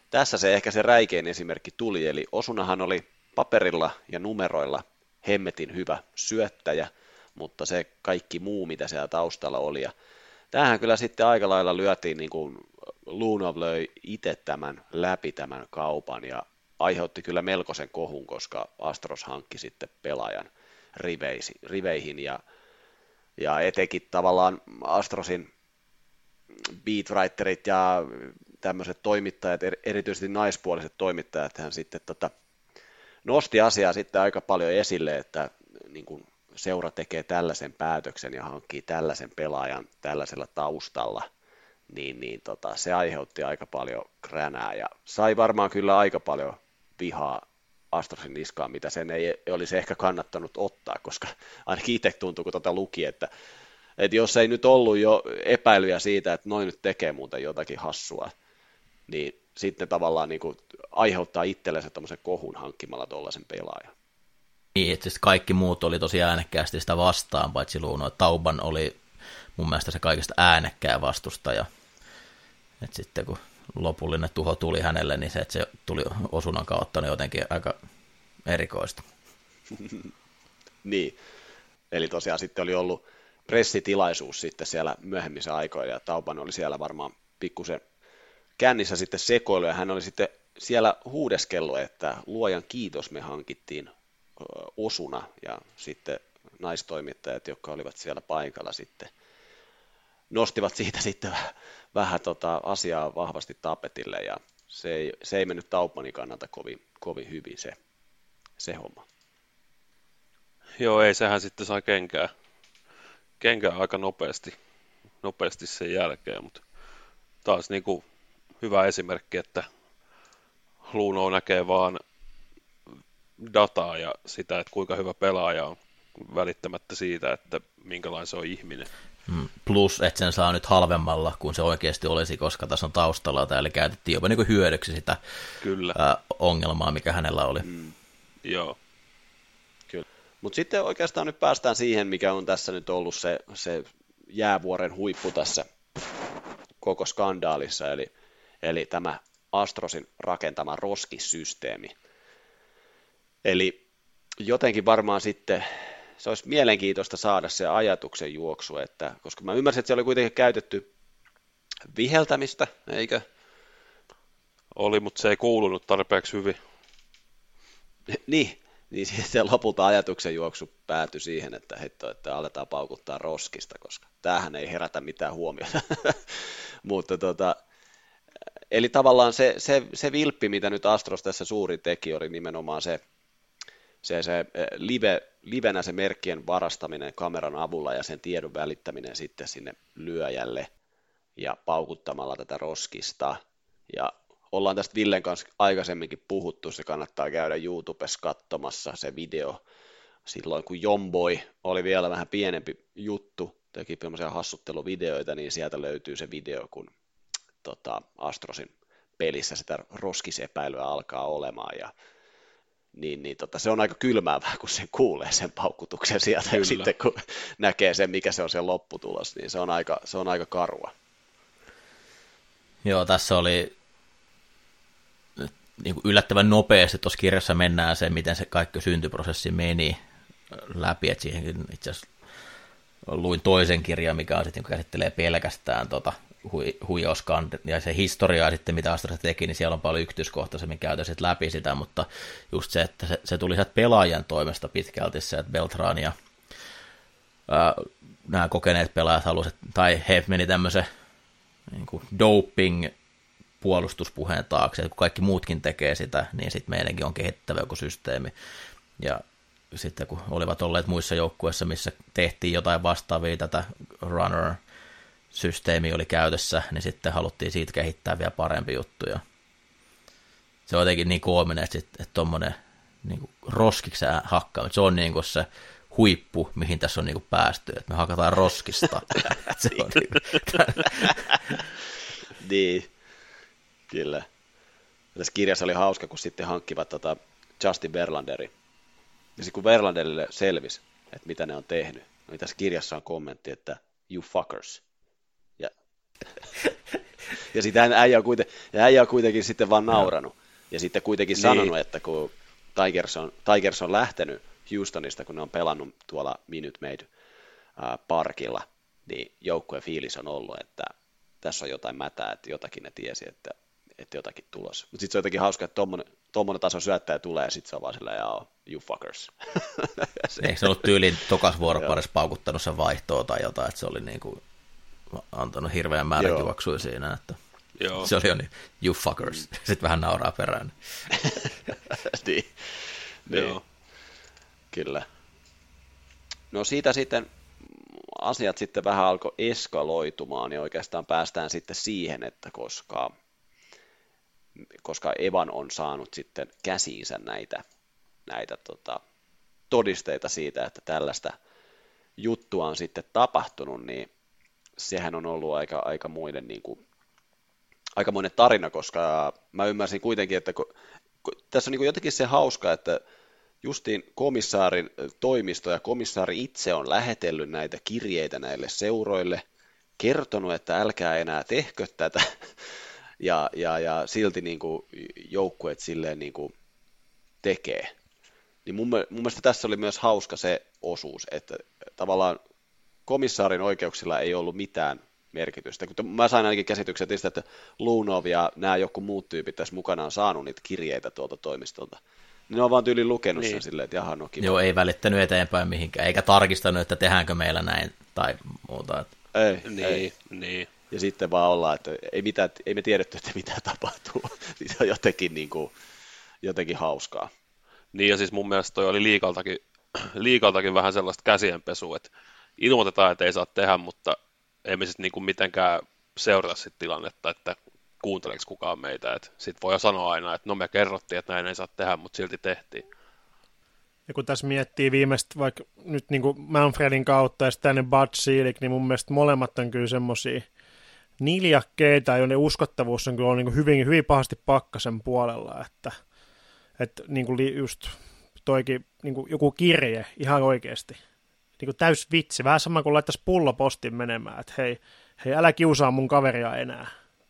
tässä se ehkä se räikein esimerkki tuli, eli Osunahan oli paperilla ja numeroilla hemmetin hyvä syöttäjä, mutta se kaikki muu, mitä siellä taustalla oli. Ja tämähän kyllä sitten aika lailla lyötiin, niin kuin Luhnov löi itse läpi tämän kaupan ja aiheutti kyllä melkoisen kohun, koska Astros hankki sitten pelaajan riveihin ja etenkin tavallaan Astrosin beatwriterit ja tämmöiset toimittajat, erityisesti naispuoliset toimittajat, hän sitten nosti asiaa sitten aika paljon esille, että niin kuin seura tekee tällaisen päätöksen ja hankkii tällaisen pelaajan tällaisella taustalla, niin se aiheutti aika paljon kränää ja sai varmaan kyllä aika paljon vihaa Astrosin niskaan, mitä sen ei olisi ehkä kannattanut ottaa, koska ainakin itse tuntui, kun luki, että jos ei nyt ollut jo epäilyjä siitä, että noin nyt tekee muuten jotakin hassua, niin sitten tavallaan niin kuin aiheuttaa itsellensä tämmöisen kohun hankkimalla tuollaisen pelaajan. Niin, että kaikki muut oli tosi äänekkäästi sitä vastaan, paitsi Luuno. Tauban oli mun mielestä se kaikista äänekkää vastustaja. Että sitten kun lopullinen tuho tuli hänelle, niin se, että se tuli Osunan kautta, niin jotenkin aika erikoista. Niin, eli tosiaan sitten oli ollut pressitilaisuus sitten siellä myöhemmissä aikoina, ja Tauban oli siellä varmaan pikkusen kännissä sitten sekoilu, ja hän oli sitten siellä huudeskellut, että luojan kiitos, me hankittiin Osuna, ja sitten naistoimittajat, jotka olivat siellä paikalla sitten, nostivat siitä sitten vähän asiaa vahvasti tapetille, ja se ei mennyt Taubanin kannalta kovin hyvin se homma. Joo, ei sehän sitten sai kenkää aika nopeasti sen jälkeen, mutta taas niin kuin hyvä esimerkki, että Luno näkee vaan dataa ja sitä, että kuinka hyvä pelaaja on välittämättä siitä, että minkälainen se on ihminen. Plus, että sen saa nyt halvemmalla kuin se oikeasti olisi, koska tässä on taustalla, eli käytettiin jopa niin kuin hyödyksi sitä ongelmaa, mikä hänellä oli. Joo. Kyllä. Mutta sitten oikeastaan nyt päästään siihen, mikä on tässä nyt ollut se jäävuoren huippu tässä koko skandaalissa, eli tämä Astrosin rakentama roskisysteemi. Eli jotenkin varmaan sitten se olisi mielenkiintoista saada se ajatuksen juoksu, että, koska mä ymmärsin, että se oli kuitenkin käytetty viheltämistä, eikö? Oli, mutta se ei kuulunut tarpeeksi hyvin. Niin sitten lopulta ajatuksen juoksu päätyi siihen, että aletaan paukuttaa roskista, koska tämähän ei herätä mitään huomiota. Mutta eli tavallaan se vilppi, mitä nyt Astros tässä suuri teki, oli nimenomaan se livenä se merkkien varastaminen kameran avulla ja sen tiedon välittäminen sitten sinne lyöjälle ja paukuttamalla tätä roskista. Ja ollaan tästä Villen kanssa aikaisemminkin puhuttu, se kannattaa käydä YouTubessa katsomassa se video. Silloin kun Jomboy oli vielä vähän pienempi juttu, teki tämmöisiä hassutteluvideoita, niin sieltä löytyy se video, kun Astrosin pelissä sitä roskisepäilyä alkaa olemaan ja se on aika kylmäävää, kun sen kuulee sen paukutuksen sieltä, ja sitten kun näkee sen, mikä se on se lopputulos, niin se on aika karua. Joo, tässä oli niin kuin yllättävän nopeasti tuossa kirjassa mennään se, miten se kaikki syntyprosessi meni läpi, että siihenkin itse asiassa luin toisen kirjan, mikä on sitten, niin käsittelee pelkästään huijauskan ja se historiaa sitten, mitä Astros teki, niin siellä on paljon yksityiskohtaisemmin käytössä läpi sitä, mutta just se, että se tuli sieltä pelaajan toimesta pitkälti se, että Beltran ja nämä kokeneet pelaajat halusivat, tai he meni tämmöisen niin kuin doping puolustuspuheen taakse, että kun kaikki muutkin tekee sitä, niin sitten meidänkin on kehittävä joku systeemi. Ja sitten kun olivat olleet muissa joukkueissa, missä tehtiin jotain vastaavia, tätä runner-systeemi oli käytössä, niin sitten haluttiin siitä kehittää vielä parempi juttu. Ja se on jotenkin niin koominen, että tuommoinen niin roskiksi hakkaa, se on niin kuin se huippu, mihin tässä on niin kuin päästy, että me hakataan roskista. Se on niin, kyllä. Tässä kirjassa oli hauska, kun sitten hankkivat Justin Verlanderin. Ja sitten kun Verlanderille selvisi, että mitä ne on tehnyt, niin tässä kirjassa on kommentti, että you fuckers. Ja Ja sitten äijä on kuitenkin sitten vaan nauranut. Ja sitten kuitenkin sanonut, että kun Tigers on lähtenyt Houstonista, kun ne on pelannut tuolla Minute Maid parkilla, niin joukkueen fiilis on ollut, että tässä on jotain mätää, että jotakin ne tiesi, että jotakin tulossa. Mutta sitten se on jotenkin hauska, että tommonen taso syöttäjä tulee, ja sitten se on vaan silleen, you fuckers. Eikö se ollut tyyliin tokas vuoroparissa paukuttanut sen vaihtoa tai jotain, että se oli niinku antanut hirveän määrän juoksuja siinä, että Joo. se oli jo niin, you fuckers. Sitten vähän nauraa perään. niin. Joo. Kyllä. No siitä sitten asiat sitten vähän alkoi eskaloitumaan, ja oikeastaan päästään sitten siihen, että koska Evan on saanut sitten käsiinsä näitä todisteita siitä, että tällaista juttua on sitten tapahtunut, niin sehän on ollut aikamoinen tarina, koska mä ymmärsin kuitenkin, että tässä on niin kuin jotenkin se hauska, että justiin komissaarin toimisto ja komissaari itse on lähetellyt näitä kirjeitä näille seuroille, kertonut, että älkää enää tehkö tätä, ja silti niin kuin joukkueet silleen niin kuin tekee. Niin mun mielestä tässä oli myös hauska se osuus, että tavallaan komissaarin oikeuksilla ei ollut mitään merkitystä. Kun mä sain ainakin käsityksen että Lunov ja nämä joku muut tyypit tässä mukanaan saanut niitä kirjeitä tuolta toimistolta. Ne on vaan tyyliin lukenut sen silleen, että jaha, no kiva. Joo, ei välittänyt eteenpäin mihinkään, eikä tarkistanut, että tehdäänkö meillä näin tai muuta. Ei. Ja sitten vaan ollaan, että ei me tiedetty, että mitä tapahtuu. Se on jotenkin hauskaa. Niin, ja siis mun mielestä toi oli liikaltakin vähän sellaista käsienpesua, että ilmoitetaan, että ei saa tehdä, mutta ei me sitten niinku mitenkään seurata sit tilannetta, että kuunteleeko kukaan meitä. Sitten voi jo sanoa aina, että no me kerrottiin, että näin ei saa tehdä, mutta silti tehtiin. Ja kun tässä miettii viimeistä, vaikka nyt niin kuin Manfredin kautta ja sitten Bud Selig, niin mun mielestä molemmat on kyllä semmoisia niljakkeita, joiden uskottavuus on kyllä niin kuin hyvin, hyvin pahasti pakkasen puolella, että niin kuin just toikin niin kuin joku kirje ihan oikeasti. Niin kuin täys vitsi, vähän sama kuin laittaisi pullopostin menemään, että hei älä kiusaa mun kaveria enää.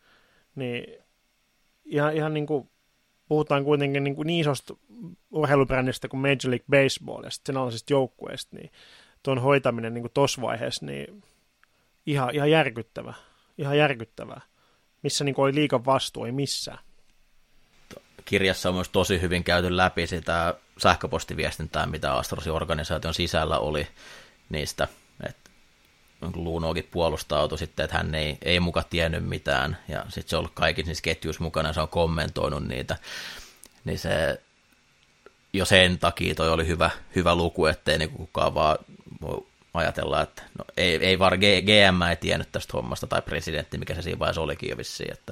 Niin ihan niin kuin puhutaan kuitenkin niin isosta urheilubrändistä kuin Major League Baseball ja sitten sen alaisista joukkueista, niin tuon hoitaminen niin tuossa vaiheessa, niin ihan järkyttävä. Ihan järkyttävää. Missä niin oli liigan vastuu, ei missään. Kirjassa on myös tosi hyvin käyty läpi sitä sähköpostiviestintää, mitä Astrosin organisaation sisällä oli niistä, että Lunokin puolustautui sitten, että hän ei muka tiennyt mitään, ja sitten se on ollut kaikissa niissä ketjuissa mukana, ja se on kommentoinut niitä, niin se jo sen takia toi oli hyvä luku, ettei niin kukaan vaan voi ajatella, että no, ei vaan GM ei tiennyt tästä hommasta, tai presidentti, mikä se siinä vaiheessa olikin jo vissiin, että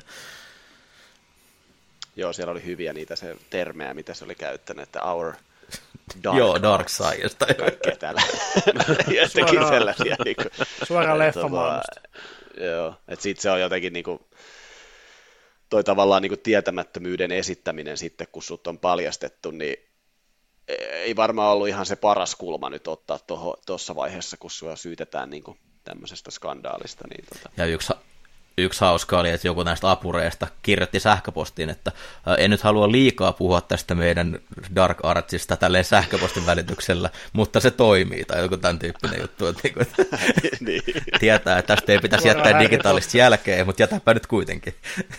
Joo, siellä oli hyviä niitä se termejä, mitä se oli käyttänyt, että our dark science. Tai kaikkea täällä. Jotenkin sellaisia. Niin kuin, suoraan leffamaailmasta. Joo, että sitten se on jotenkin niin kuin, toi tavallaan niin kuin tietämättömyyden esittäminen sitten, kun sut on paljastettu, niin ei varmaan ollut ihan se paras kulma nyt ottaa tuossa vaiheessa, kun sua syytetään niin kuin tämmöisestä skandaalista. Niin Ja yksi hauska oli, että joku näistä apureista kirjoitti sähköpostiin, että en nyt halua liikaa puhua tästä meidän Dark Artsista tälleen sähköpostin välityksellä, mutta se toimii, tai joku tämän tyyppinen juttu. Että niin. Tietää, että tästä ei pitäisi jättää digitaalista jälkeen, mutta jätäpä nyt kuitenkin.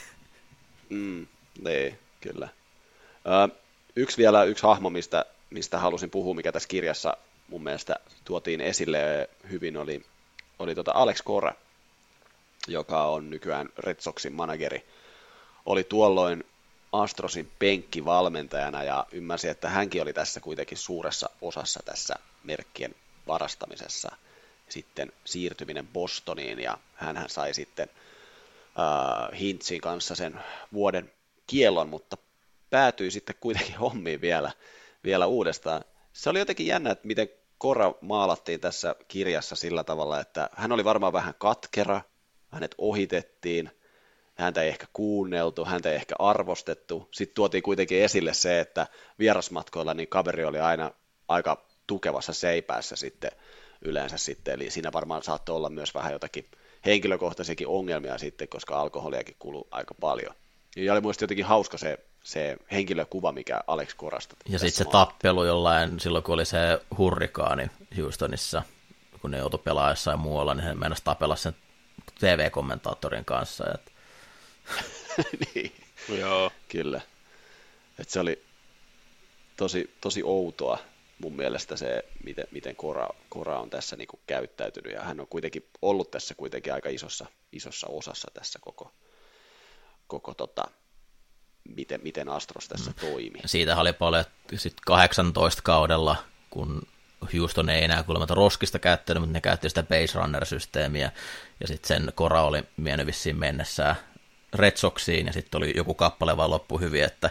Niin, kyllä. Yksi hahmo, mistä halusin puhua, mikä tässä kirjassa mun mielestä tuotiin esille hyvin, oli Alex Cora, joka on nykyään Red Soxin manageri, oli tuolloin Astrosin penkkivalmentajana ja ymmärsi, että hänkin oli tässä kuitenkin suuressa osassa tässä merkkien varastamisessa. Sitten siirtyminen Bostoniin ja hänhän sai sitten Hintzin kanssa sen vuoden kiellon, mutta päätyi sitten kuitenkin hommiin vielä uudestaan. Se oli jotenkin jännä, että miten Cora maalattiin tässä kirjassa sillä tavalla, että hän oli varmaan vähän katkera, hänet ohitettiin, häntä ei ehkä kuunneltu, häntä ei ehkä arvostettu. Sitten tuotiin kuitenkin esille se, että vierasmatkoilla niin kaveri oli aina aika tukevassa seipäässä sitten yleensä sitten, eli siinä varmaan saattoi olla myös vähän jotakin henkilökohtaisiakin ongelmia sitten, koska alkoholiakin kuluu aika paljon. Ja oli muista jotenkin hauska se henkilökuva, mikä Alex Corasta. Ja sitten se tappelu jollain, silloin kun oli se hurrikaani Houstonissa, kun ne joutui pelaamaan jossain muualla, niin he meinasi tapella sen TV-kommentaattorin kanssa. Niin, Joo. kyllä. Et se oli tosi outoa mun mielestä se, miten Cora on tässä niinku käyttäytynyt, ja hän on kuitenkin ollut tässä kuitenkin aika isossa osassa tässä koko miten Astros tässä toimii. Siitä oli paljon sitten 18 kaudella, kun Houston ei enää kuulemma roskista käyttänyt, mutta ne käytti sitä base runner-systeemiä, ja sitten sen Cora oli vienyt vissiin mennessään Red Soxiin, ja sitten oli joku kappale vaan loppu hyvin, että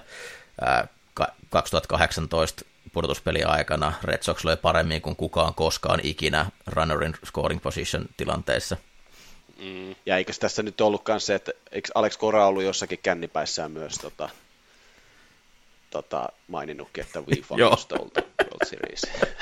2018 pudotuspelin aikana Red Sox löi paremmin kuin kukaan koskaan ikinä runnerin scoring position tilanteissa. Ja eikös tässä nyt ollutkaan se, että eikö Alex Cora ollut jossakin kännipäissään myös maininnutkin, että we fucking stole the World Series.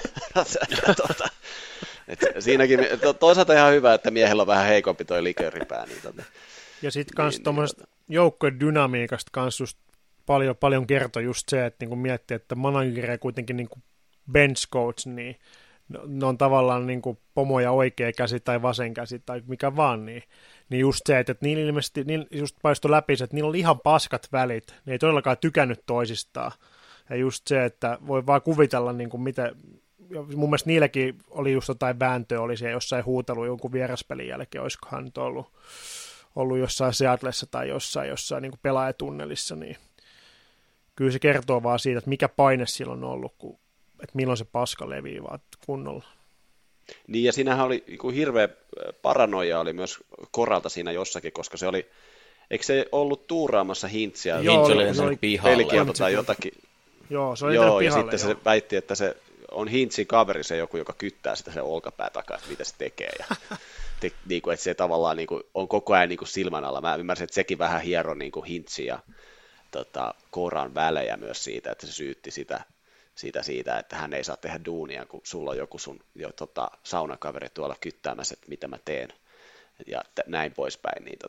Siinäkin toisaalta ihan hyvä, että miehellä on vähän heikompi toi likööripää. Ja sitten kans tuommoisesta joukkojen dynamiikasta kans just paljon kertoi just se, että niinku miettii, että manageria kuitenkin niinku bench coach, niin ne on tavallaan niinku pomoja oikea käsi tai vasen käsi tai mikä vaan, niin just se, että niillä ilmeisesti just paistoi läpi se, että niillä oli ihan paskat välit, ne ei todellakaan tykännyt toisistaan. Ja just se, että voi vaan kuvitella, niinku miten, mun mielestä niilläkin oli just jotain vääntöä, oli siellä jossain huutelu jonkun vieraspelin jälkeen, olisikohan nyt ollut jossain Seattlessa tai jossain niin kuin pelaajatunnelissa, niin kyllä se kertoo vaan siitä, että mikä paine sillä on ollut, että milloin se paska levii vaan kunnolla. Niin, ja siinähän oli hirveä paranoia oli myös Coralta siinä jossakin, koska se oli, eikö se ollut tuuraamassa Hintsiä? Hintz oli sen pelikielto tai jotakin. Joo, se oli Joo, pihalle, ja sitten se väitti, että se on Hintzin kaveri, se joku, joka kyttää sitä sen olkapää takaa, että mitä se tekee. Ja niin kuin, että se tavallaan niin kuin, on koko ajan niin kuin silmän alla. Mä ymmärsin, että sekin vähän hieroi niin kuin Hintzin ja Coran välejä myös siitä, että se syytti siitä, että hän ei saa tehdä duunia, kun sulla on joku sun saunakaveri tuolla kyttäämässä, että mitä mä teen. Ja näin poispäin, niin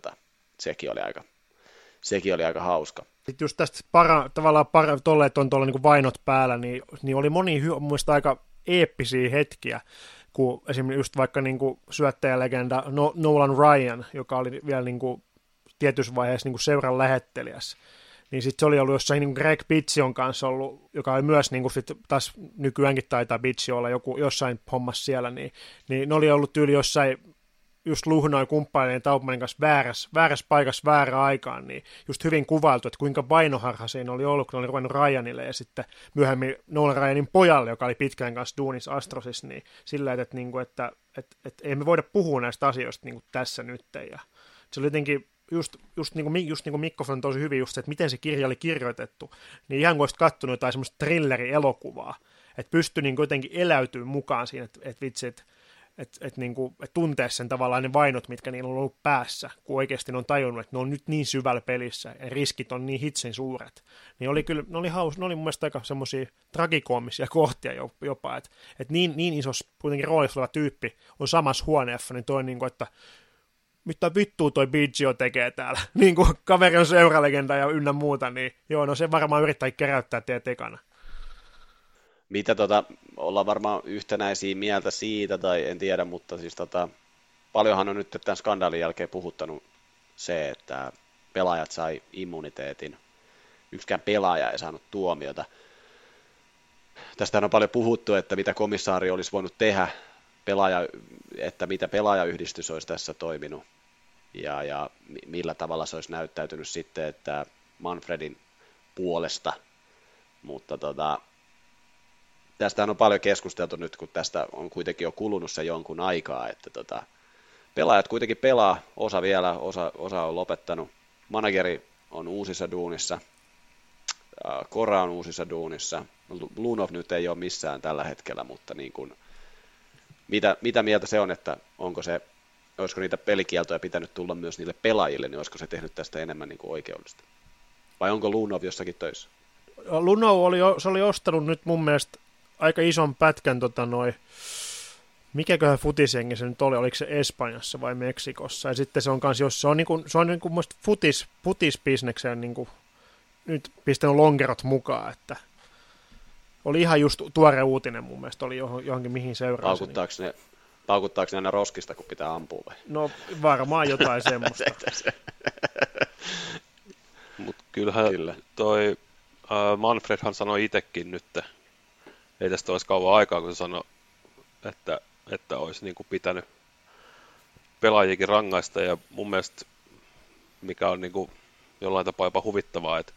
sekin oli aika hauska. Sitten just tästä tolleen, että on tuolla niin kuin vainot päällä, niin oli moni mun mielestä aika eeppisiä hetkiä, kun esimerkiksi just vaikka niin kuin syöttäjälegenda Nolan Ryan, joka oli vielä niin kuin tietyssä vaiheessa niin kuin seuran lähettelijässä, niin sitten se oli ollut jossain niin Greg Bitsion kanssa ollut, joka oli myös niin kuin sit taas nykyäänkin taitaa Bitsio olla jossain hommassa siellä, niin ne oli ollut tyyli jossain just luhnoi kumppaneiden Taubmanin kanssa väärässä paikassa väärään aikaan, niin just hyvin kuvailtu, että kuinka vainoharha siinä oli ollut, kun oli ruvennut Ryanille ja sitten myöhemmin Nolan Ryanin pojalle, joka oli pitkään kanssa duunissa Astrosissa, niin sillä että ei me voida puhua näistä asioista niin kuin tässä nyt. Ja se oli jotenkin just niin kuin Mikko on tosi hyvin just se, että miten se kirja oli kirjoitettu, niin ihan kuin olisit katsonut jotain semmoista thriller-elokuvaa, että pystyi niin jotenkin eläytymään mukaan siinä, että vitsi, että tuntee sen tavallaan ne vainot, mitkä niillä on ollut päässä, kun oikeasti ne on tajunnut, että ne on nyt niin syvällä pelissä ja riskit on niin hitsin suuret. Niin ne oli mun mielestä aika semmoisia tragikoomisia kohtia jopa, että niin isossa kuitenkin roolissa oleva tyyppi on samassa huoneessa, niin toi niin kuin, että mitä vittua toi Biggio tekee täällä, niin kuin kaveri on seuralegenda ja ynnä muuta, niin joo, no se varmaan yrittää keräyttää teidät ekana. Mitä ollaan varmaan yhtenäisiä mieltä siitä, tai en tiedä, mutta siis paljonhan on nyt tämän skandaalin jälkeen puhuttanut se, että pelaajat sai immuniteetin. Yksikään pelaaja ei saanut tuomiota. Tästähän on paljon puhuttu, että mitä komissaari olisi voinut tehdä, että mitä pelaajayhdistys olisi tässä toiminut, ja millä tavalla se olisi näyttäytynyt sitten, että Manfredin puolesta, mutta tästähän on paljon keskusteltu nyt, kun tästä on kuitenkin jo kulunut se jonkun aikaa, että pelaajat kuitenkin pelaa, osa vielä, osa on lopettanut. Manageri on uusissa duunissa, Cora on uusissa duunissa, Lunov nyt ei ole missään tällä hetkellä, mutta niin kuin, mitä mieltä se on, että olisiko niitä pelikieltoja pitänyt tulla myös niille pelaajille, niin olisiko se tehnyt tästä enemmän niin kuin oikeudellista? Vai onko Lunov jossakin töissä? Lunov oli ostanut nyt mun mielestä aika ison pätkän mikäköhän futisjengi se nyt oli, oliko se Espanjassa vai Meksikossa, ja sitten se on kans, jos se on niinku muista futisbisnekseen niinku nyt pistänyt lonkerot mukaan, että oli ihan just tuore uutinen mun mielestä, oli johonkin mihin seurasi. Paukuttaako ne aina roskista, kun pitää ampua vai? No varmaan jotain semmoista. Mutta kyllähän toi Manfredhan sanoi itsekin nyt, ei tästä olisi kauan aikaa, kun se sanoi, että olisi niinku pitänyt pelaajikin rangaista, ja mun mielestä mikä on niinku jollain tapaa jopa huvittavaa, että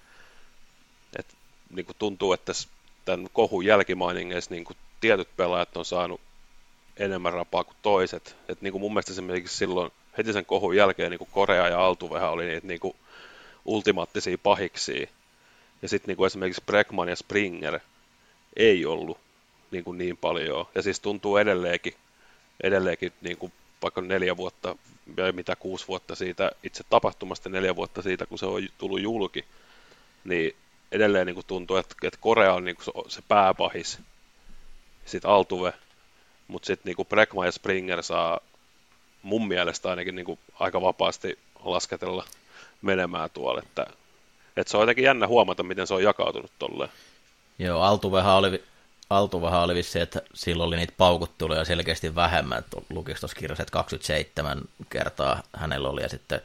niinku tuntuu, että tämän kohun jälkimainingeissa niinku tietyt pelaajat on saanut enemmän rapaa kuin toiset. Et niinku mun mielestä esimerkiksi silloin heti sen kohun jälkeen niinku Korea ja Altuvehän oli niitä niinku ultimaattisia pahiksia. Ja sitten niinku esimerkiksi Bregman ja Springer ei ollut niinku niin paljon. Ja siis tuntuu edelleenkin niinku vaikka 4 vuotta ja mitä 6 vuotta siitä itse tapahtumasta, 4 vuotta siitä, kun se on tullut julki, niin edelleen niinku tuntuu, että Korea on niinku se pääpahis, sitten Altuve, mutta sitten niinku Bregman ja Springer saa mun mielestä ainakin niinku aika vapaasti lasketella menemään tuolla, että se on jotenkin jännä huomata, miten se on jakautunut tolleen. Joo, Altuvehan oli vissi, että silloin oli niitä paukutteluja selkeästi vähemmän, että lukisi tuossa kirjassa, että 27 kertaa hänellä oli, ja sitten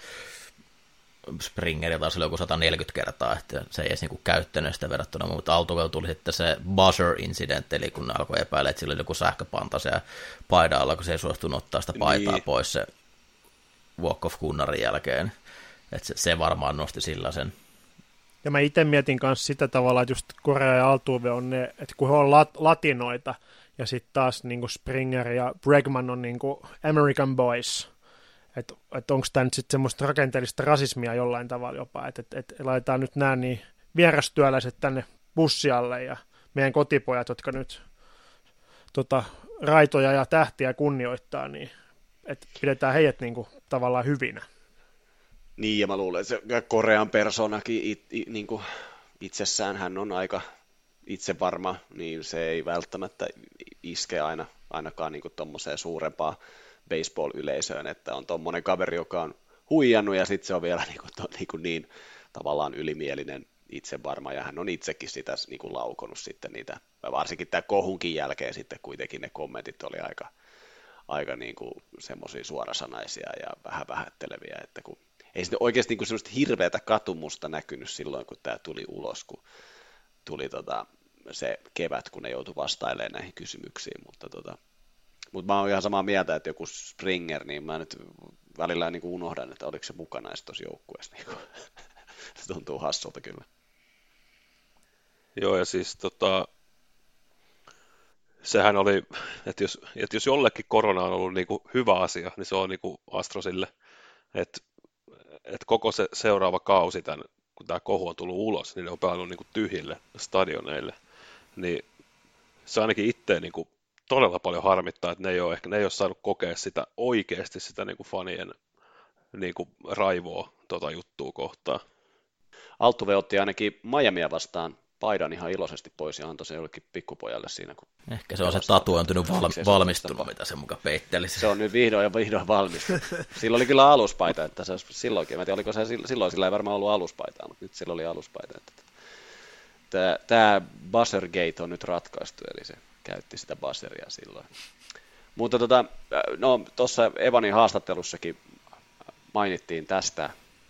Springer taas oli joku 140 kertaa, että se ei edes niinku käyttänyt sitä verrattuna, mutta Altuvella tuli sitten se buzzer-incidentti, eli kun ne alkoi epäillä, että sillä oli joku sähköpanta siellä paidan alla, kun se ei suostunut ottaa sitä paitaa pois se walk-off-kunnarin jälkeen, että se varmaan nosti sillä sen. Ja mä itse mietin kanssa sitä tavalla, että just Korea ja Altuve on ne, että kun he on latinoita, ja sitten taas niinku Springer ja Bregman on niinku American boys, että onko tämä nyt sitten semmoista rakenteellista rasismia jollain tavalla jopa, että laitetaan nyt nämä niin vierastyöläiset tänne bussialle ja meidän kotipojat, jotka nyt raitoja ja tähtiä kunnioittaa, niin että pidetään heidät niinku tavallaan hyvinä. Niin, ja mä luulen, että se Korean persoonakin niinku itsessään hän on aika itsevarma, niin se ei välttämättä iske ainakaan niinku tommoseen suurempaan baseball-yleisöön, että on tommonen kaveri, joka on huijannut, ja sitten se on vielä niin tavallaan ylimielinen itsevarma, ja hän on itsekin sitä niinku laukonut sitten niitä, varsinkin tämän kohunkin jälkeen sitten kuitenkin ne kommentit oli aika niinku semmoisia suorasanaisia ja vähän vähätteleviä, että kun ei sitten oikeasti niinku semmoista hirveätä katumusta näkynyt silloin, kun tämä tuli ulos, kun tuli se kevät, kun ne joutui vastailemaan näihin kysymyksiin, mutta mä oon ihan samaa mieltä, että joku Springer, niin mä nyt välillä niin kuin unohdan, että oliko se mukana edes tuossa joukkueessa. Niin se tuntuu hassulta kyllä. Joo, ja siis sehän oli, että jos jollekin korona on ollut niin kuin hyvä asia, niin se on niin kuin Astrosille, että koko se seuraava kausi, kun tämä kohu on tullut ulos, niin ne on pelannut niin kuin tyhjille stadioneille, niin se ainakin itse niin kuin todella paljon harmittaa, että ne ei ole saanut kokea sitä oikeasti sitä niin kuin fanien niin kuin raivoa juttua kohtaan. Altuve otti ainakin Miamia vastaan paidan ihan iloisesti pois ja antoi se jollekin pikkupojalle siinä. Kun ehkä se on se tatuointunut valmistunut, mitä se muka peitteli. Se on nyt vihdoin valmistunut. Sillä oli kyllä aluspaita, että se silloinkin. Mä en tiedä, oliko se silloin, sillä ei varmaan ollut aluspaitaa, mutta nyt sillä oli aluspaita. Tämä Buzzergate on nyt ratkaistu, eli se käytti sitä buzzeria silloin. Mutta tuossa Evanin haastattelussakin mainittiin tästä.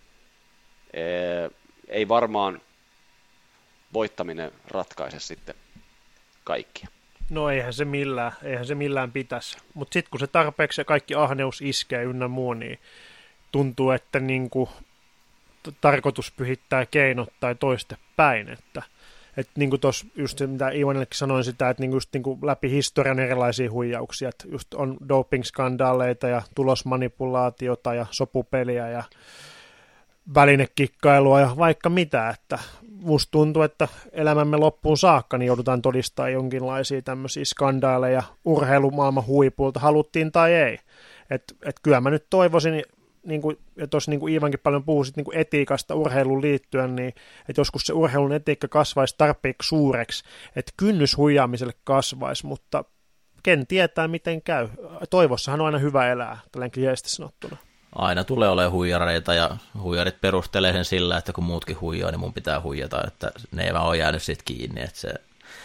Ei varmaan voittaminen ratkaise sitten kaikkia. No eihän se millään pitäisi. Mutta sitten kun se tarpeeksi ja kaikki ahneus iskee ynnä muu, niin tuntuu, että niinku tarkoitus pyhittää keinot tai toistepäin, että niin kuin tuossa just se, mitä Ivanillekin sanoin sitä, että niin kuin läpi historian erilaisia huijauksia, että just on doping-skandaaleita ja tulosmanipulaatiota ja sopupeliä ja välinekikkailua ja vaikka mitä, että musta tuntuu, että elämämme loppuun saakka niin joudutaan todistamaan jonkinlaisia tämmöisiä skandaaleja urheilumaailman huipulta, haluttiin tai ei. Että kyllä mä nyt toivoisin, niin kuin, ja tuossa niin Iivankin paljon puhui niin kuin etiikasta urheiluun liittyen, niin että joskus se urheilun etiikka kasvaisi tarpeeksi suureksi, että kynnys huijaamiselle kasvaisi, mutta ken tietää miten käy. Toivossahan on aina hyvä elää, tällainen kliseisesti sanottuna. Aina tulee olemaan huijareita ja huijarit perustelee sen sillä, että kun muutkin huijaa, niin mun pitää huijata, että ne ei vaan ole jäänyt siitä kiinni. Että se...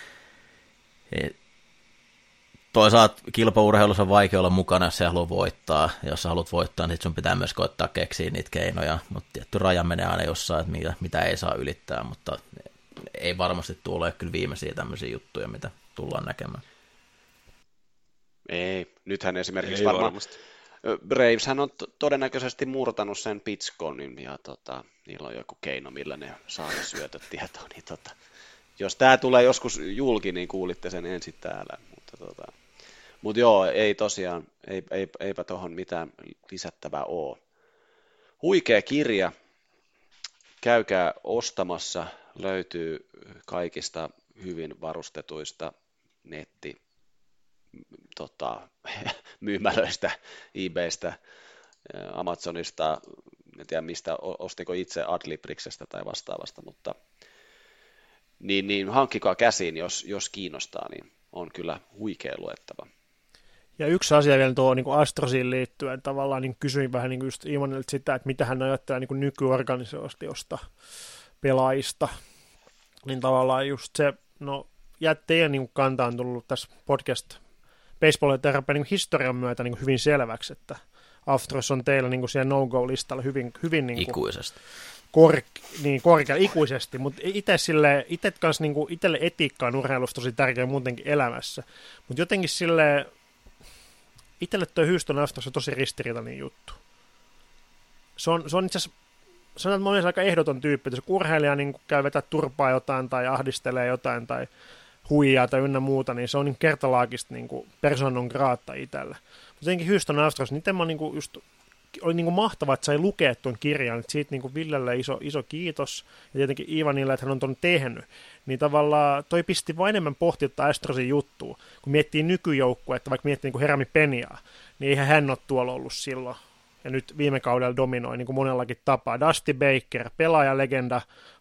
Toisaalta kilpaurheilussa on vaikea olla mukana, jos sä haluat voittaa. Ja jos sä haluat voittaa, niin sun pitää myös koittaa keksiä niitä keinoja. Mutta tietty raja menee aina jossain, että mitä ei saa ylittää, mutta ei varmasti tule kyllä viimeisiä tämmöisiä juttuja, mitä tullaan näkemään. Ei, nythän esimerkiksi ei varmaan varmasti. Braveshän on todennäköisesti murtanut sen pitchconin ja niillä on joku keino, millä ne saa ne syötöt tietoon. Niin jos tämä tulee joskus julki, niin kuulitte sen ensin täällä. Mutta joo, ei tosiaan, eipä tuohon mitään lisättävää ole. Huikea kirja, käykää ostamassa, löytyy kaikista hyvin varustetuista myymälöistä, eBaystä, Amazonista, en tiedä mistä, ostiko itse Adlibriksestä tai vastaavasta, mutta niin hankkikaa käsiin, jos kiinnostaa, niin on kyllä huikea luettava. Ja yksi asia vielä tuo niin Astrosiin liittyen, tavallaan niin kysyin vähän niin just Ivanilta sitä, että mitä hän ajattelee niin nykyorganisaatiosta, pelaajista, niin tavallaan just se, no teidän niin kanta on tullut tässä podcast baseball-terapian niin historian myötä niin hyvin selväksi, että Astros on teillä niin siellä no-go-listalla hyvin niin ikuisesti. Korkealla ikuisesti, mutta itselle etiikka on urheilussa tosi tärkeä muutenkin elämässä, mutta jotenkin silleen itselle tuo Houston Astros on tosi ristiriitainen juttu. Se on itse asiassa, sanotaan, että mä olen aika ehdoton tyyppi, että jos urheilija niin käy vetää turpaa jotain tai ahdistelee jotain tai huijaa tai ynnä muuta, niin se on niin kertalaakista niin persona non grata itselle. Mutta jotenkin Houston Astros, niin tämä niin just oli niin mahtavaa, että sai lukea tuon kirjan, että siitä niin Villelle iso kiitos, ja tietenkin Ivanille, että hän on tuon tehnyt, niin tavallaan toi pisti vain enemmän pohtia Astrosin juttua, kun miettii nykyjoukkuetta, vaikka miettii niin Herami Peniaa, niin eihän hän ole tuolla ollut silloin, ja nyt viime kaudella dominoi niin kuin monellakin tapaa. Dusty Baker, pelaajalegenda,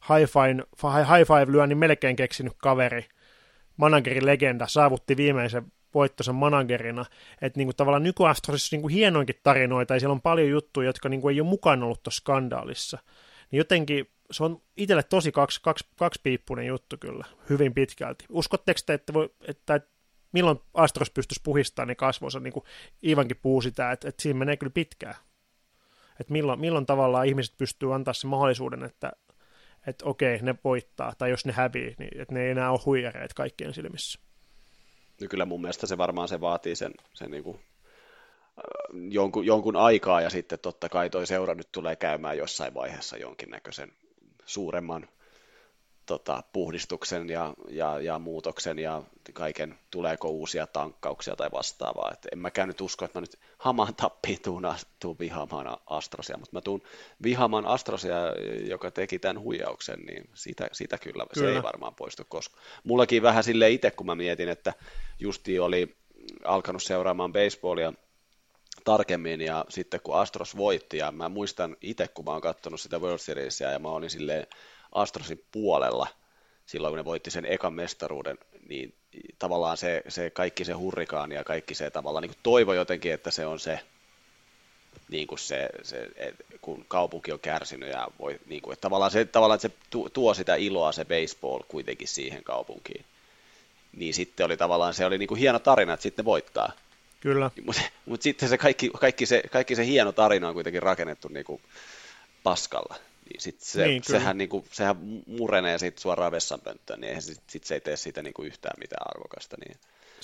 high five lyö, niin melkein keksinyt kaveri, managerin legenda, saavutti viimeisen voittoisen managerina, että niinku tavallaan nykyastrosissa niinku hienoinkin tarinoita, ja siellä on paljon juttuja, jotka niinku ei ole mukana ollut tuossa skandaalissa. Niin jotenkin se on itselle tosi kaksipiippunen juttu kyllä, hyvin pitkälti. Uskotteko te, että milloin Astros pystyisi puhistamaan ne kasvonsa, niin kuin Ivankin puhuu sitä, että siinä menee kyllä pitkään. Että milloin tavallaan ihmiset pystyy antaa sen mahdollisuuden, että okei, ne voittaa, tai jos ne hävii, niin että ne ei enää ole huijareet kaikkien silmissä. No kyllä mun mielestä se varmaan se vaatii sen niin kuin, jonkun aikaa, ja sitten totta kai toi seura nyt tulee käymään jossain vaiheessa jonkinnäköisen suuremman puhdistuksen ja muutoksen ja kaiken, tuleeko uusia tankkauksia tai vastaavaa. Et en mäkään nyt usko, että mä nyt hamaan tappiin tuun vihaamaan Astrosia, mutta mä tuun vihaamaan Astrosia, joka teki tämän huijauksen, niin sitä kyllä, se ei varmaan poistu koskaan. Mullakin vähän silleen itse, kun mä mietin, että justi oli alkanut seuraamaan baseballia tarkemmin, ja sitten kun Astros voitti, ja mä muistan itse, kun mä oon katsonut sitä World Seriesia, ja mä olin silleen Astrosin puolella silloin, kun ne voitti sen ekan mestaruuden, niin tavallaan se kaikki se hurrikaani ja kaikki se tavallaan niin kuin toivo jotenkin, että se on se, niin kuin se kun kaupunki on kärsinyt ja voi, niin kuin, että tavallaan että se tuo sitä iloa se baseball kuitenkin siihen kaupunkiin. Niin sitten oli tavallaan, se oli niin kuin hieno tarina, että sitten ne voittaa. Kyllä. Mutta sitten se kaikki se hieno tarina on kuitenkin rakennettu niin kuin paskalla. Niin sehän murenee siitä suoraan vessanpönttöön, niin eihän se ei tee siitä niinku yhtään mitään arvokasta. Niin.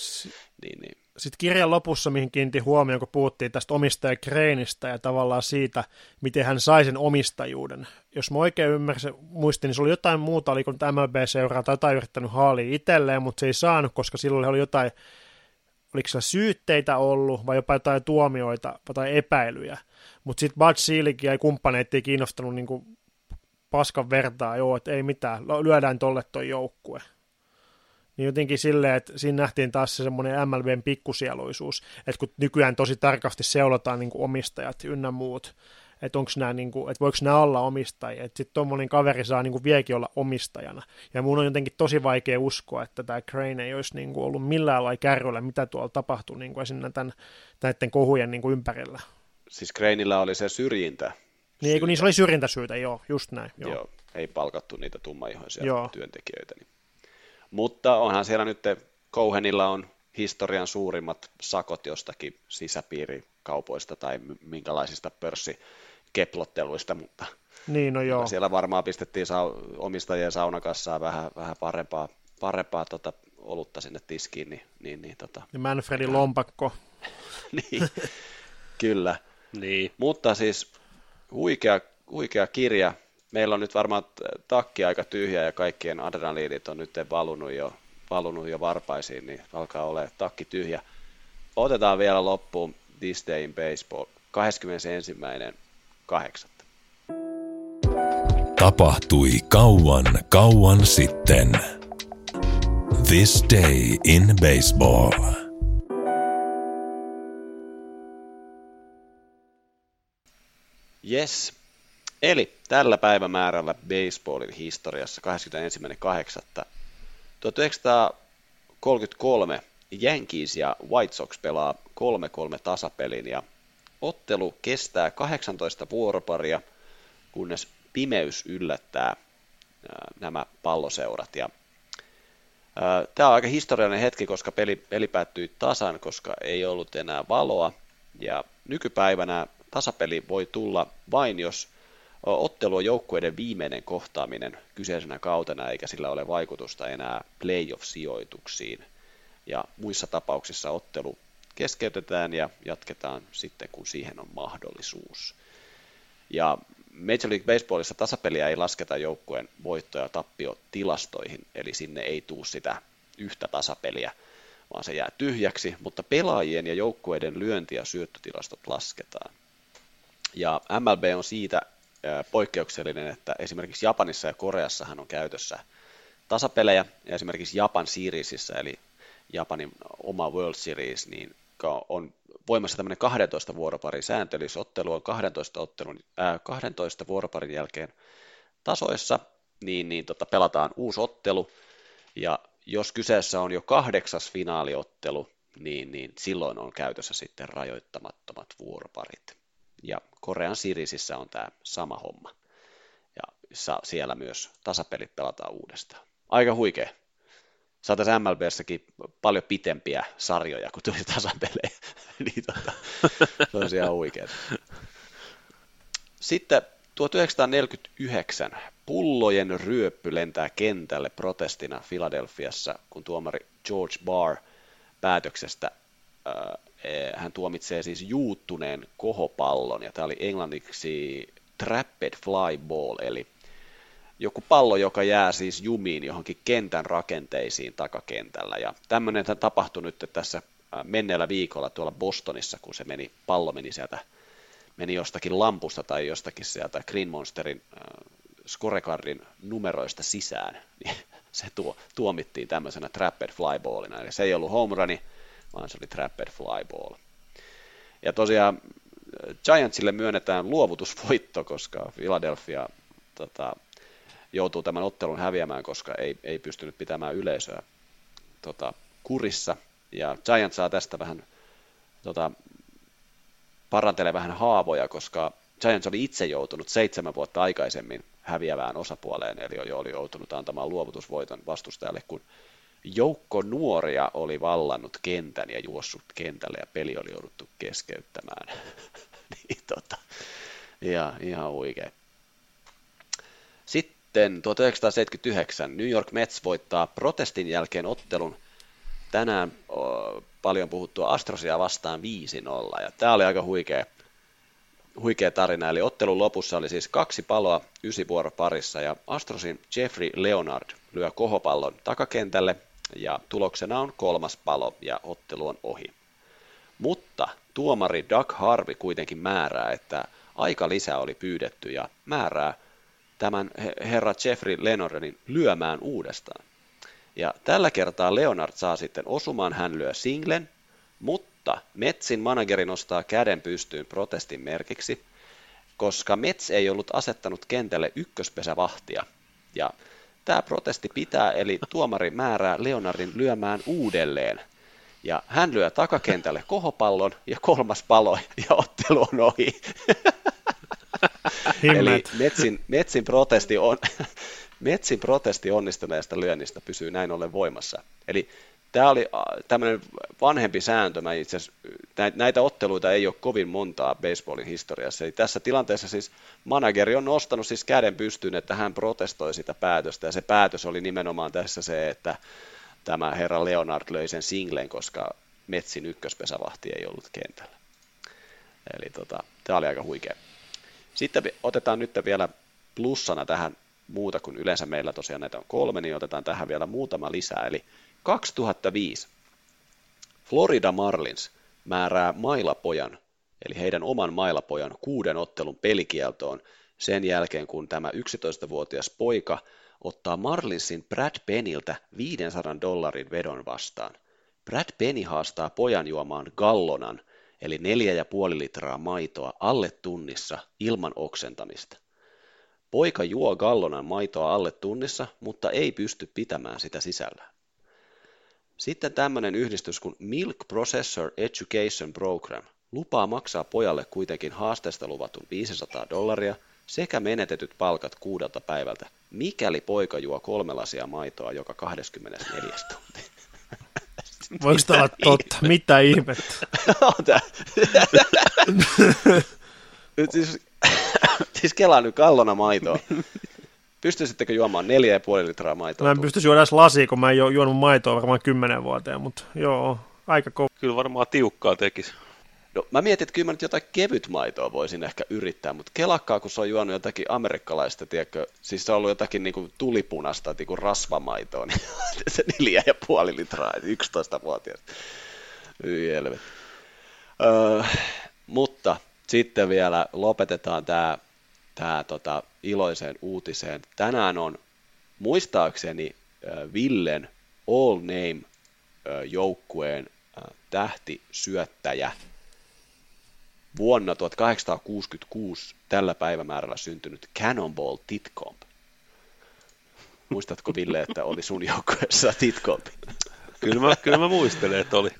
Sitten kirjan lopussa, mihin kiinnitti huomioon, kun puhuttiin tästä omistajakreinistä ja tavallaan siitä, miten hän sai sen omistajuuden. Jos mä oikein muistin, niin se oli jotain muuta, oliko nyt MLB-seuraa tai jotain yrittänyt haalia itselleen, mutta se ei saanut, koska silloin oli jotain, oliko siellä syytteitä ollut vai jopa jotain tuomioita tai epäilyjä. Mutta sitten Bud Selig ja kumppaneet ei kiinnostanut niinku paskan vertaa, että ei mitään, lyödään tolle toi joukkue. Niin jotenkin silleen, että siinä nähtiin taas se semmoinen MLBn pikkusieluisuus, että kun nykyään tosi tarkasti seulotaan niinku omistajat ynnä muut, että onko nämä, niin kuin, että voiko nämä olla omistajia, että sitten tuommoinen kaveri saa niin kuin vieläkin olla omistajana, ja mun on jotenkin tosi vaikea uskoa, että tämä Crane ei olisi niin kuin ollut millään lailla kärryllä, mitä tuolla tapahtui niin kuin esimerkiksi näiden kohujen niin kuin ympärillä. Siis Craneillä oli se syrjintä. Niin, eikö niissä oli syrjintäsyytä, joo, just näin. Joo, ei palkattu niitä tummaihoisia työntekijöitä. Niin. Mutta onhan siellä nyt, Cohenilla on historian suurimmat sakot jostakin sisäpiirikaupoista tai minkälaisista pörssikeplotteluista, mutta niin, no joo. Siellä varmaan pistettiin omistajien saunakassaan vähän parempaa olutta sinne tiskiin. Ja Manfredin lompakko. Niin, kyllä. Niin. Mutta siis huikea kirja. Meillä on nyt varmaan takki aika tyhjä ja kaikkien adrenaliinit on nyt valunut jo varpaisiin, niin alkaa olla takki tyhjä. Otetaan vielä loppuun This Day in Baseball 21.8. Tapahtui kauan sitten. This Day in Baseball. Yes. Eli tällä päivämäärällä baseballin historiassa 21.8. 1933 Yankees ja White Sox pelaa 3-3 tasapelin ja ottelu kestää 18 vuoroparia, kunnes pimeys yllättää nämä palloseurat. Ja tämä on aika historiallinen hetki, koska peli päättyi tasan, koska ei ollut enää valoa. Ja nykypäivänä tasapeli voi tulla vain, jos ottelu on joukkueiden viimeinen kohtaaminen kyseisenä kautena, eikä sillä ole vaikutusta enää playoff-sijoituksiin. Ja muissa tapauksissa ottelu keskeytetään ja jatketaan sitten, kun siihen on mahdollisuus. Ja Major League Baseballissa tasapeliä ei lasketa joukkueen voitto- ja tappiotilastoihin, eli sinne ei tule sitä yhtä tasapeliä, vaan se jää tyhjäksi, mutta pelaajien ja joukkueiden lyönti- ja syöttötilastot lasketaan. Ja MLB on siitä poikkeuksellinen, että esimerkiksi Japanissa ja Koreassahan on käytössä tasapelejä, ja esimerkiksi Japan Seriesissä, eli Japanin oma World Series, niin on voimassa tämmöinen 12 vuoroparin sääntö, eli ottelu on 12 vuoroparin jälkeen tasoissa, niin pelataan uusi ottelu, ja jos kyseessä on jo 8. finaaliottelu, niin silloin on käytössä sitten rajoittamattomat vuoroparit. Ja Korean Seriesissä on tämä sama homma. Ja siellä myös tasapelit pelataan uudestaan. Aika huikea. Saataisiin MLBssäkin paljon pitempiä sarjoja, kun tuli tasapelejä. Niin se on ihan huikeaa. Sitten 1949 pullojen ryöppy lentää kentälle protestina Philadelphiassa, kun tuomari George Barr päätöksestä hän tuomitsee siis juuttuneen kohopallon, ja tämä oli englanniksi trapped fly ball, eli joku pallo, joka jää siis jumiin johonkin kentän rakenteisiin takakentällä, ja tämmöinen tapahtui nyt tässä menneellä viikolla tuolla Bostonissa, kun pallo meni jostakin lampusta tai jostakin sieltä Green Monsterin scorecardin numeroista sisään, niin se tuomittiin tämmöisenä trapped fly ballina, eli se ei ollut home runi, vaan se oli trapped fly ball. Ja tosiaan Giantsille myönnetään luovutusvoitto, koska Philadelphia joutuu tämän ottelun häviämään, koska ei pystynyt pitämään yleisöä kurissa. Ja Giants saa tästä vähän parantelee vähän haavoja, koska Giants oli itse joutunut 7 vuotta aikaisemmin häviävään osapuoleen, eli oli joutunut antamaan luovutusvoiton vastustajalle, kun joukko nuoria oli vallannut kentän ja juossut kentälle ja peli oli jouduttu keskeyttämään. Ihan huikea. Sitten 1979 New York Mets voittaa protestin jälkeen ottelun tänään paljon puhuttua Astrosia vastaan 5-0. Ja tämä oli aika huikea tarina, eli ottelun lopussa oli siis 2 paloa 9 vuoroparissa, ja Astrosin Jeffrey Leonard lyö kohopallon takakentälle, ja tuloksena on 3. palo, ja ottelu on ohi. Mutta tuomari Doug Harvey kuitenkin määrää, että aikalisä oli pyydetty, ja määrää tämän herra Jeffrey Leonardin lyömään uudestaan. Ja tällä kertaa Leonard saa sitten osumaan, hän lyö singlen, mutta Metsin manageri nostaa käden pystyyn protestin merkiksi, koska Mets ei ollut asettanut kentälle ykköspesävahtia. Ja tämä protesti pitää, eli tuomari määrää Leonardin lyömään uudelleen. Ja hän lyö takakentälle kohopallon ja kolmas palo ja ottelu on ohi. Eli Metsin protesti onnistuneesta lyönnistä pysyy näin ollen voimassa. Eli tämä oli tämmöinen vanhempi sääntö. Itse asiassa, näitä otteluita ei ole kovin montaa baseballin historiassa. Eli tässä tilanteessa siis manageri on nostanut siis käden pystyyn, että hän protestoi sitä päätöstä. Ja se päätös oli nimenomaan tässä se, että tämä herra Leonard löi sen singlen, koska Metsin ykköspesävahti ei ollut kentällä. Eli tämä oli aika huikea. Sitten otetaan nyt vielä plussana tähän muuta kuin yleensä meillä tosiaan näitä on 3, niin otetaan tähän vielä muutama lisää. Eli 2005 Florida Marlins määrää mailapojan, eli heidän oman mailapojan 6 ottelun pelikieltoon sen jälkeen, kun tämä 11-vuotias poika ottaa Marlinsin Brad Penniltä $500 vedon vastaan. Brad Penny haastaa pojan juomaan gallonan, eli 4,5 litraa maitoa alle tunnissa ilman oksentamista. Poika juo gallonan maitoa alle tunnissa, mutta ei pysty pitämään sitä sisällään. Sitten tämmöinen yhdistys kuin Milk Processor Education Program lupaa maksaa pojalle kuitenkin haasteesta luvatun $500 sekä menetetyt palkat 6 päivältä, mikäli poika juo 3 lasia maitoa joka 24 tunti. Voiko tämä olla totta? Mitä ihmettä? Siis kelaa nyt gallona maitoa. Pystyisittekö juomaan 4,5 litraa maitoa? Mä en pystyisi juoda edes lasia, kun mä en juonut maitoa varmaan 10 vuoteen, mutta joo, aika kova. Kyllä varmaan tiukkaa tekisi. No, mä mietin, että kyllä mä nyt jotain kevyt maitoa voisin ehkä yrittää, mutta kelakkaa, kun se on juonut jotakin amerikkalaista, tiedätkö, siis se on ollut jotakin niin kuin tulipunasta, niin kuin rasvamaitoa, niin se 4,5 litraa, 11-vuotias. Mutta sitten vielä lopetetaan tämä iloiseen uutiseen. Tänään on muistaakseni Villen All Name joukkueen tähtisyöttäjä vuonna 1866 tällä päivämäärällä syntynyt Cannonball Titcomb. Muistatko, Ville, että oli sun joukkueessa Titcomb? Kyllä mä muistelen, että oli.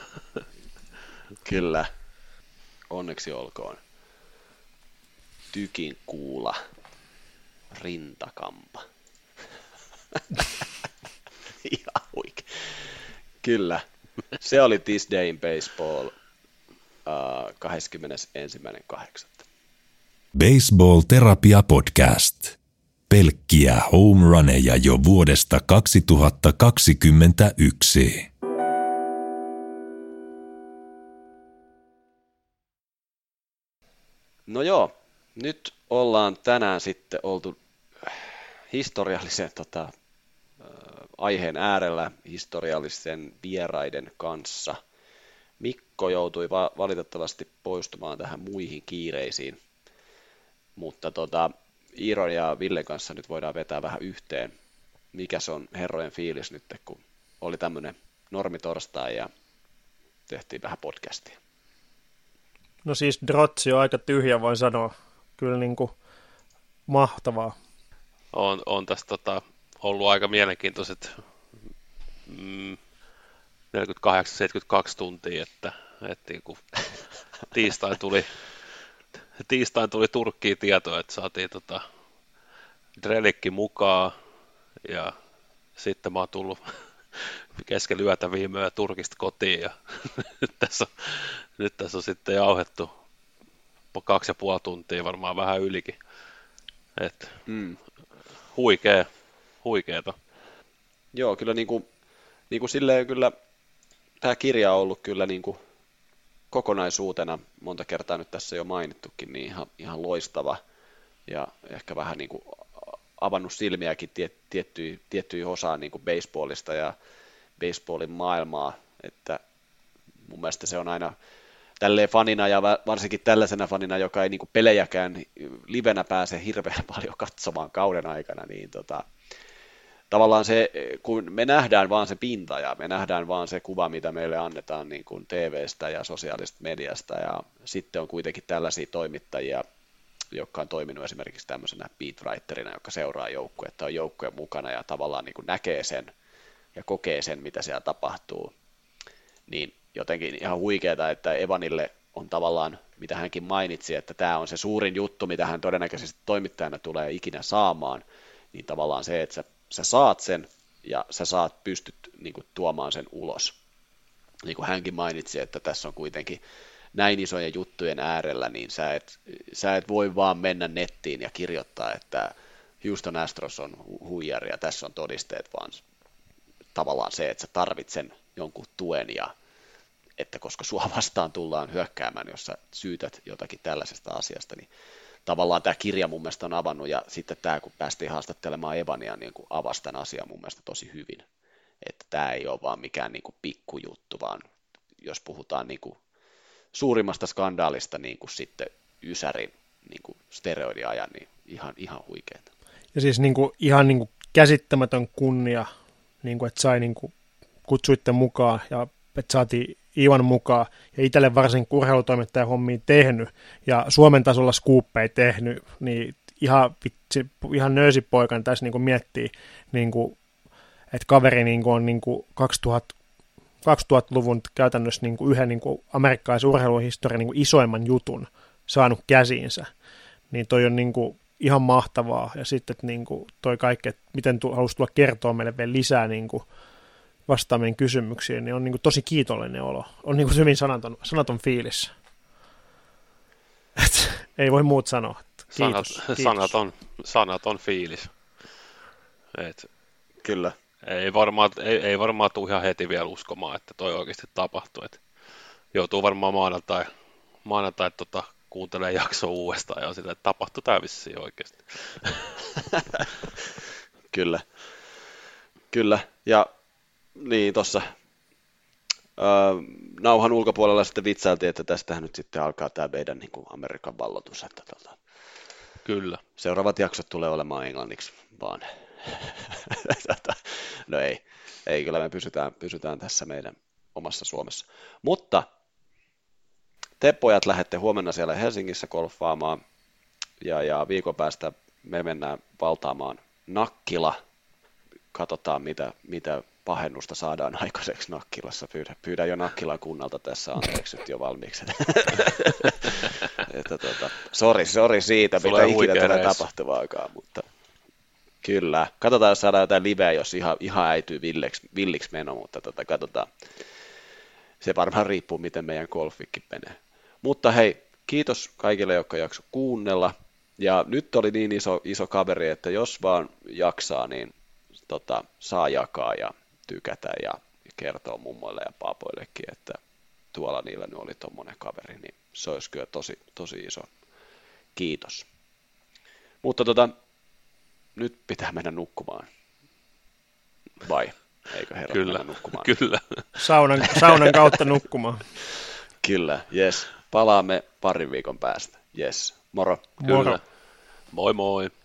Kyllä. Onneksi olkoon. Tykin kuula. Rintakampa. Ihan huikea. Kyllä. Se oli This Day in Baseball 21.8. Baseball Terapia Podcast. Pelkkiä home runeja jo vuodesta 2021. No joo, nyt ollaan tänään sitten oltu historiallisen aiheen äärellä historiallisen vieraiden kanssa. Mikko joutui valitettavasti poistumaan tähän muihin kiireisiin, mutta Iiron ja Villen kanssa nyt voidaan vetää vähän yhteen. Mikäs on herrojen fiilis nyt, kun oli tämmöinen normitorstai ja tehtiin vähän podcastia? No siis Drotsi on aika tyhjä, voin sanoa. Kyllä niin kuin mahtavaa. On tästä ollut aika mielenkiintoiset 48-72 tuntia, että niin kuin tiistain tuli Turkkiin tietoa, että saatiin Drelikki mukaan ja sitten mä oon tullut kesken yötä viime yö Turkista kotiin ja nyt tässä on sitten jauhettu 2,5 tuntia, varmaan vähän ylikin. Huikeeta. Joo, kyllä niin kuin silleen kyllä tämä kirja on ollut kyllä niin kuin kokonaisuutena, monta kertaa nyt tässä jo mainittukin, niin ihan loistava ja ehkä vähän niin kuin avannut silmiäkin tiettyihin osaan niin kuin baseballista ja baseballin maailmaa, että mun mielestä se on aina tälleen fanina ja varsinkin tällaisena fanina, joka ei niin kuin pelejäkään livenä pääse hirveän paljon katsomaan kauden aikana, niin tavallaan se, kun me nähdään vaan se pinta ja me nähdään vaan se kuva, mitä meille annetaan niin kuin TV:stä ja sosiaalisesta mediasta ja sitten on kuitenkin tällaisia toimittajia, joka on toiminut esimerkiksi tämmöisenä beatwriterina, joka seuraa joukkuetta, on joukkueen mukana ja tavallaan niin kuin näkee sen ja kokee sen, mitä siellä tapahtuu, niin jotenkin ihan huikeaa, että Evanille on tavallaan, mitä hänkin mainitsi, että tämä on se suurin juttu, mitä hän todennäköisesti toimittajana tulee ikinä saamaan, niin tavallaan se, että sä saat sen ja sä pystyt niin kuin tuomaan sen ulos. Niin kuin hänkin mainitsi, että tässä on kuitenkin näin isojen juttujen äärellä, niin sä et voi vaan mennä nettiin ja kirjoittaa, että Houston Astros on huijari ja tässä on todisteet, vaan tavallaan se, että sä tarvit sen jonkun tuen ja että koska sua vastaan tullaan hyökkäämään, jos sä syytät jotakin tällaisesta asiasta, niin tavallaan tämä kirja mun mielestä on avannut, ja sitten tämä, kun päästiin haastattelemaan Evania, niin kuin avasi tämän asian mun mielestä tosi hyvin, että tämä ei ole vaan mikään niin kuin pikkujuttu, vaan jos puhutaan niin kuin suurimmasta skandaalista niin kuin sitten Ysärin niin kuin steroidiajan, niin ihan huikeeta. Ja siis niin kuin, ihan niin kuin käsittämätön kunnia, niin kuin, että sai niin kuin, kutsuitte mukaan ja että saatiin Ivan mukaan ja itselle varsin urheilutoimittajan hommia tehnyt ja Suomen tasolla skuuppeja tehnyt, niin ihan nöysipoikan tässä niin kuin miettii, niin kuin, että kaveri niin kuin on niin kuin 2000-luvun käytännössä niin kuin yhden niin kuin amerikkalaisen urheiluhistorian niin kuin isoimman jutun saanut käsiinsä, niin toi on niin kuin ihan mahtavaa ja sitten että niin kuin toi kaikki, että miten halusi tulla kertoa meille vielä lisää niin kuin vastaamien kysymyksiin, niin on niin kuin tosi kiitollinen olo. On niin kuin hyvin sanaton fiilis. Ei voi muut sanoa. Kiitos. Sanaton fiilis. Kyllä. Ei varmaan tule ihan heti vielä uskomaan, että toi oikeasti tapahtui. Et joutuu varmaan maanantai kuuntelee jaksoa uudestaan ja on sitä, että tapahtui tämä vissiin oikeasti. Kyllä. Ja niin tuossa nauhan ulkopuolella sitten vitsailtiin, että tästähän nyt sitten alkaa tämä meidän niin kuin Amerikan valloitus. Että Kyllä. Seuraavat jaksot tulee olemaan englanniksi vaan. No ei kyllä me pysytään tässä meidän omassa Suomessa. Mutta te pojat lähdette huomenna siellä Helsingissä golfaamaan ja viikon päästä me mennään valtaamaan Nakkila. Katsotaan mitä pahennusta saadaan aikaiseksi Nakkilassa. Pyydän jo Nakkilan kunnalta tässä anteeksi nyt jo valmiiksi. Sori siitä, mitä ikinä tulee tapahtuvaakaan, mutta kyllä. Katsotaan, jos saadaan jotain liveä, jos ihan äityy villiksi meno, mutta katsotaan. Se varmaan riippuu, miten meidän golfikki menee. Mutta hei, kiitos kaikille, jotka jakso kuunnella. Ja nyt oli niin iso kaveri, että jos vaan jaksaa, niin saa jakaa ja tykätä ja kertoa mummoille ja paapoillekin, että tuolla niillä nyt oli tommonen kaveri, niin se olisi kyllä tosi iso kiitos. Mutta nyt pitää mennä nukkumaan. Vai? Eikö herra mennä nukkumaan? Kyllä. Saunan kautta nukkumaan. Kyllä, yes. Palaamme parin viikon päästä. Yes. Moro. Kyllä. Moi moi.